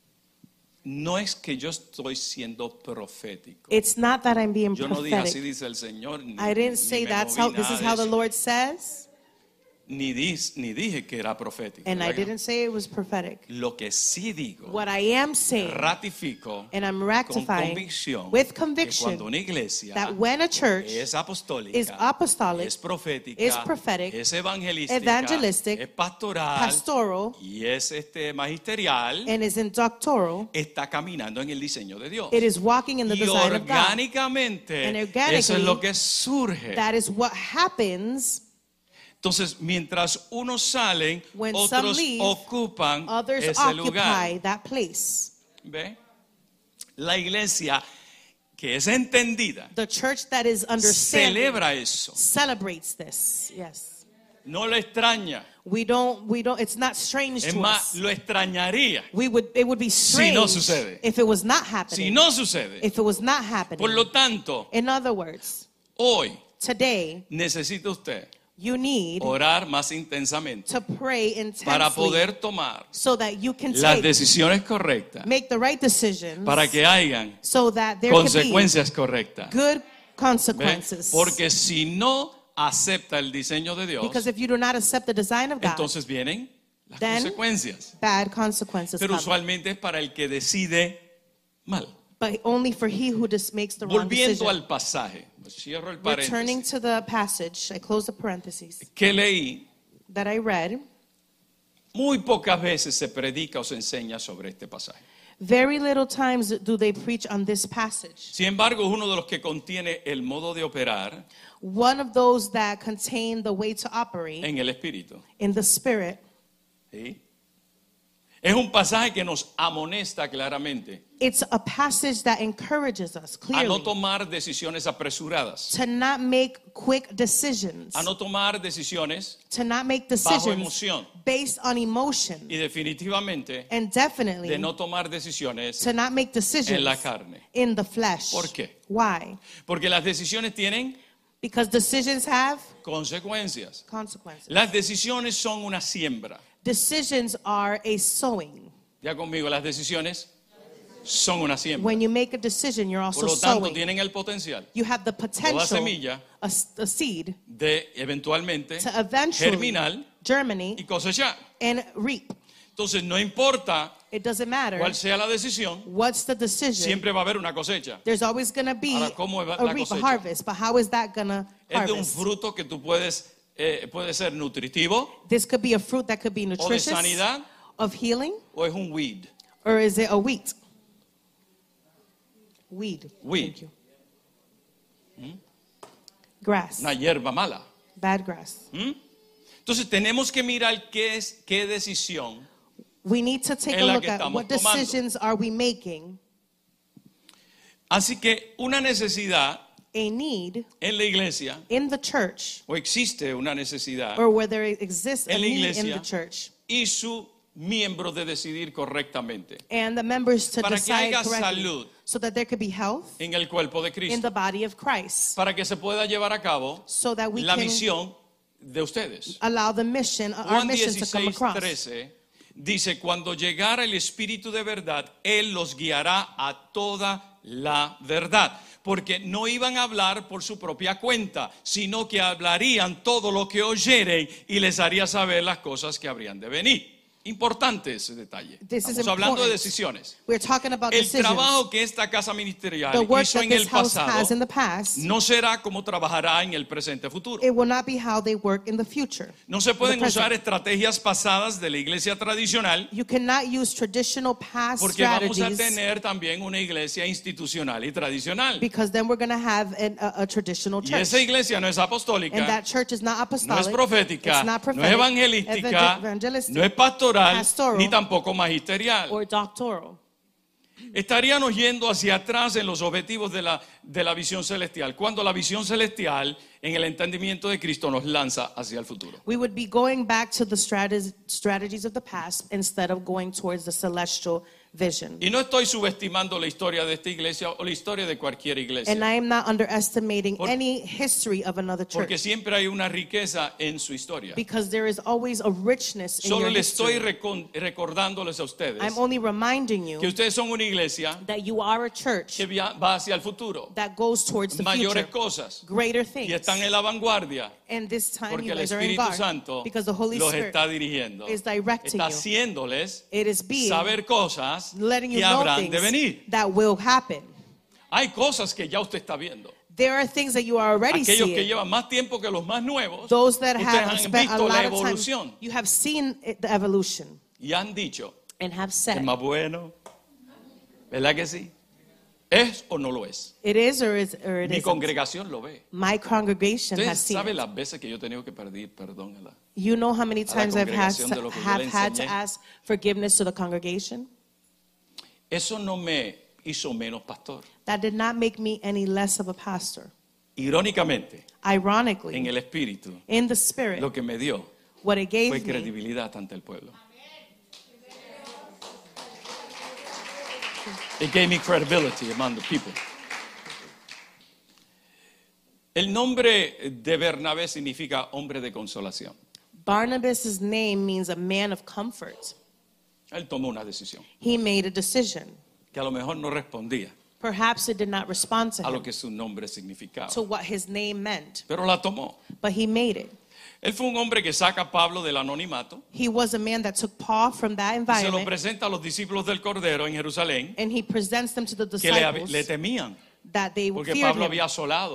[SPEAKER 1] No es que yo estoy siendo profético.
[SPEAKER 2] It's not that I'm being
[SPEAKER 1] Yo no dije así
[SPEAKER 2] prophetic.
[SPEAKER 1] dice el Señor. Ni,
[SPEAKER 2] I didn't
[SPEAKER 1] ni
[SPEAKER 2] say
[SPEAKER 1] me
[SPEAKER 2] that's
[SPEAKER 1] moví
[SPEAKER 2] how this
[SPEAKER 1] nada
[SPEAKER 2] is
[SPEAKER 1] de
[SPEAKER 2] how the
[SPEAKER 1] eso.
[SPEAKER 2] Lord says,
[SPEAKER 1] Ni dije que era profético.
[SPEAKER 2] and I
[SPEAKER 1] ¿verdad que no?
[SPEAKER 2] didn't say it was prophetic.
[SPEAKER 1] Lo que sí digo,
[SPEAKER 2] What I am saying,
[SPEAKER 1] ratifico
[SPEAKER 2] and I'm
[SPEAKER 1] con
[SPEAKER 2] rectifying
[SPEAKER 1] convicción
[SPEAKER 2] with
[SPEAKER 1] que
[SPEAKER 2] conviction,
[SPEAKER 1] cuando una iglesia
[SPEAKER 2] that when a church
[SPEAKER 1] es apostólica,
[SPEAKER 2] is apostolic,
[SPEAKER 1] es profética,
[SPEAKER 2] is prophetic,
[SPEAKER 1] es evangelística,
[SPEAKER 2] evangelistic,
[SPEAKER 1] es pastoral
[SPEAKER 2] pastoral,
[SPEAKER 1] y es magisterial,
[SPEAKER 2] and is in doctoral,
[SPEAKER 1] está caminando en el diseño de Dios.
[SPEAKER 2] it is walking in the
[SPEAKER 1] Y
[SPEAKER 2] design of God.
[SPEAKER 1] orgánicamente,
[SPEAKER 2] And organically,
[SPEAKER 1] eso es lo que surge.
[SPEAKER 2] That is what happens.
[SPEAKER 1] Entonces, mientras unos salen,
[SPEAKER 2] When some
[SPEAKER 1] otros
[SPEAKER 2] leave,
[SPEAKER 1] ocupan
[SPEAKER 2] Others
[SPEAKER 1] ese
[SPEAKER 2] occupy
[SPEAKER 1] lugar.
[SPEAKER 2] that place.
[SPEAKER 1] ¿Ve? La iglesia que es entendida
[SPEAKER 2] The church that is understanding
[SPEAKER 1] celebra eso.
[SPEAKER 2] celebrates this. Yes.
[SPEAKER 1] No lo extraña.
[SPEAKER 2] We don't, it's not strange
[SPEAKER 1] Es
[SPEAKER 2] to
[SPEAKER 1] más,
[SPEAKER 2] us.
[SPEAKER 1] lo extrañaría
[SPEAKER 2] It would be strange
[SPEAKER 1] no sucede.
[SPEAKER 2] if it was not happening.
[SPEAKER 1] si no sucede.
[SPEAKER 2] If it was not happening.
[SPEAKER 1] Por lo tanto,
[SPEAKER 2] In other words,
[SPEAKER 1] hoy
[SPEAKER 2] today,
[SPEAKER 1] necesita usted
[SPEAKER 2] you need
[SPEAKER 1] orar más intensamente
[SPEAKER 2] to pray intensely
[SPEAKER 1] para poder tomar
[SPEAKER 2] so that you can
[SPEAKER 1] las
[SPEAKER 2] take,
[SPEAKER 1] decisiones correctas,
[SPEAKER 2] make the right decisions
[SPEAKER 1] para que hayan
[SPEAKER 2] so that there can be
[SPEAKER 1] consecuencias correctas.
[SPEAKER 2] good
[SPEAKER 1] ¿Ve?
[SPEAKER 2] consequences.
[SPEAKER 1] Porque si no acepta el diseño de Dios,
[SPEAKER 2] Because if you do not accept the design of God,
[SPEAKER 1] entonces vienen las
[SPEAKER 2] Then-
[SPEAKER 1] consecuencias.
[SPEAKER 2] bad consequences
[SPEAKER 1] Pero
[SPEAKER 2] come.
[SPEAKER 1] usualmente es para el que decide mal.
[SPEAKER 2] But only for he who just makes the wrong
[SPEAKER 1] Volviendo
[SPEAKER 2] decision.
[SPEAKER 1] al pasaje, cierro el
[SPEAKER 2] Returning
[SPEAKER 1] paréntesis,
[SPEAKER 2] to the passage, I close the parentheses,
[SPEAKER 1] que leí,
[SPEAKER 2] that I read,
[SPEAKER 1] muy pocas veces se predica o se enseña sobre este pasaje.
[SPEAKER 2] very little times do they preach on this passage.
[SPEAKER 1] Sin embargo, es uno de los que contiene el modo de operar
[SPEAKER 2] One of those that contain the way to operate
[SPEAKER 1] en el Espíritu.
[SPEAKER 2] in the Spirit.
[SPEAKER 1] ¿Sí? Es un pasaje que nos amonesta claramente
[SPEAKER 2] It's a passage that encourages us
[SPEAKER 1] a no
[SPEAKER 2] clearly
[SPEAKER 1] tomar decisiones apresuradas,
[SPEAKER 2] to not make quick decisions,
[SPEAKER 1] a no tomar decisiones
[SPEAKER 2] to not make
[SPEAKER 1] bajo
[SPEAKER 2] decisions
[SPEAKER 1] emoción
[SPEAKER 2] based on emotion,
[SPEAKER 1] y definitivamente
[SPEAKER 2] and definitely
[SPEAKER 1] de no tomar decisiones
[SPEAKER 2] to not make decisions
[SPEAKER 1] en la carne.
[SPEAKER 2] in the flesh.
[SPEAKER 1] ¿Por qué?
[SPEAKER 2] Why?
[SPEAKER 1] Porque las decisiones tienen
[SPEAKER 2] Because decisions have
[SPEAKER 1] consecuencias.
[SPEAKER 2] consequences.
[SPEAKER 1] Las decisiones son una siembra.
[SPEAKER 2] Decisions are a sowing.
[SPEAKER 1] Ya conmigo, las decisiones son una siembra.
[SPEAKER 2] When you make a decision, you're also
[SPEAKER 1] Por lo tanto,
[SPEAKER 2] sowing.
[SPEAKER 1] tienen el potencial
[SPEAKER 2] You have the potential,
[SPEAKER 1] semilla
[SPEAKER 2] a seed,
[SPEAKER 1] de eventualmente
[SPEAKER 2] to eventually
[SPEAKER 1] germinar y
[SPEAKER 2] germinate
[SPEAKER 1] cosechar.
[SPEAKER 2] and reap.
[SPEAKER 1] Entonces, no importa
[SPEAKER 2] It doesn't matter
[SPEAKER 1] cuál sea la decisión,
[SPEAKER 2] what's the decision.
[SPEAKER 1] siempre va a haber una cosecha.
[SPEAKER 2] There's always going to be
[SPEAKER 1] Ahora, ¿cómo es
[SPEAKER 2] a
[SPEAKER 1] la
[SPEAKER 2] reap, a
[SPEAKER 1] cosecha?
[SPEAKER 2] harvest. But how is that going to
[SPEAKER 1] Es de un
[SPEAKER 2] harvest?
[SPEAKER 1] fruto que tú puedes, puede ser nutritivo
[SPEAKER 2] This could be a fruit that could be
[SPEAKER 1] o de
[SPEAKER 2] nutritious,
[SPEAKER 1] sanidad
[SPEAKER 2] of healing,
[SPEAKER 1] o es un weed.
[SPEAKER 2] or is it a wheat? Weed.
[SPEAKER 1] Weed.
[SPEAKER 2] Thank you. Grass.
[SPEAKER 1] Una hierba mala.
[SPEAKER 2] Bad grass.
[SPEAKER 1] ¿Mm? Entonces tenemos que mirar qué decisión.
[SPEAKER 2] We need to take
[SPEAKER 1] Es
[SPEAKER 2] a
[SPEAKER 1] la
[SPEAKER 2] look
[SPEAKER 1] que
[SPEAKER 2] at
[SPEAKER 1] estamos
[SPEAKER 2] what
[SPEAKER 1] tomando.
[SPEAKER 2] decisions are we making.
[SPEAKER 1] Así que una necesidad
[SPEAKER 2] A need
[SPEAKER 1] en la iglesia,
[SPEAKER 2] in the church,
[SPEAKER 1] o existe una necesidad
[SPEAKER 2] or where there exists a
[SPEAKER 1] en la
[SPEAKER 2] need in
[SPEAKER 1] iglesia
[SPEAKER 2] the church,
[SPEAKER 1] y su miembro de decidir correctamente
[SPEAKER 2] and the members to
[SPEAKER 1] para que
[SPEAKER 2] decide
[SPEAKER 1] haya
[SPEAKER 2] correctly,
[SPEAKER 1] salud
[SPEAKER 2] so that there could be health
[SPEAKER 1] en el cuerpo de
[SPEAKER 2] in
[SPEAKER 1] Cristo,
[SPEAKER 2] the body of Christ,
[SPEAKER 1] para que se pueda llevar a cabo
[SPEAKER 2] so that we
[SPEAKER 1] la
[SPEAKER 2] can
[SPEAKER 1] misión de ustedes.
[SPEAKER 2] allow the mission, our
[SPEAKER 1] Juan
[SPEAKER 2] mission to come across.
[SPEAKER 1] 16:13 dice, cuando llegara el Espíritu de verdad, Él los guiará a toda la verdad. Porque no iban a hablar por su propia cuenta, sino que hablarían todo lo que oyeren y les haría saber las cosas que habrían de venir. Importante ese detalle.
[SPEAKER 2] This is
[SPEAKER 1] Estamos hablando de
[SPEAKER 2] important.
[SPEAKER 1] decisiones.
[SPEAKER 2] We're talking about
[SPEAKER 1] El
[SPEAKER 2] decisions.
[SPEAKER 1] trabajo que esta casa ministerial
[SPEAKER 2] The work
[SPEAKER 1] hizo
[SPEAKER 2] that
[SPEAKER 1] en el
[SPEAKER 2] this house
[SPEAKER 1] pasado
[SPEAKER 2] has in the past,
[SPEAKER 1] no será como trabajará en el presente futuro.
[SPEAKER 2] it will not be how they work in the future.
[SPEAKER 1] No se pueden
[SPEAKER 2] the present.
[SPEAKER 1] usar estrategias pasadas de la iglesia tradicional
[SPEAKER 2] You cannot use traditional past
[SPEAKER 1] porque vamos a
[SPEAKER 2] strategies,
[SPEAKER 1] tener también una iglesia institucional y tradicional.
[SPEAKER 2] because then we're going to have a traditional
[SPEAKER 1] Y
[SPEAKER 2] church.
[SPEAKER 1] esa iglesia no es
[SPEAKER 2] And
[SPEAKER 1] apostólica,
[SPEAKER 2] that church is not
[SPEAKER 1] no
[SPEAKER 2] apostolic,
[SPEAKER 1] es profética,
[SPEAKER 2] it's not
[SPEAKER 1] no
[SPEAKER 2] prophetic,
[SPEAKER 1] es evangelística,
[SPEAKER 2] evangelistic,
[SPEAKER 1] no es pastoral,
[SPEAKER 2] pastoral,
[SPEAKER 1] ni tampoco magisterial.
[SPEAKER 2] or doctoral.
[SPEAKER 1] Estaríamos yendo hacia atrás en los objetivos de la visión celestial, cuando la visión celestial en el entendimiento de Cristo nos lanza hacia el futuro.
[SPEAKER 2] We would be going back to the strategies of the past instead of going towards the celestial vision.
[SPEAKER 1] Y no estoy subestimando la historia de esta iglesia o la historia de cualquier iglesia,
[SPEAKER 2] And I am not underestimating any history of another
[SPEAKER 1] porque
[SPEAKER 2] church,
[SPEAKER 1] siempre hay una riqueza en su historia.
[SPEAKER 2] because there is always a richness in
[SPEAKER 1] Solo
[SPEAKER 2] your
[SPEAKER 1] le estoy
[SPEAKER 2] history.
[SPEAKER 1] recordándoles a ustedes
[SPEAKER 2] I'm only reminding
[SPEAKER 1] que
[SPEAKER 2] you
[SPEAKER 1] ustedes son una iglesia
[SPEAKER 2] that you are a church
[SPEAKER 1] que va hacia el futuro,
[SPEAKER 2] that goes towards the
[SPEAKER 1] mayores
[SPEAKER 2] future,
[SPEAKER 1] cosas,
[SPEAKER 2] greater
[SPEAKER 1] y
[SPEAKER 2] things.
[SPEAKER 1] están en la vanguardia,
[SPEAKER 2] And this time
[SPEAKER 1] porque
[SPEAKER 2] you
[SPEAKER 1] el
[SPEAKER 2] guys are in
[SPEAKER 1] Espíritu
[SPEAKER 2] guard,
[SPEAKER 1] Santo
[SPEAKER 2] because the Holy
[SPEAKER 1] los
[SPEAKER 2] Spirit
[SPEAKER 1] está dirigiendo,
[SPEAKER 2] is directing
[SPEAKER 1] está
[SPEAKER 2] you.
[SPEAKER 1] haciéndoles
[SPEAKER 2] It is being,
[SPEAKER 1] saber cosas
[SPEAKER 2] letting you
[SPEAKER 1] que
[SPEAKER 2] know
[SPEAKER 1] habrán de
[SPEAKER 2] things
[SPEAKER 1] venir.
[SPEAKER 2] that will happen.
[SPEAKER 1] Hay cosas que ya usted está viendo.
[SPEAKER 2] There are things that you are already
[SPEAKER 1] Aquellos que
[SPEAKER 2] seeing.
[SPEAKER 1] llevan más tiempo que los más nuevos,
[SPEAKER 2] Those that
[SPEAKER 1] ustedes
[SPEAKER 2] have
[SPEAKER 1] han
[SPEAKER 2] spent a
[SPEAKER 1] visto la
[SPEAKER 2] lot of time,
[SPEAKER 1] evolución
[SPEAKER 2] you have seen the evolution
[SPEAKER 1] y han dicho,
[SPEAKER 2] and have
[SPEAKER 1] es
[SPEAKER 2] said,
[SPEAKER 1] más bueno, ¿verdad que sí? ¿Es o no lo es?
[SPEAKER 2] it is or it
[SPEAKER 1] Mi
[SPEAKER 2] isn't.
[SPEAKER 1] congregación lo ve.
[SPEAKER 2] My congregation
[SPEAKER 1] Ustedes
[SPEAKER 2] has seen
[SPEAKER 1] saben
[SPEAKER 2] it.
[SPEAKER 1] las veces que yo he tenido que pedir perdón a la...
[SPEAKER 2] You know how many times I've had
[SPEAKER 1] congregación de lo que yo
[SPEAKER 2] have
[SPEAKER 1] le
[SPEAKER 2] had to
[SPEAKER 1] enseñé.
[SPEAKER 2] ask forgiveness to the congregation?
[SPEAKER 1] Eso no me hizo menos pastor.
[SPEAKER 2] That did not make me any less of a pastor.
[SPEAKER 1] Irónicamente, en
[SPEAKER 2] Ironically,
[SPEAKER 1] el espíritu,
[SPEAKER 2] in the spirit,
[SPEAKER 1] lo que me dio
[SPEAKER 2] what it
[SPEAKER 1] fue
[SPEAKER 2] gave me
[SPEAKER 1] credibilidad ante el pueblo. It gave me credibility among the people. El nombre de Bernabé significa hombre de consolación.
[SPEAKER 2] Barnabas' name means a man of comfort.
[SPEAKER 1] Él tomó una decisión
[SPEAKER 2] He made a decision.
[SPEAKER 1] que a lo mejor no respondía
[SPEAKER 2] Perhaps it did not respond to
[SPEAKER 1] a lo
[SPEAKER 2] him,
[SPEAKER 1] que su nombre significaba,
[SPEAKER 2] to what his name meant,
[SPEAKER 1] pero la tomó.
[SPEAKER 2] but he made it.
[SPEAKER 1] Él fue un hombre que saca a Pablo del anonimato
[SPEAKER 2] He was a man that took Paul from that
[SPEAKER 1] y se lo
[SPEAKER 2] environment
[SPEAKER 1] presenta a los discípulos del Cordero en Jerusalén
[SPEAKER 2] and he presents them to the
[SPEAKER 1] que
[SPEAKER 2] disciples
[SPEAKER 1] le temían
[SPEAKER 2] that they
[SPEAKER 1] porque
[SPEAKER 2] feared
[SPEAKER 1] Pablo
[SPEAKER 2] him
[SPEAKER 1] había asolado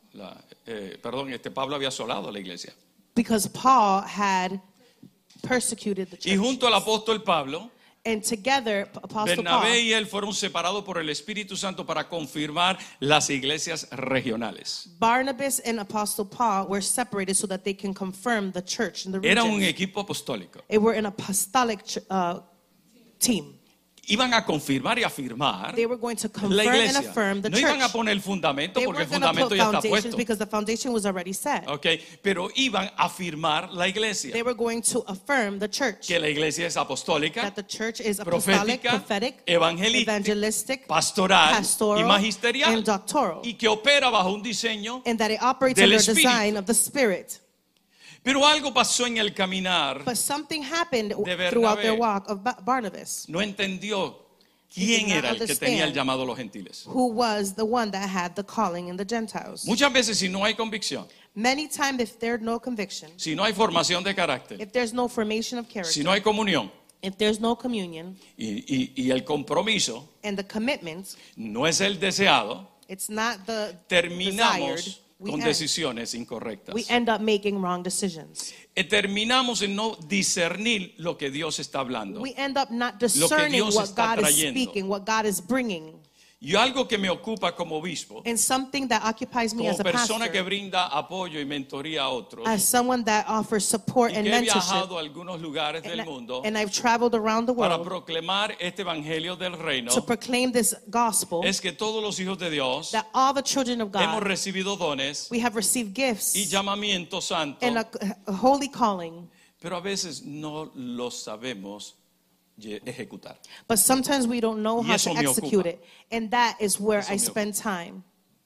[SPEAKER 1] Pablo había asolado la iglesia.
[SPEAKER 2] because Paul had persecuted the
[SPEAKER 1] Y
[SPEAKER 2] church.
[SPEAKER 1] junto al apóstol Pablo,
[SPEAKER 2] And together, Apostle
[SPEAKER 1] Bernabé
[SPEAKER 2] Paul
[SPEAKER 1] y él fueron separados por el Espíritu Santo para confirmar las iglesias regionales.
[SPEAKER 2] Barnabas and Apostle Paul were separated so that they can confirm the church in the
[SPEAKER 1] Era un
[SPEAKER 2] region.
[SPEAKER 1] equipo apostólico.
[SPEAKER 2] They were an apostolic team.
[SPEAKER 1] Iban a confirmar y afirmar
[SPEAKER 2] They were going to
[SPEAKER 1] la
[SPEAKER 2] confirm and
[SPEAKER 1] iglesia.
[SPEAKER 2] affirm the
[SPEAKER 1] No iban a
[SPEAKER 2] church.
[SPEAKER 1] poner el fundamento
[SPEAKER 2] They
[SPEAKER 1] porque el
[SPEAKER 2] weren't going to
[SPEAKER 1] fundamento
[SPEAKER 2] put
[SPEAKER 1] ya está
[SPEAKER 2] foundations
[SPEAKER 1] puesto.
[SPEAKER 2] because the foundation was already set.
[SPEAKER 1] Okay, pero iban a afirmar la iglesia.
[SPEAKER 2] They were going to affirm the church.
[SPEAKER 1] Que la iglesia es apostólica,
[SPEAKER 2] That the church is apostolic,
[SPEAKER 1] profética,
[SPEAKER 2] prophetic,
[SPEAKER 1] evangelistic,
[SPEAKER 2] evangelistic,
[SPEAKER 1] pastoral y
[SPEAKER 2] pastoral,
[SPEAKER 1] magisterial,
[SPEAKER 2] and doctoral.
[SPEAKER 1] y que opera bajo un diseño.
[SPEAKER 2] And that it operates
[SPEAKER 1] Del
[SPEAKER 2] under the
[SPEAKER 1] Espíritu.
[SPEAKER 2] design of the Spirit.
[SPEAKER 1] Pero algo pasó en el caminar.
[SPEAKER 2] But something happened
[SPEAKER 1] Bernabé.
[SPEAKER 2] throughout their walk of Barnabas,
[SPEAKER 1] No entendió
[SPEAKER 2] He
[SPEAKER 1] quién
[SPEAKER 2] did not
[SPEAKER 1] era el que tenía el
[SPEAKER 2] understand
[SPEAKER 1] llamado a los gentiles.
[SPEAKER 2] who was the one that had the calling in the Gentiles.
[SPEAKER 1] Muchas veces si no hay convicción,
[SPEAKER 2] Many times, if there's no conviction,
[SPEAKER 1] si no hay formación de carácter,
[SPEAKER 2] if there's no formation of
[SPEAKER 1] si
[SPEAKER 2] character,
[SPEAKER 1] no hay comunión
[SPEAKER 2] if there's no communion,
[SPEAKER 1] y el compromiso
[SPEAKER 2] and the commitment,
[SPEAKER 1] no es el deseado,
[SPEAKER 2] it's not the desired,
[SPEAKER 1] terminamos con decisiones incorrectas.
[SPEAKER 2] we end up making wrong decisions.
[SPEAKER 1] Terminamos en no discernir lo que Dios está hablando.
[SPEAKER 2] We end up not discerning
[SPEAKER 1] Dios
[SPEAKER 2] what
[SPEAKER 1] está
[SPEAKER 2] God is
[SPEAKER 1] trayendo.
[SPEAKER 2] speaking, what God is bringing.
[SPEAKER 1] Y algo que me ocupa como obispo,
[SPEAKER 2] And something that occupies me
[SPEAKER 1] como
[SPEAKER 2] as a
[SPEAKER 1] persona que
[SPEAKER 2] pastor,
[SPEAKER 1] brinda apoyo y mentoría a otros,
[SPEAKER 2] as someone that offers support
[SPEAKER 1] y
[SPEAKER 2] and
[SPEAKER 1] que he
[SPEAKER 2] mentorship,
[SPEAKER 1] viajado a algunos lugares del mundo
[SPEAKER 2] and I've traveled around the
[SPEAKER 1] para
[SPEAKER 2] world
[SPEAKER 1] proclamar este evangelio del reino,
[SPEAKER 2] to proclaim this gospel,
[SPEAKER 1] es que todos los hijos de Dios
[SPEAKER 2] that all the children of
[SPEAKER 1] hemos
[SPEAKER 2] God,
[SPEAKER 1] recibido dones
[SPEAKER 2] we have received gifts
[SPEAKER 1] y llamamiento santo,
[SPEAKER 2] and a holy calling,
[SPEAKER 1] pero a veces no los sabemos ejecutar.
[SPEAKER 2] but sometimes we don't know
[SPEAKER 1] Y
[SPEAKER 2] how
[SPEAKER 1] eso
[SPEAKER 2] to
[SPEAKER 1] me
[SPEAKER 2] execute
[SPEAKER 1] ocupa.
[SPEAKER 2] it. And that is where
[SPEAKER 1] Eso
[SPEAKER 2] I
[SPEAKER 1] me
[SPEAKER 2] spend time.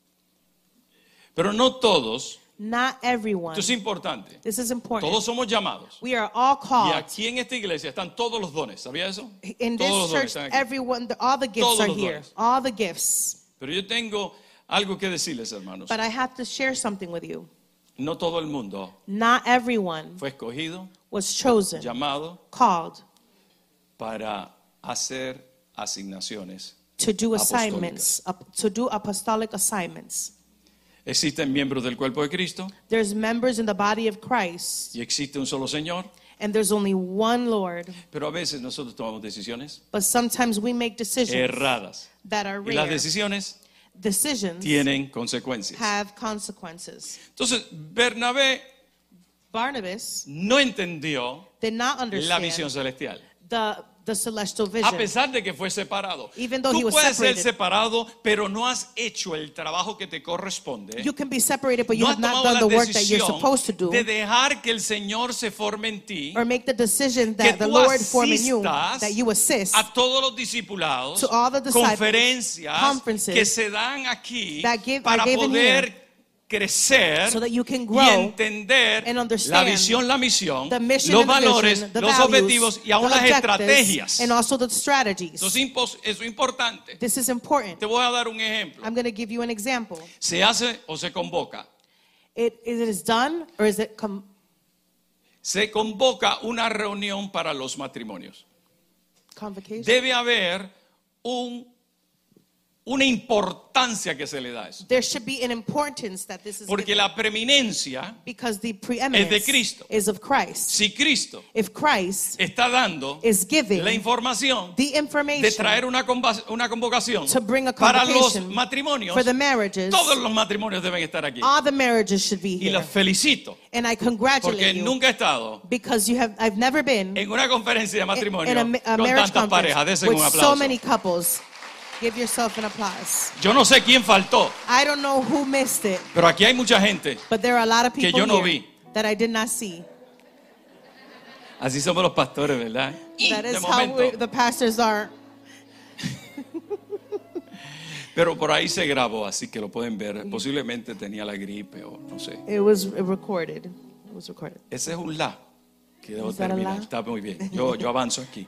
[SPEAKER 1] Pero no todos,
[SPEAKER 2] Not everyone.
[SPEAKER 1] esto es importante,
[SPEAKER 2] This is important.
[SPEAKER 1] todos somos llamados.
[SPEAKER 2] We are all
[SPEAKER 1] Y
[SPEAKER 2] called.
[SPEAKER 1] aquí en esta iglesia están todos los dones, ¿sabía eso?
[SPEAKER 2] In
[SPEAKER 1] Todos
[SPEAKER 2] this
[SPEAKER 1] los dones
[SPEAKER 2] church,
[SPEAKER 1] están aquí.
[SPEAKER 2] everyone, all the gifts
[SPEAKER 1] Todos
[SPEAKER 2] are
[SPEAKER 1] los
[SPEAKER 2] here.
[SPEAKER 1] dones.
[SPEAKER 2] All the gifts.
[SPEAKER 1] Pero yo tengo algo que decirles, hermanos.
[SPEAKER 2] But I have to share something with you.
[SPEAKER 1] No todo el mundo
[SPEAKER 2] Not everyone
[SPEAKER 1] fue escogido,
[SPEAKER 2] was chosen,
[SPEAKER 1] llamado
[SPEAKER 2] called
[SPEAKER 1] para hacer asignaciones.
[SPEAKER 2] to do
[SPEAKER 1] Apostólicas.
[SPEAKER 2] assignments, to do apostolic assignments.
[SPEAKER 1] Existen miembros del cuerpo de Cristo
[SPEAKER 2] There's members in the body of Christ,
[SPEAKER 1] y existe un solo Señor,
[SPEAKER 2] and there's only one Lord.
[SPEAKER 1] pero a veces nosotros tomamos decisiones
[SPEAKER 2] But sometimes we make decisions
[SPEAKER 1] erradas.
[SPEAKER 2] that are
[SPEAKER 1] Y las
[SPEAKER 2] rare.
[SPEAKER 1] decisiones
[SPEAKER 2] Decisions
[SPEAKER 1] tienen consecuencias.
[SPEAKER 2] have consequences.
[SPEAKER 1] Entonces, Bernabé
[SPEAKER 2] Barnabas
[SPEAKER 1] no entendió
[SPEAKER 2] did not
[SPEAKER 1] la
[SPEAKER 2] understand
[SPEAKER 1] visión celestial.
[SPEAKER 2] the celestial
[SPEAKER 1] A
[SPEAKER 2] vision.
[SPEAKER 1] pesar de que fue separado.
[SPEAKER 2] Even though he
[SPEAKER 1] Tú
[SPEAKER 2] was
[SPEAKER 1] puedes ser
[SPEAKER 2] separated.
[SPEAKER 1] separado, pero no has hecho el trabajo que te corresponde.
[SPEAKER 2] You can be separated, but you
[SPEAKER 1] No
[SPEAKER 2] have
[SPEAKER 1] has
[SPEAKER 2] not
[SPEAKER 1] tomado
[SPEAKER 2] done
[SPEAKER 1] la
[SPEAKER 2] the work that you're
[SPEAKER 1] decisión
[SPEAKER 2] supposed to do,
[SPEAKER 1] de dejar que el Señor se forme en ti,
[SPEAKER 2] or make the decision
[SPEAKER 1] que
[SPEAKER 2] that the
[SPEAKER 1] tú
[SPEAKER 2] Lord form in you,
[SPEAKER 1] asistas
[SPEAKER 2] that you assist
[SPEAKER 1] a todos los discipulados,
[SPEAKER 2] to all the disciples,
[SPEAKER 1] conferencias
[SPEAKER 2] conferences
[SPEAKER 1] que se dan aquí
[SPEAKER 2] that are
[SPEAKER 1] para
[SPEAKER 2] given
[SPEAKER 1] poder crecer
[SPEAKER 2] so that you can
[SPEAKER 1] y
[SPEAKER 2] grow
[SPEAKER 1] entender
[SPEAKER 2] and
[SPEAKER 1] la
[SPEAKER 2] understand
[SPEAKER 1] visión, la misión,
[SPEAKER 2] the mission
[SPEAKER 1] los
[SPEAKER 2] and the
[SPEAKER 1] valores,
[SPEAKER 2] vision, the
[SPEAKER 1] los
[SPEAKER 2] values,
[SPEAKER 1] objetivos y aún
[SPEAKER 2] the
[SPEAKER 1] las
[SPEAKER 2] objectives,
[SPEAKER 1] estrategias.
[SPEAKER 2] and also the strategies.
[SPEAKER 1] Eso es importante.
[SPEAKER 2] This is important.
[SPEAKER 1] Te voy a dar un ejemplo.
[SPEAKER 2] I'm going to give you an example.
[SPEAKER 1] Se hace o se convoca.
[SPEAKER 2] It is done, or is it
[SPEAKER 1] Se convoca una reunión para los matrimonios.
[SPEAKER 2] convocation?
[SPEAKER 1] Debe haber una importancia que se le da a eso.
[SPEAKER 2] There should be an importance that this is
[SPEAKER 1] Porque
[SPEAKER 2] given,
[SPEAKER 1] la preeminencia,
[SPEAKER 2] because the preeminence
[SPEAKER 1] es de Cristo.
[SPEAKER 2] is of Christ.
[SPEAKER 1] si Cristo
[SPEAKER 2] If Christ
[SPEAKER 1] está dando
[SPEAKER 2] is giving
[SPEAKER 1] la información
[SPEAKER 2] the
[SPEAKER 1] de
[SPEAKER 2] information
[SPEAKER 1] traer una convocación
[SPEAKER 2] to bring a
[SPEAKER 1] para los
[SPEAKER 2] convocation
[SPEAKER 1] matrimonios,
[SPEAKER 2] for the marriages,
[SPEAKER 1] todos los matrimonios deben estar aquí.
[SPEAKER 2] all the marriages should be
[SPEAKER 1] Y
[SPEAKER 2] here.
[SPEAKER 1] los felicito,
[SPEAKER 2] And I
[SPEAKER 1] porque
[SPEAKER 2] congratulate you
[SPEAKER 1] nunca he estado
[SPEAKER 2] because I've never been
[SPEAKER 1] en una conferencia de matrimonio
[SPEAKER 2] in a
[SPEAKER 1] con
[SPEAKER 2] marriage
[SPEAKER 1] tantas parejas.
[SPEAKER 2] conference
[SPEAKER 1] Desen
[SPEAKER 2] with
[SPEAKER 1] un
[SPEAKER 2] so
[SPEAKER 1] aplauso.
[SPEAKER 2] many couples. Give yourself an applause.
[SPEAKER 1] Yo no sé quién faltó,
[SPEAKER 2] I don't know who missed it,
[SPEAKER 1] pero aquí hay mucha gente.
[SPEAKER 2] but there are a lot of
[SPEAKER 1] Que
[SPEAKER 2] people
[SPEAKER 1] yo no
[SPEAKER 2] here
[SPEAKER 1] vi.
[SPEAKER 2] that I did not see.
[SPEAKER 1] Así somos los pastores, ¿verdad?
[SPEAKER 2] That
[SPEAKER 1] De
[SPEAKER 2] is how
[SPEAKER 1] momento.
[SPEAKER 2] the pastors are.
[SPEAKER 1] Pero por ahí se grabó, así que lo pueden ver. Posiblemente tenía la gripe o no sé.
[SPEAKER 2] It was recorded. It was recorded.
[SPEAKER 1] Ese es un la que debo
[SPEAKER 2] Is that a
[SPEAKER 1] terminar.
[SPEAKER 2] la?
[SPEAKER 1] Está muy bien. Yo avanzo aquí.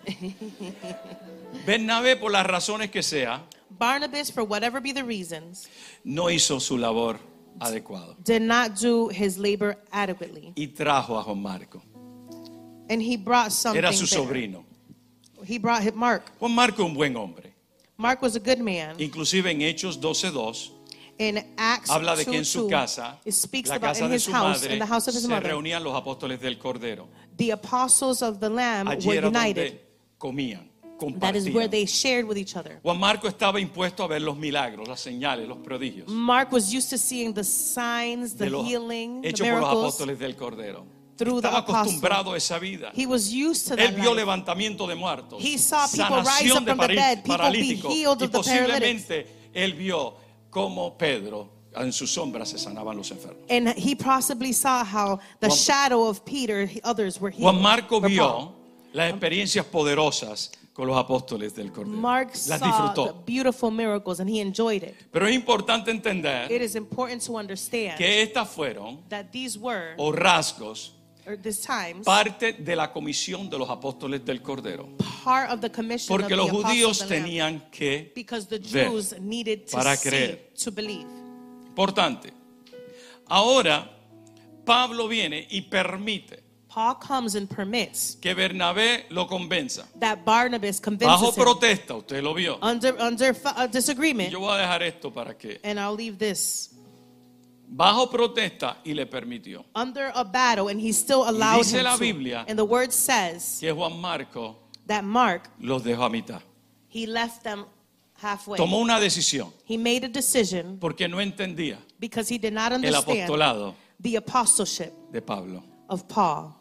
[SPEAKER 1] Bernabé, por las razones que sea,
[SPEAKER 2] Barnabas, for whatever be the reasons,
[SPEAKER 1] no hizo su labor adecuada
[SPEAKER 2] did not do his labor adequately.
[SPEAKER 1] y trajo a Juan Marco.
[SPEAKER 2] And he brought something
[SPEAKER 1] Era su
[SPEAKER 2] there.
[SPEAKER 1] sobrino.
[SPEAKER 2] He brought him Mark.
[SPEAKER 1] Juan Marco, un buen hombre.
[SPEAKER 2] Mark was a good man.
[SPEAKER 1] Inclusive en Hechos 12:2
[SPEAKER 2] In Acts
[SPEAKER 1] habla de que en su
[SPEAKER 2] 2:2,
[SPEAKER 1] casa,
[SPEAKER 2] it speaks
[SPEAKER 1] la
[SPEAKER 2] about
[SPEAKER 1] casa
[SPEAKER 2] in
[SPEAKER 1] de
[SPEAKER 2] his
[SPEAKER 1] su
[SPEAKER 2] house,
[SPEAKER 1] madre,
[SPEAKER 2] in the house of his
[SPEAKER 1] se
[SPEAKER 2] mother,
[SPEAKER 1] reunían los apóstoles del Cordero.
[SPEAKER 2] the apostles of the Lamb
[SPEAKER 1] Allí
[SPEAKER 2] were
[SPEAKER 1] era
[SPEAKER 2] united.
[SPEAKER 1] donde comían,
[SPEAKER 2] That is where
[SPEAKER 1] compartían.
[SPEAKER 2] they shared with each other.
[SPEAKER 1] Juan Marco estaba impuesto a ver los milagros, las señales, los prodigios
[SPEAKER 2] Mark was used to seeing the signs, the
[SPEAKER 1] de los
[SPEAKER 2] healing, the
[SPEAKER 1] hechos por los
[SPEAKER 2] miracles
[SPEAKER 1] apóstoles del Cordero.
[SPEAKER 2] through the
[SPEAKER 1] Estaba
[SPEAKER 2] apostles.
[SPEAKER 1] acostumbrado a esa vida.
[SPEAKER 2] He was used to
[SPEAKER 1] Él
[SPEAKER 2] that
[SPEAKER 1] vio
[SPEAKER 2] life.
[SPEAKER 1] levantamiento de muertos,
[SPEAKER 2] He saw people rise
[SPEAKER 1] sanación
[SPEAKER 2] up
[SPEAKER 1] de
[SPEAKER 2] from the dead, people be
[SPEAKER 1] paralíticos,
[SPEAKER 2] healed
[SPEAKER 1] y
[SPEAKER 2] of the paralytics.
[SPEAKER 1] posiblemente él vio cómo Pedro en su sombra se sanaban los enfermos.
[SPEAKER 2] And he possibly saw how the
[SPEAKER 1] Juan-
[SPEAKER 2] shadow of Peter, others were healed.
[SPEAKER 1] Juan Marco
[SPEAKER 2] or Paul.
[SPEAKER 1] vio las experiencias poderosas con los apóstoles del Cordero.
[SPEAKER 2] Mark
[SPEAKER 1] Las
[SPEAKER 2] saw the
[SPEAKER 1] disfrutó.
[SPEAKER 2] beautiful miracles and he enjoyed it.
[SPEAKER 1] Pero es importante entender
[SPEAKER 2] It is important to understand
[SPEAKER 1] que estas fueron
[SPEAKER 2] that these were,
[SPEAKER 1] o rasgos
[SPEAKER 2] or these times,
[SPEAKER 1] parte de la comisión de los apóstoles del Cordero.
[SPEAKER 2] part of the commission
[SPEAKER 1] Porque
[SPEAKER 2] of
[SPEAKER 1] los
[SPEAKER 2] the apostles
[SPEAKER 1] judíos
[SPEAKER 2] of the Lamb.
[SPEAKER 1] tenían que
[SPEAKER 2] Because the
[SPEAKER 1] ver
[SPEAKER 2] Jews needed to
[SPEAKER 1] para
[SPEAKER 2] see,
[SPEAKER 1] creer.
[SPEAKER 2] to believe.
[SPEAKER 1] Importante. Ahora, Pablo viene y permite
[SPEAKER 2] Paul comes and permits
[SPEAKER 1] que Bernabé lo convenza.
[SPEAKER 2] that Barnabas
[SPEAKER 1] Bajo
[SPEAKER 2] convinces him
[SPEAKER 1] protesta, usted lo vio.
[SPEAKER 2] under
[SPEAKER 1] Y
[SPEAKER 2] disagreement,
[SPEAKER 1] yo voy a dejar esto para que.
[SPEAKER 2] and I'll leave this.
[SPEAKER 1] Bajo protesta y le permitió
[SPEAKER 2] Under a battle, and he still allowed
[SPEAKER 1] dice
[SPEAKER 2] him
[SPEAKER 1] la
[SPEAKER 2] to.
[SPEAKER 1] Biblia
[SPEAKER 2] And the word says
[SPEAKER 1] que Juan Marco
[SPEAKER 2] that Mark,
[SPEAKER 1] los dejó a mitad.
[SPEAKER 2] he left them halfway.
[SPEAKER 1] Tomó una decisión
[SPEAKER 2] He made a decision
[SPEAKER 1] porque no entendía
[SPEAKER 2] because he did not
[SPEAKER 1] el
[SPEAKER 2] understand
[SPEAKER 1] apostolado
[SPEAKER 2] the apostleship
[SPEAKER 1] de Pablo.
[SPEAKER 2] of Paul.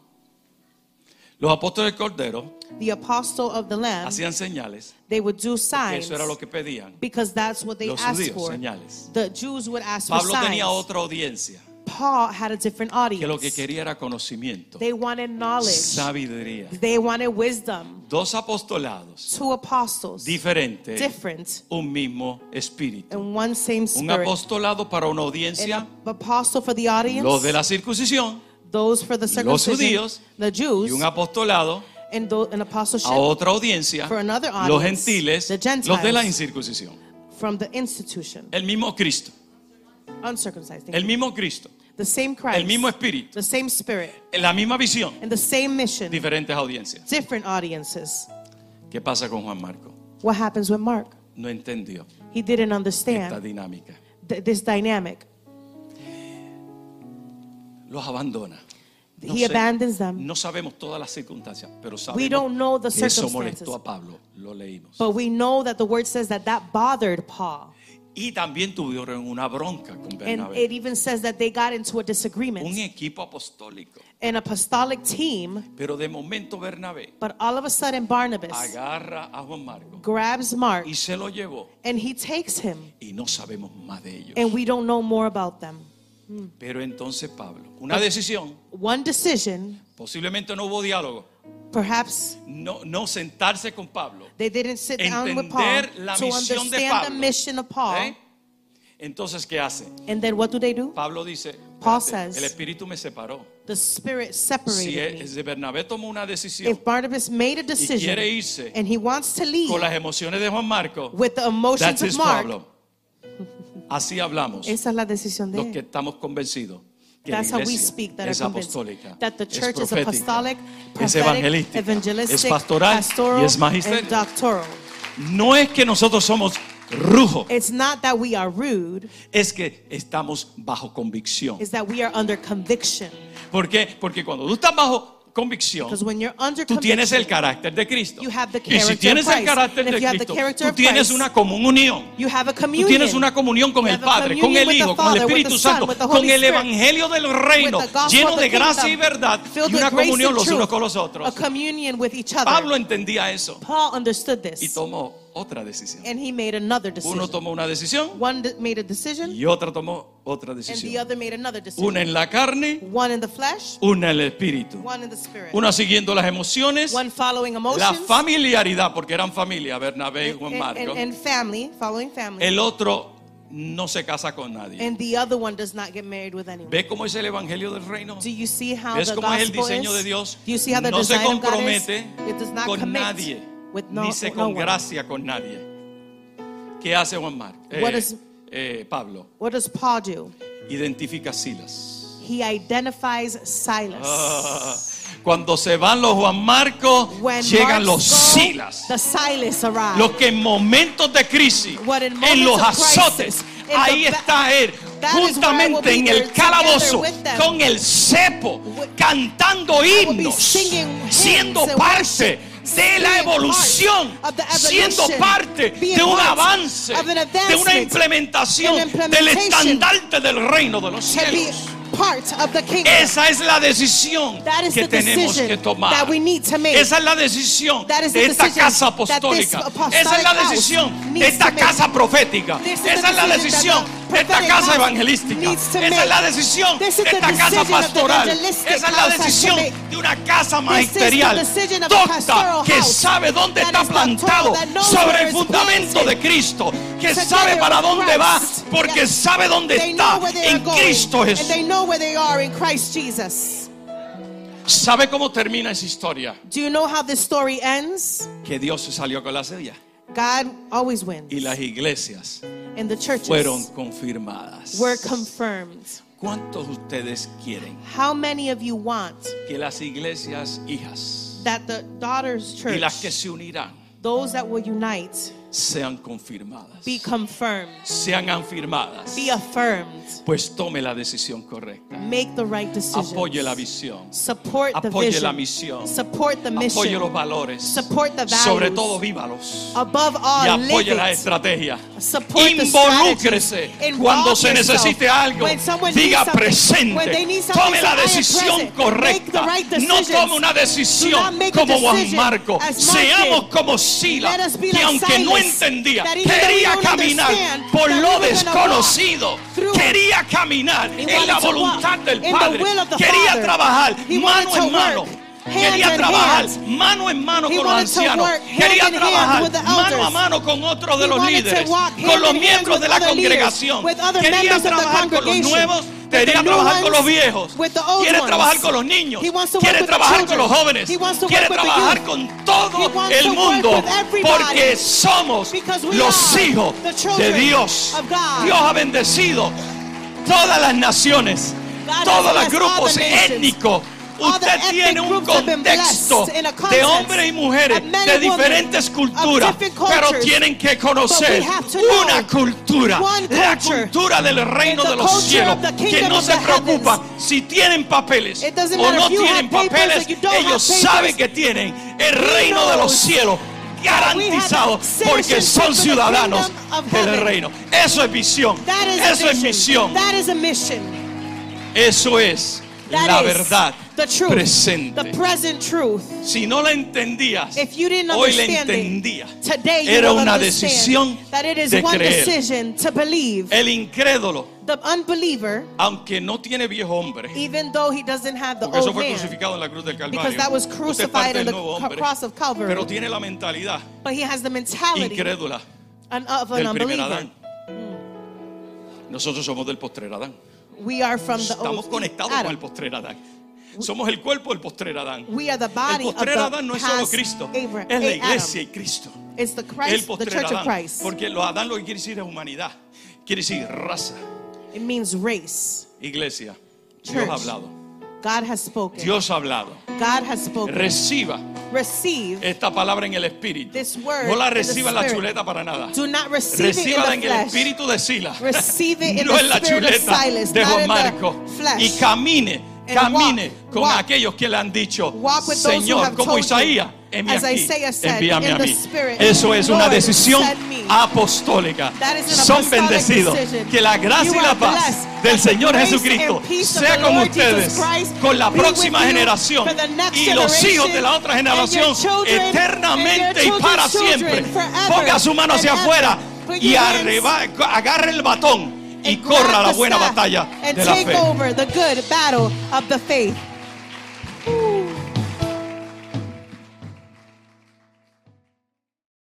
[SPEAKER 1] Los apóstoles del Cordero
[SPEAKER 2] The apostle of the Lamb,
[SPEAKER 1] hacían señales,
[SPEAKER 2] they would do
[SPEAKER 1] que
[SPEAKER 2] signs
[SPEAKER 1] eso era lo que pedían.
[SPEAKER 2] because that's what they
[SPEAKER 1] Los
[SPEAKER 2] asked
[SPEAKER 1] judíos,
[SPEAKER 2] for.
[SPEAKER 1] señales.
[SPEAKER 2] The Jews would ask for
[SPEAKER 1] Pablo tenía
[SPEAKER 2] signs.
[SPEAKER 1] otra audiencia
[SPEAKER 2] Paul had a different
[SPEAKER 1] que lo que
[SPEAKER 2] audience.
[SPEAKER 1] quería era conocimiento,
[SPEAKER 2] They wanted knowledge.
[SPEAKER 1] sabiduría.
[SPEAKER 2] They wanted wisdom.
[SPEAKER 1] Dos apostolados
[SPEAKER 2] Two apostles,
[SPEAKER 1] diferentes,
[SPEAKER 2] different,
[SPEAKER 1] un mismo espíritu.
[SPEAKER 2] and one same
[SPEAKER 1] Un
[SPEAKER 2] spirit.
[SPEAKER 1] apostolado para una
[SPEAKER 2] An
[SPEAKER 1] audiencia,
[SPEAKER 2] apostle for the audience,
[SPEAKER 1] los de la circuncisión,
[SPEAKER 2] those for the
[SPEAKER 1] los
[SPEAKER 2] circumcision,
[SPEAKER 1] judíos,
[SPEAKER 2] the
[SPEAKER 1] y
[SPEAKER 2] Jews,
[SPEAKER 1] un apostolado
[SPEAKER 2] and an apostleship
[SPEAKER 1] a otra audiencia,
[SPEAKER 2] for another audience,
[SPEAKER 1] los gentiles,
[SPEAKER 2] the Gentiles,
[SPEAKER 1] los de la incircuncisión.
[SPEAKER 2] from the institution,
[SPEAKER 1] El mismo Cristo,
[SPEAKER 2] uncircumcised.
[SPEAKER 1] el mismo Cristo,
[SPEAKER 2] The same Christ,
[SPEAKER 1] el mismo espíritu,
[SPEAKER 2] the same spirit,
[SPEAKER 1] la misma visión,
[SPEAKER 2] and the same mission,
[SPEAKER 1] diferentes audiencias.
[SPEAKER 2] different audiences.
[SPEAKER 1] ¿Qué pasa con Juan Marco?
[SPEAKER 2] What happens with Mark?
[SPEAKER 1] No entendió
[SPEAKER 2] He didn't
[SPEAKER 1] esta
[SPEAKER 2] understand
[SPEAKER 1] dinámica.
[SPEAKER 2] this dynamic.
[SPEAKER 1] Los abandona. No
[SPEAKER 2] He
[SPEAKER 1] sé,
[SPEAKER 2] abandons them.
[SPEAKER 1] no sabemos todas las circunstancias, pero
[SPEAKER 2] We don't know the
[SPEAKER 1] sabemos que eso
[SPEAKER 2] circumstances.
[SPEAKER 1] molestó a Pablo. Lo leímos.
[SPEAKER 2] But we know that the word says that bothered Paul.
[SPEAKER 1] Y también tuvieron una bronca con
[SPEAKER 2] And
[SPEAKER 1] Bernabé.
[SPEAKER 2] it even says that they got into a
[SPEAKER 1] Un
[SPEAKER 2] disagreement.
[SPEAKER 1] equipo apostólico.
[SPEAKER 2] An apostolic team,
[SPEAKER 1] Pero de momento Bernabé
[SPEAKER 2] but all of a sudden Barnabas
[SPEAKER 1] agarra a Juan Marco
[SPEAKER 2] grabs Mark
[SPEAKER 1] y se lo llevó.
[SPEAKER 2] and he takes him,
[SPEAKER 1] Y no sabemos más de ellos.
[SPEAKER 2] and we don't know more about them.
[SPEAKER 1] Pero entonces Pablo, una decisión,
[SPEAKER 2] One decision,
[SPEAKER 1] posiblemente no hubo diálogo.
[SPEAKER 2] perhaps
[SPEAKER 1] No sentarse con Pablo.
[SPEAKER 2] they didn't sit down with Paul
[SPEAKER 1] Entender la
[SPEAKER 2] to
[SPEAKER 1] misión de
[SPEAKER 2] understand the
[SPEAKER 1] Pablo.
[SPEAKER 2] mission of Paul.
[SPEAKER 1] ¿Eh? Entonces, ¿qué hace?
[SPEAKER 2] And then what do?
[SPEAKER 1] Pablo dice,
[SPEAKER 2] Paul
[SPEAKER 1] espérate,
[SPEAKER 2] says,
[SPEAKER 1] el Espíritu me separó.
[SPEAKER 2] The Spirit
[SPEAKER 1] Si
[SPEAKER 2] separated me.
[SPEAKER 1] de Bernabé tomó una decisión
[SPEAKER 2] If Barnabas made a
[SPEAKER 1] y
[SPEAKER 2] decision
[SPEAKER 1] quiere irse
[SPEAKER 2] and he wants to leave
[SPEAKER 1] con las emociones de Juan Marco,
[SPEAKER 2] with the emotions
[SPEAKER 1] that's
[SPEAKER 2] of
[SPEAKER 1] his
[SPEAKER 2] Mark,
[SPEAKER 1] problem. Así hablamos
[SPEAKER 2] esa es la decisión de
[SPEAKER 1] los que
[SPEAKER 2] él.
[SPEAKER 1] estamos convencidos que la
[SPEAKER 2] That's how we
[SPEAKER 1] iglesia
[SPEAKER 2] speak, that
[SPEAKER 1] es
[SPEAKER 2] are convinced
[SPEAKER 1] apostólica,
[SPEAKER 2] that the
[SPEAKER 1] es
[SPEAKER 2] church is
[SPEAKER 1] profética,
[SPEAKER 2] apostolic,
[SPEAKER 1] es
[SPEAKER 2] prophetic,
[SPEAKER 1] evangelística,
[SPEAKER 2] evangelistic,
[SPEAKER 1] es pastoral
[SPEAKER 2] pastoral,
[SPEAKER 1] y es magisterio.
[SPEAKER 2] and doctoral.
[SPEAKER 1] No es que nosotros somos rujos,
[SPEAKER 2] It's not that we are rude,
[SPEAKER 1] es que estamos bajo convicción.
[SPEAKER 2] it's that we are under conviction.
[SPEAKER 1] ¿Por qué? Porque cuando tú estás bajo convicción,
[SPEAKER 2] Because when you're under
[SPEAKER 1] tú tienes el
[SPEAKER 2] conviction,
[SPEAKER 1] carácter de Cristo.
[SPEAKER 2] you have the
[SPEAKER 1] Y si
[SPEAKER 2] character
[SPEAKER 1] tienes
[SPEAKER 2] of
[SPEAKER 1] el
[SPEAKER 2] Christ.
[SPEAKER 1] carácter
[SPEAKER 2] And if
[SPEAKER 1] de
[SPEAKER 2] you have the
[SPEAKER 1] Cristo,
[SPEAKER 2] character
[SPEAKER 1] tú
[SPEAKER 2] of
[SPEAKER 1] tienes
[SPEAKER 2] Christ,
[SPEAKER 1] una comunión.
[SPEAKER 2] you have a
[SPEAKER 1] Tú
[SPEAKER 2] communion.
[SPEAKER 1] tienes una comunión con
[SPEAKER 2] You
[SPEAKER 1] el
[SPEAKER 2] have a
[SPEAKER 1] Padre, con
[SPEAKER 2] communion
[SPEAKER 1] el
[SPEAKER 2] with the
[SPEAKER 1] Hijo, con el
[SPEAKER 2] Father, with
[SPEAKER 1] Espíritu
[SPEAKER 2] the Son,
[SPEAKER 1] Santo,
[SPEAKER 2] with the
[SPEAKER 1] con
[SPEAKER 2] Holy
[SPEAKER 1] el
[SPEAKER 2] Spirit,
[SPEAKER 1] Evangelio del Reino,
[SPEAKER 2] with the gospel
[SPEAKER 1] lleno
[SPEAKER 2] of the
[SPEAKER 1] de gracia y
[SPEAKER 2] kingdom,
[SPEAKER 1] verdad,
[SPEAKER 2] filled
[SPEAKER 1] y
[SPEAKER 2] with
[SPEAKER 1] una
[SPEAKER 2] grace
[SPEAKER 1] comunión
[SPEAKER 2] and
[SPEAKER 1] los unos
[SPEAKER 2] truth,
[SPEAKER 1] con los otros.
[SPEAKER 2] a communion with each other.
[SPEAKER 1] Pablo entendía eso
[SPEAKER 2] Paul understood
[SPEAKER 1] y
[SPEAKER 2] this,
[SPEAKER 1] tomó otra decisión.
[SPEAKER 2] And he made another decision.
[SPEAKER 1] Uno tomó una decisión
[SPEAKER 2] One made a decision,
[SPEAKER 1] y otro tomó otra
[SPEAKER 2] and the
[SPEAKER 1] decisión.
[SPEAKER 2] other made another decision.
[SPEAKER 1] Una en la carne,
[SPEAKER 2] One in the flesh,
[SPEAKER 1] una en el espíritu.
[SPEAKER 2] one in the spirit.
[SPEAKER 1] Una siguiendo las emociones,
[SPEAKER 2] One following
[SPEAKER 1] la
[SPEAKER 2] emotions,
[SPEAKER 1] familiaridad, porque eran familia, Bernabé y Juan Marcos.
[SPEAKER 2] and family, following family.
[SPEAKER 1] El otro no se casa con nadie.
[SPEAKER 2] And the other one does not get married with anyone.
[SPEAKER 1] ¿Ve cómo es el evangelio del reino?
[SPEAKER 2] Do you see how
[SPEAKER 1] ¿Ves
[SPEAKER 2] the
[SPEAKER 1] cómo es el
[SPEAKER 2] gospel
[SPEAKER 1] diseño
[SPEAKER 2] is?
[SPEAKER 1] de Dios?
[SPEAKER 2] Do you see how the
[SPEAKER 1] No se
[SPEAKER 2] design of God is?
[SPEAKER 1] compromete
[SPEAKER 2] It does not
[SPEAKER 1] con
[SPEAKER 2] commit
[SPEAKER 1] nadie,
[SPEAKER 2] with
[SPEAKER 1] ni se
[SPEAKER 2] no one.
[SPEAKER 1] congracia con nadie. ¿Qué hace Juan Marcos?
[SPEAKER 2] What is-
[SPEAKER 1] Pablo
[SPEAKER 2] What does Paul do?
[SPEAKER 1] identifica a Silas.
[SPEAKER 2] He identifies Silas.
[SPEAKER 1] Cuando se van los Juan Marcos,
[SPEAKER 2] When
[SPEAKER 1] llegan
[SPEAKER 2] Marks
[SPEAKER 1] los
[SPEAKER 2] go,
[SPEAKER 1] Silas.
[SPEAKER 2] the Silas arrive.
[SPEAKER 1] Los que en momentos de crisis,
[SPEAKER 2] What in
[SPEAKER 1] en los
[SPEAKER 2] moments of
[SPEAKER 1] azotes,
[SPEAKER 2] crisis, in
[SPEAKER 1] ahí
[SPEAKER 2] the
[SPEAKER 1] está él,
[SPEAKER 2] that is where I will
[SPEAKER 1] juntamente
[SPEAKER 2] be
[SPEAKER 1] en
[SPEAKER 2] there
[SPEAKER 1] el calabozo,
[SPEAKER 2] together with them.
[SPEAKER 1] con el cepo, cantando
[SPEAKER 2] will be
[SPEAKER 1] himnos,
[SPEAKER 2] singing hymns
[SPEAKER 1] siendo
[SPEAKER 2] and
[SPEAKER 1] parte
[SPEAKER 2] worship,
[SPEAKER 1] de la
[SPEAKER 2] being
[SPEAKER 1] evolución,
[SPEAKER 2] part of the
[SPEAKER 1] siendo
[SPEAKER 2] evolution,
[SPEAKER 1] parte
[SPEAKER 2] being
[SPEAKER 1] de un
[SPEAKER 2] part
[SPEAKER 1] avance,
[SPEAKER 2] of an
[SPEAKER 1] de una
[SPEAKER 2] advancement,
[SPEAKER 1] implementación
[SPEAKER 2] an
[SPEAKER 1] del
[SPEAKER 2] implementation
[SPEAKER 1] estandarte del reino de los
[SPEAKER 2] to be
[SPEAKER 1] cielos.
[SPEAKER 2] part of the kingdom.
[SPEAKER 1] Esa es la decisión
[SPEAKER 2] That is
[SPEAKER 1] que
[SPEAKER 2] the
[SPEAKER 1] tenemos
[SPEAKER 2] decision
[SPEAKER 1] que tomar.
[SPEAKER 2] that we need to make.
[SPEAKER 1] Esa es la decisión
[SPEAKER 2] That is the
[SPEAKER 1] de esta
[SPEAKER 2] decision
[SPEAKER 1] casa
[SPEAKER 2] that
[SPEAKER 1] apostólica.
[SPEAKER 2] this apostolic
[SPEAKER 1] Esa es la
[SPEAKER 2] house
[SPEAKER 1] decisión de
[SPEAKER 2] needs
[SPEAKER 1] esta
[SPEAKER 2] to make.
[SPEAKER 1] casa profética.
[SPEAKER 2] This is the
[SPEAKER 1] Esa es la
[SPEAKER 2] decision
[SPEAKER 1] decisión
[SPEAKER 2] that the
[SPEAKER 1] de esta
[SPEAKER 2] prophetic
[SPEAKER 1] casa
[SPEAKER 2] house
[SPEAKER 1] evangelística.
[SPEAKER 2] needs to
[SPEAKER 1] Esa es
[SPEAKER 2] make.
[SPEAKER 1] la decisión
[SPEAKER 2] This is
[SPEAKER 1] de
[SPEAKER 2] the
[SPEAKER 1] esta casa
[SPEAKER 2] decision of the
[SPEAKER 1] pastoral.
[SPEAKER 2] evangelistic
[SPEAKER 1] Esa es la
[SPEAKER 2] house has to
[SPEAKER 1] decisión
[SPEAKER 2] make.
[SPEAKER 1] de una casa
[SPEAKER 2] This is the
[SPEAKER 1] magisterial
[SPEAKER 2] decision of the
[SPEAKER 1] docta
[SPEAKER 2] pastoral
[SPEAKER 1] que
[SPEAKER 2] house
[SPEAKER 1] sabe dónde
[SPEAKER 2] that
[SPEAKER 1] está
[SPEAKER 2] is doctoral,
[SPEAKER 1] plantado
[SPEAKER 2] that knows
[SPEAKER 1] sobre
[SPEAKER 2] where
[SPEAKER 1] el
[SPEAKER 2] it's
[SPEAKER 1] fundamento
[SPEAKER 2] planted.
[SPEAKER 1] de Cristo, que
[SPEAKER 2] Together
[SPEAKER 1] sabe para
[SPEAKER 2] with
[SPEAKER 1] dónde va
[SPEAKER 2] Christ.
[SPEAKER 1] porque
[SPEAKER 2] Yes.
[SPEAKER 1] sabe dónde
[SPEAKER 2] They
[SPEAKER 1] está
[SPEAKER 2] know where they are
[SPEAKER 1] en
[SPEAKER 2] going,
[SPEAKER 1] Cristo
[SPEAKER 2] and
[SPEAKER 1] Jesús.
[SPEAKER 2] they know where they are in Christ Jesus.
[SPEAKER 1] ¿Sabe cómo termina esa historia?
[SPEAKER 2] Do you know how this story ends?
[SPEAKER 1] Que Dios se salió con la silla
[SPEAKER 2] God always wins.
[SPEAKER 1] y las iglesias
[SPEAKER 2] And the churches
[SPEAKER 1] fueron confirmadas.
[SPEAKER 2] were confirmed.
[SPEAKER 1] ¿Cuántos de ustedes quieren
[SPEAKER 2] How many of you want
[SPEAKER 1] que las iglesias hijas
[SPEAKER 2] that the daughters'
[SPEAKER 1] y
[SPEAKER 2] church,
[SPEAKER 1] las que se unirán
[SPEAKER 2] those that will unite,
[SPEAKER 1] sean confirmadas?
[SPEAKER 2] be confirmed,
[SPEAKER 1] Sean afirmadas.
[SPEAKER 2] be affirmed,
[SPEAKER 1] Pues tome la decisión correcta.
[SPEAKER 2] make the right decisions,
[SPEAKER 1] Apoye la visión.
[SPEAKER 2] support the
[SPEAKER 1] Apoye
[SPEAKER 2] vision,
[SPEAKER 1] la misión.
[SPEAKER 2] support the
[SPEAKER 1] Apoye
[SPEAKER 2] mission,
[SPEAKER 1] los valores.
[SPEAKER 2] support the values,
[SPEAKER 1] Sobre todo vívalos.
[SPEAKER 2] above
[SPEAKER 1] Y
[SPEAKER 2] all,
[SPEAKER 1] apoye
[SPEAKER 2] live
[SPEAKER 1] la
[SPEAKER 2] it.
[SPEAKER 1] estrategia.
[SPEAKER 2] Support the
[SPEAKER 1] Involúcrese
[SPEAKER 2] strategies.
[SPEAKER 1] cuando se
[SPEAKER 2] Involve
[SPEAKER 1] necesite
[SPEAKER 2] yourself.
[SPEAKER 1] algo.
[SPEAKER 2] When someone
[SPEAKER 1] Diga
[SPEAKER 2] needs something, when
[SPEAKER 1] presente.
[SPEAKER 2] they need something,
[SPEAKER 1] Tome
[SPEAKER 2] say,
[SPEAKER 1] la
[SPEAKER 2] "I am
[SPEAKER 1] decisión
[SPEAKER 2] present."
[SPEAKER 1] correcta.
[SPEAKER 2] Make the right
[SPEAKER 1] No
[SPEAKER 2] decisions.
[SPEAKER 1] tome una
[SPEAKER 2] Do
[SPEAKER 1] decisión
[SPEAKER 2] not make a
[SPEAKER 1] como Juan
[SPEAKER 2] decision
[SPEAKER 1] Marco.
[SPEAKER 2] as Mark
[SPEAKER 1] Seamos
[SPEAKER 2] did.
[SPEAKER 1] como Silas,
[SPEAKER 2] Let us be
[SPEAKER 1] que
[SPEAKER 2] like
[SPEAKER 1] aunque no
[SPEAKER 2] Silas,
[SPEAKER 1] entendía,
[SPEAKER 2] that even though we
[SPEAKER 1] quería
[SPEAKER 2] don't
[SPEAKER 1] caminar
[SPEAKER 2] understand,
[SPEAKER 1] por
[SPEAKER 2] that we
[SPEAKER 1] lo
[SPEAKER 2] were gonna
[SPEAKER 1] desconocido.
[SPEAKER 2] walk through.
[SPEAKER 1] Quería caminar
[SPEAKER 2] He
[SPEAKER 1] en
[SPEAKER 2] wanted
[SPEAKER 1] la
[SPEAKER 2] to walk
[SPEAKER 1] voluntad del
[SPEAKER 2] in the
[SPEAKER 1] Padre.
[SPEAKER 2] will of the
[SPEAKER 1] Quería
[SPEAKER 2] Father.
[SPEAKER 1] trabajar
[SPEAKER 2] He
[SPEAKER 1] mano
[SPEAKER 2] wanted to
[SPEAKER 1] en mano.
[SPEAKER 2] work
[SPEAKER 1] Quería
[SPEAKER 2] hand in
[SPEAKER 1] trabajar
[SPEAKER 2] hand.
[SPEAKER 1] mano en mano
[SPEAKER 2] He
[SPEAKER 1] con los
[SPEAKER 2] wanted to
[SPEAKER 1] ancianos.
[SPEAKER 2] work hand
[SPEAKER 1] Quería
[SPEAKER 2] in hand
[SPEAKER 1] trabajar
[SPEAKER 2] with the
[SPEAKER 1] mano a
[SPEAKER 2] elders.
[SPEAKER 1] mano con otros de
[SPEAKER 2] He
[SPEAKER 1] los
[SPEAKER 2] wanted to
[SPEAKER 1] líderes,
[SPEAKER 2] walk hand
[SPEAKER 1] con los
[SPEAKER 2] in hand
[SPEAKER 1] miembros
[SPEAKER 2] with
[SPEAKER 1] de la
[SPEAKER 2] other leaders,
[SPEAKER 1] congregación.
[SPEAKER 2] with other
[SPEAKER 1] Quería
[SPEAKER 2] members of the
[SPEAKER 1] trabajar con los
[SPEAKER 2] congregation,
[SPEAKER 1] nuevos.
[SPEAKER 2] with
[SPEAKER 1] Quería
[SPEAKER 2] the new
[SPEAKER 1] trabajar con los
[SPEAKER 2] ones,
[SPEAKER 1] viejos.
[SPEAKER 2] with the old
[SPEAKER 1] Quiere
[SPEAKER 2] ones.
[SPEAKER 1] trabajar con los niños.
[SPEAKER 2] He wants to work
[SPEAKER 1] Quiere
[SPEAKER 2] with the
[SPEAKER 1] trabajar con
[SPEAKER 2] children.
[SPEAKER 1] los jóvenes.
[SPEAKER 2] He wants to
[SPEAKER 1] Quiere
[SPEAKER 2] work with the
[SPEAKER 1] trabajar
[SPEAKER 2] youth.
[SPEAKER 1] con
[SPEAKER 2] He
[SPEAKER 1] todo
[SPEAKER 2] wants
[SPEAKER 1] el
[SPEAKER 2] to work
[SPEAKER 1] mundo
[SPEAKER 2] with everybody.
[SPEAKER 1] porque somos
[SPEAKER 2] Because we
[SPEAKER 1] los
[SPEAKER 2] are
[SPEAKER 1] hijos
[SPEAKER 2] the
[SPEAKER 1] de
[SPEAKER 2] children
[SPEAKER 1] Dios.
[SPEAKER 2] of God.
[SPEAKER 1] Dios ha bendecido todas las naciones,
[SPEAKER 2] God
[SPEAKER 1] todos
[SPEAKER 2] has
[SPEAKER 1] los
[SPEAKER 2] blessed
[SPEAKER 1] grupos
[SPEAKER 2] all the nations.
[SPEAKER 1] étnicos.
[SPEAKER 2] All the
[SPEAKER 1] Usted
[SPEAKER 2] ethnic
[SPEAKER 1] tiene un
[SPEAKER 2] groups have been
[SPEAKER 1] contexto
[SPEAKER 2] blessed in a
[SPEAKER 1] de
[SPEAKER 2] context
[SPEAKER 1] hombres y mujeres
[SPEAKER 2] of men
[SPEAKER 1] de
[SPEAKER 2] and women
[SPEAKER 1] diferentes
[SPEAKER 2] of
[SPEAKER 1] culturas,
[SPEAKER 2] different
[SPEAKER 1] pero
[SPEAKER 2] cultures.
[SPEAKER 1] tienen que
[SPEAKER 2] But
[SPEAKER 1] conocer
[SPEAKER 2] we have to know
[SPEAKER 1] una cultura,
[SPEAKER 2] one
[SPEAKER 1] la
[SPEAKER 2] culture.
[SPEAKER 1] cultura del reino
[SPEAKER 2] It's
[SPEAKER 1] de
[SPEAKER 2] the
[SPEAKER 1] los
[SPEAKER 2] culture
[SPEAKER 1] cielos,
[SPEAKER 2] of the
[SPEAKER 1] que
[SPEAKER 2] kingdom
[SPEAKER 1] no
[SPEAKER 2] of
[SPEAKER 1] se
[SPEAKER 2] the
[SPEAKER 1] preocupan
[SPEAKER 2] heavens.
[SPEAKER 1] si tienen papeles
[SPEAKER 2] It doesn't
[SPEAKER 1] o
[SPEAKER 2] matter
[SPEAKER 1] no
[SPEAKER 2] if you
[SPEAKER 1] tienen
[SPEAKER 2] have papers
[SPEAKER 1] papeles,
[SPEAKER 2] or you don't have
[SPEAKER 1] ellos
[SPEAKER 2] papers.
[SPEAKER 1] saben que tienen el reino de los
[SPEAKER 2] knows
[SPEAKER 1] cielos garantizado porque son ciudadanos del reino. Eso es visión,
[SPEAKER 2] That is a
[SPEAKER 1] eso es
[SPEAKER 2] vision.
[SPEAKER 1] misión,
[SPEAKER 2] That is a mission.
[SPEAKER 1] eso es
[SPEAKER 2] That
[SPEAKER 1] la
[SPEAKER 2] is
[SPEAKER 1] verdad
[SPEAKER 2] the truth,
[SPEAKER 1] presente.
[SPEAKER 2] the present truth.
[SPEAKER 1] Si no la entendías,
[SPEAKER 2] If you didn't
[SPEAKER 1] hoy la
[SPEAKER 2] understand
[SPEAKER 1] entendía.
[SPEAKER 2] it, today you
[SPEAKER 1] Era
[SPEAKER 2] will
[SPEAKER 1] una
[SPEAKER 2] understand
[SPEAKER 1] decisión
[SPEAKER 2] that it is
[SPEAKER 1] de
[SPEAKER 2] one
[SPEAKER 1] creer.
[SPEAKER 2] decision to believe.
[SPEAKER 1] El incrédulo,
[SPEAKER 2] The unbeliever,
[SPEAKER 1] aunque no tiene viejo hombre,
[SPEAKER 2] even though he doesn't have the
[SPEAKER 1] porque eso
[SPEAKER 2] old
[SPEAKER 1] fue
[SPEAKER 2] man,
[SPEAKER 1] crucificado en la cruz del
[SPEAKER 2] because
[SPEAKER 1] Calvario,
[SPEAKER 2] that was
[SPEAKER 1] usted es
[SPEAKER 2] crucified
[SPEAKER 1] parte
[SPEAKER 2] on
[SPEAKER 1] del
[SPEAKER 2] the
[SPEAKER 1] nuevo hombre,
[SPEAKER 2] cross of Calvary,
[SPEAKER 1] pero tiene la mentalidad
[SPEAKER 2] but he has the mentality
[SPEAKER 1] incrédula
[SPEAKER 2] of an
[SPEAKER 1] del primer
[SPEAKER 2] unbeliever.
[SPEAKER 1] Adán. Nosotros somos del postrer Adán.
[SPEAKER 2] We are from the
[SPEAKER 1] Estamos
[SPEAKER 2] old
[SPEAKER 1] conectados con el
[SPEAKER 2] Adam.
[SPEAKER 1] postrer Adán. Somos el cuerpo del postrer Adán.
[SPEAKER 2] We are the
[SPEAKER 1] El
[SPEAKER 2] body of
[SPEAKER 1] postrer
[SPEAKER 2] the
[SPEAKER 1] Adán no es solo
[SPEAKER 2] past
[SPEAKER 1] Cristo,
[SPEAKER 2] Abraham,
[SPEAKER 1] es la
[SPEAKER 2] Adam.
[SPEAKER 1] iglesia y Cristo.
[SPEAKER 2] It's the
[SPEAKER 1] El
[SPEAKER 2] Christ, the
[SPEAKER 1] postrer
[SPEAKER 2] Church of
[SPEAKER 1] Adán,
[SPEAKER 2] Christ.
[SPEAKER 1] porque lo Adán lo que quiere decir es humanidad, quiere decir raza.
[SPEAKER 2] It means race.
[SPEAKER 1] Iglesia, Dios
[SPEAKER 2] Church.
[SPEAKER 1] ha hablado.
[SPEAKER 2] God has spoken.
[SPEAKER 1] Dios ha hablado.
[SPEAKER 2] God has spoken.
[SPEAKER 1] Reciba
[SPEAKER 2] Receive.
[SPEAKER 1] esta palabra en el espíritu.
[SPEAKER 2] This word
[SPEAKER 1] No la
[SPEAKER 2] in the
[SPEAKER 1] reciba en la
[SPEAKER 2] spirit.
[SPEAKER 1] chuleta para nada.
[SPEAKER 2] Do not receive it
[SPEAKER 1] Recíbala
[SPEAKER 2] in
[SPEAKER 1] en
[SPEAKER 2] the
[SPEAKER 1] el
[SPEAKER 2] flesh.
[SPEAKER 1] espíritu de Sila.
[SPEAKER 2] Receive it in
[SPEAKER 1] No
[SPEAKER 2] the
[SPEAKER 1] en la
[SPEAKER 2] spirit of
[SPEAKER 1] chuleta
[SPEAKER 2] Silas,
[SPEAKER 1] de
[SPEAKER 2] not
[SPEAKER 1] Juan
[SPEAKER 2] in
[SPEAKER 1] Marco.
[SPEAKER 2] the flesh.
[SPEAKER 1] Y camine
[SPEAKER 2] And
[SPEAKER 1] con
[SPEAKER 2] walk
[SPEAKER 1] aquellos que le han dicho,
[SPEAKER 2] Walk with those who
[SPEAKER 1] Señor,
[SPEAKER 2] have
[SPEAKER 1] como
[SPEAKER 2] told you.
[SPEAKER 1] Isaías, heme
[SPEAKER 2] As I
[SPEAKER 1] aquí,
[SPEAKER 2] say ascend,
[SPEAKER 1] envíame
[SPEAKER 2] in
[SPEAKER 1] a
[SPEAKER 2] the
[SPEAKER 1] mí.
[SPEAKER 2] spirit,
[SPEAKER 1] Eso es una
[SPEAKER 2] Lord,
[SPEAKER 1] decisión
[SPEAKER 2] send me.
[SPEAKER 1] apostólica.
[SPEAKER 2] That is an
[SPEAKER 1] Son
[SPEAKER 2] apostolic
[SPEAKER 1] bendecidos.
[SPEAKER 2] decision.
[SPEAKER 1] Que la gracia
[SPEAKER 2] You
[SPEAKER 1] y la
[SPEAKER 2] are
[SPEAKER 1] paz
[SPEAKER 2] blessed.
[SPEAKER 1] del
[SPEAKER 2] That the
[SPEAKER 1] Señor
[SPEAKER 2] grace
[SPEAKER 1] Jesucristo
[SPEAKER 2] and peace of
[SPEAKER 1] sea
[SPEAKER 2] the
[SPEAKER 1] con
[SPEAKER 2] Lord
[SPEAKER 1] ustedes,
[SPEAKER 2] Jesus Christ
[SPEAKER 1] con la
[SPEAKER 2] be with
[SPEAKER 1] próxima
[SPEAKER 2] you
[SPEAKER 1] generación
[SPEAKER 2] for the next
[SPEAKER 1] y los hijos de la
[SPEAKER 2] generation,
[SPEAKER 1] otra generación
[SPEAKER 2] and your children,
[SPEAKER 1] eternamente
[SPEAKER 2] and your
[SPEAKER 1] y para
[SPEAKER 2] children's
[SPEAKER 1] siempre.
[SPEAKER 2] children, forever
[SPEAKER 1] Ponga su mano hacia
[SPEAKER 2] and
[SPEAKER 1] afuera
[SPEAKER 2] ever. Put
[SPEAKER 1] y
[SPEAKER 2] your hands
[SPEAKER 1] agarre el batón y
[SPEAKER 2] and
[SPEAKER 1] corra
[SPEAKER 2] grab
[SPEAKER 1] la
[SPEAKER 2] the
[SPEAKER 1] buena
[SPEAKER 2] staff
[SPEAKER 1] batalla
[SPEAKER 2] and
[SPEAKER 1] de la
[SPEAKER 2] take
[SPEAKER 1] fe.
[SPEAKER 2] over the good battle of the faith.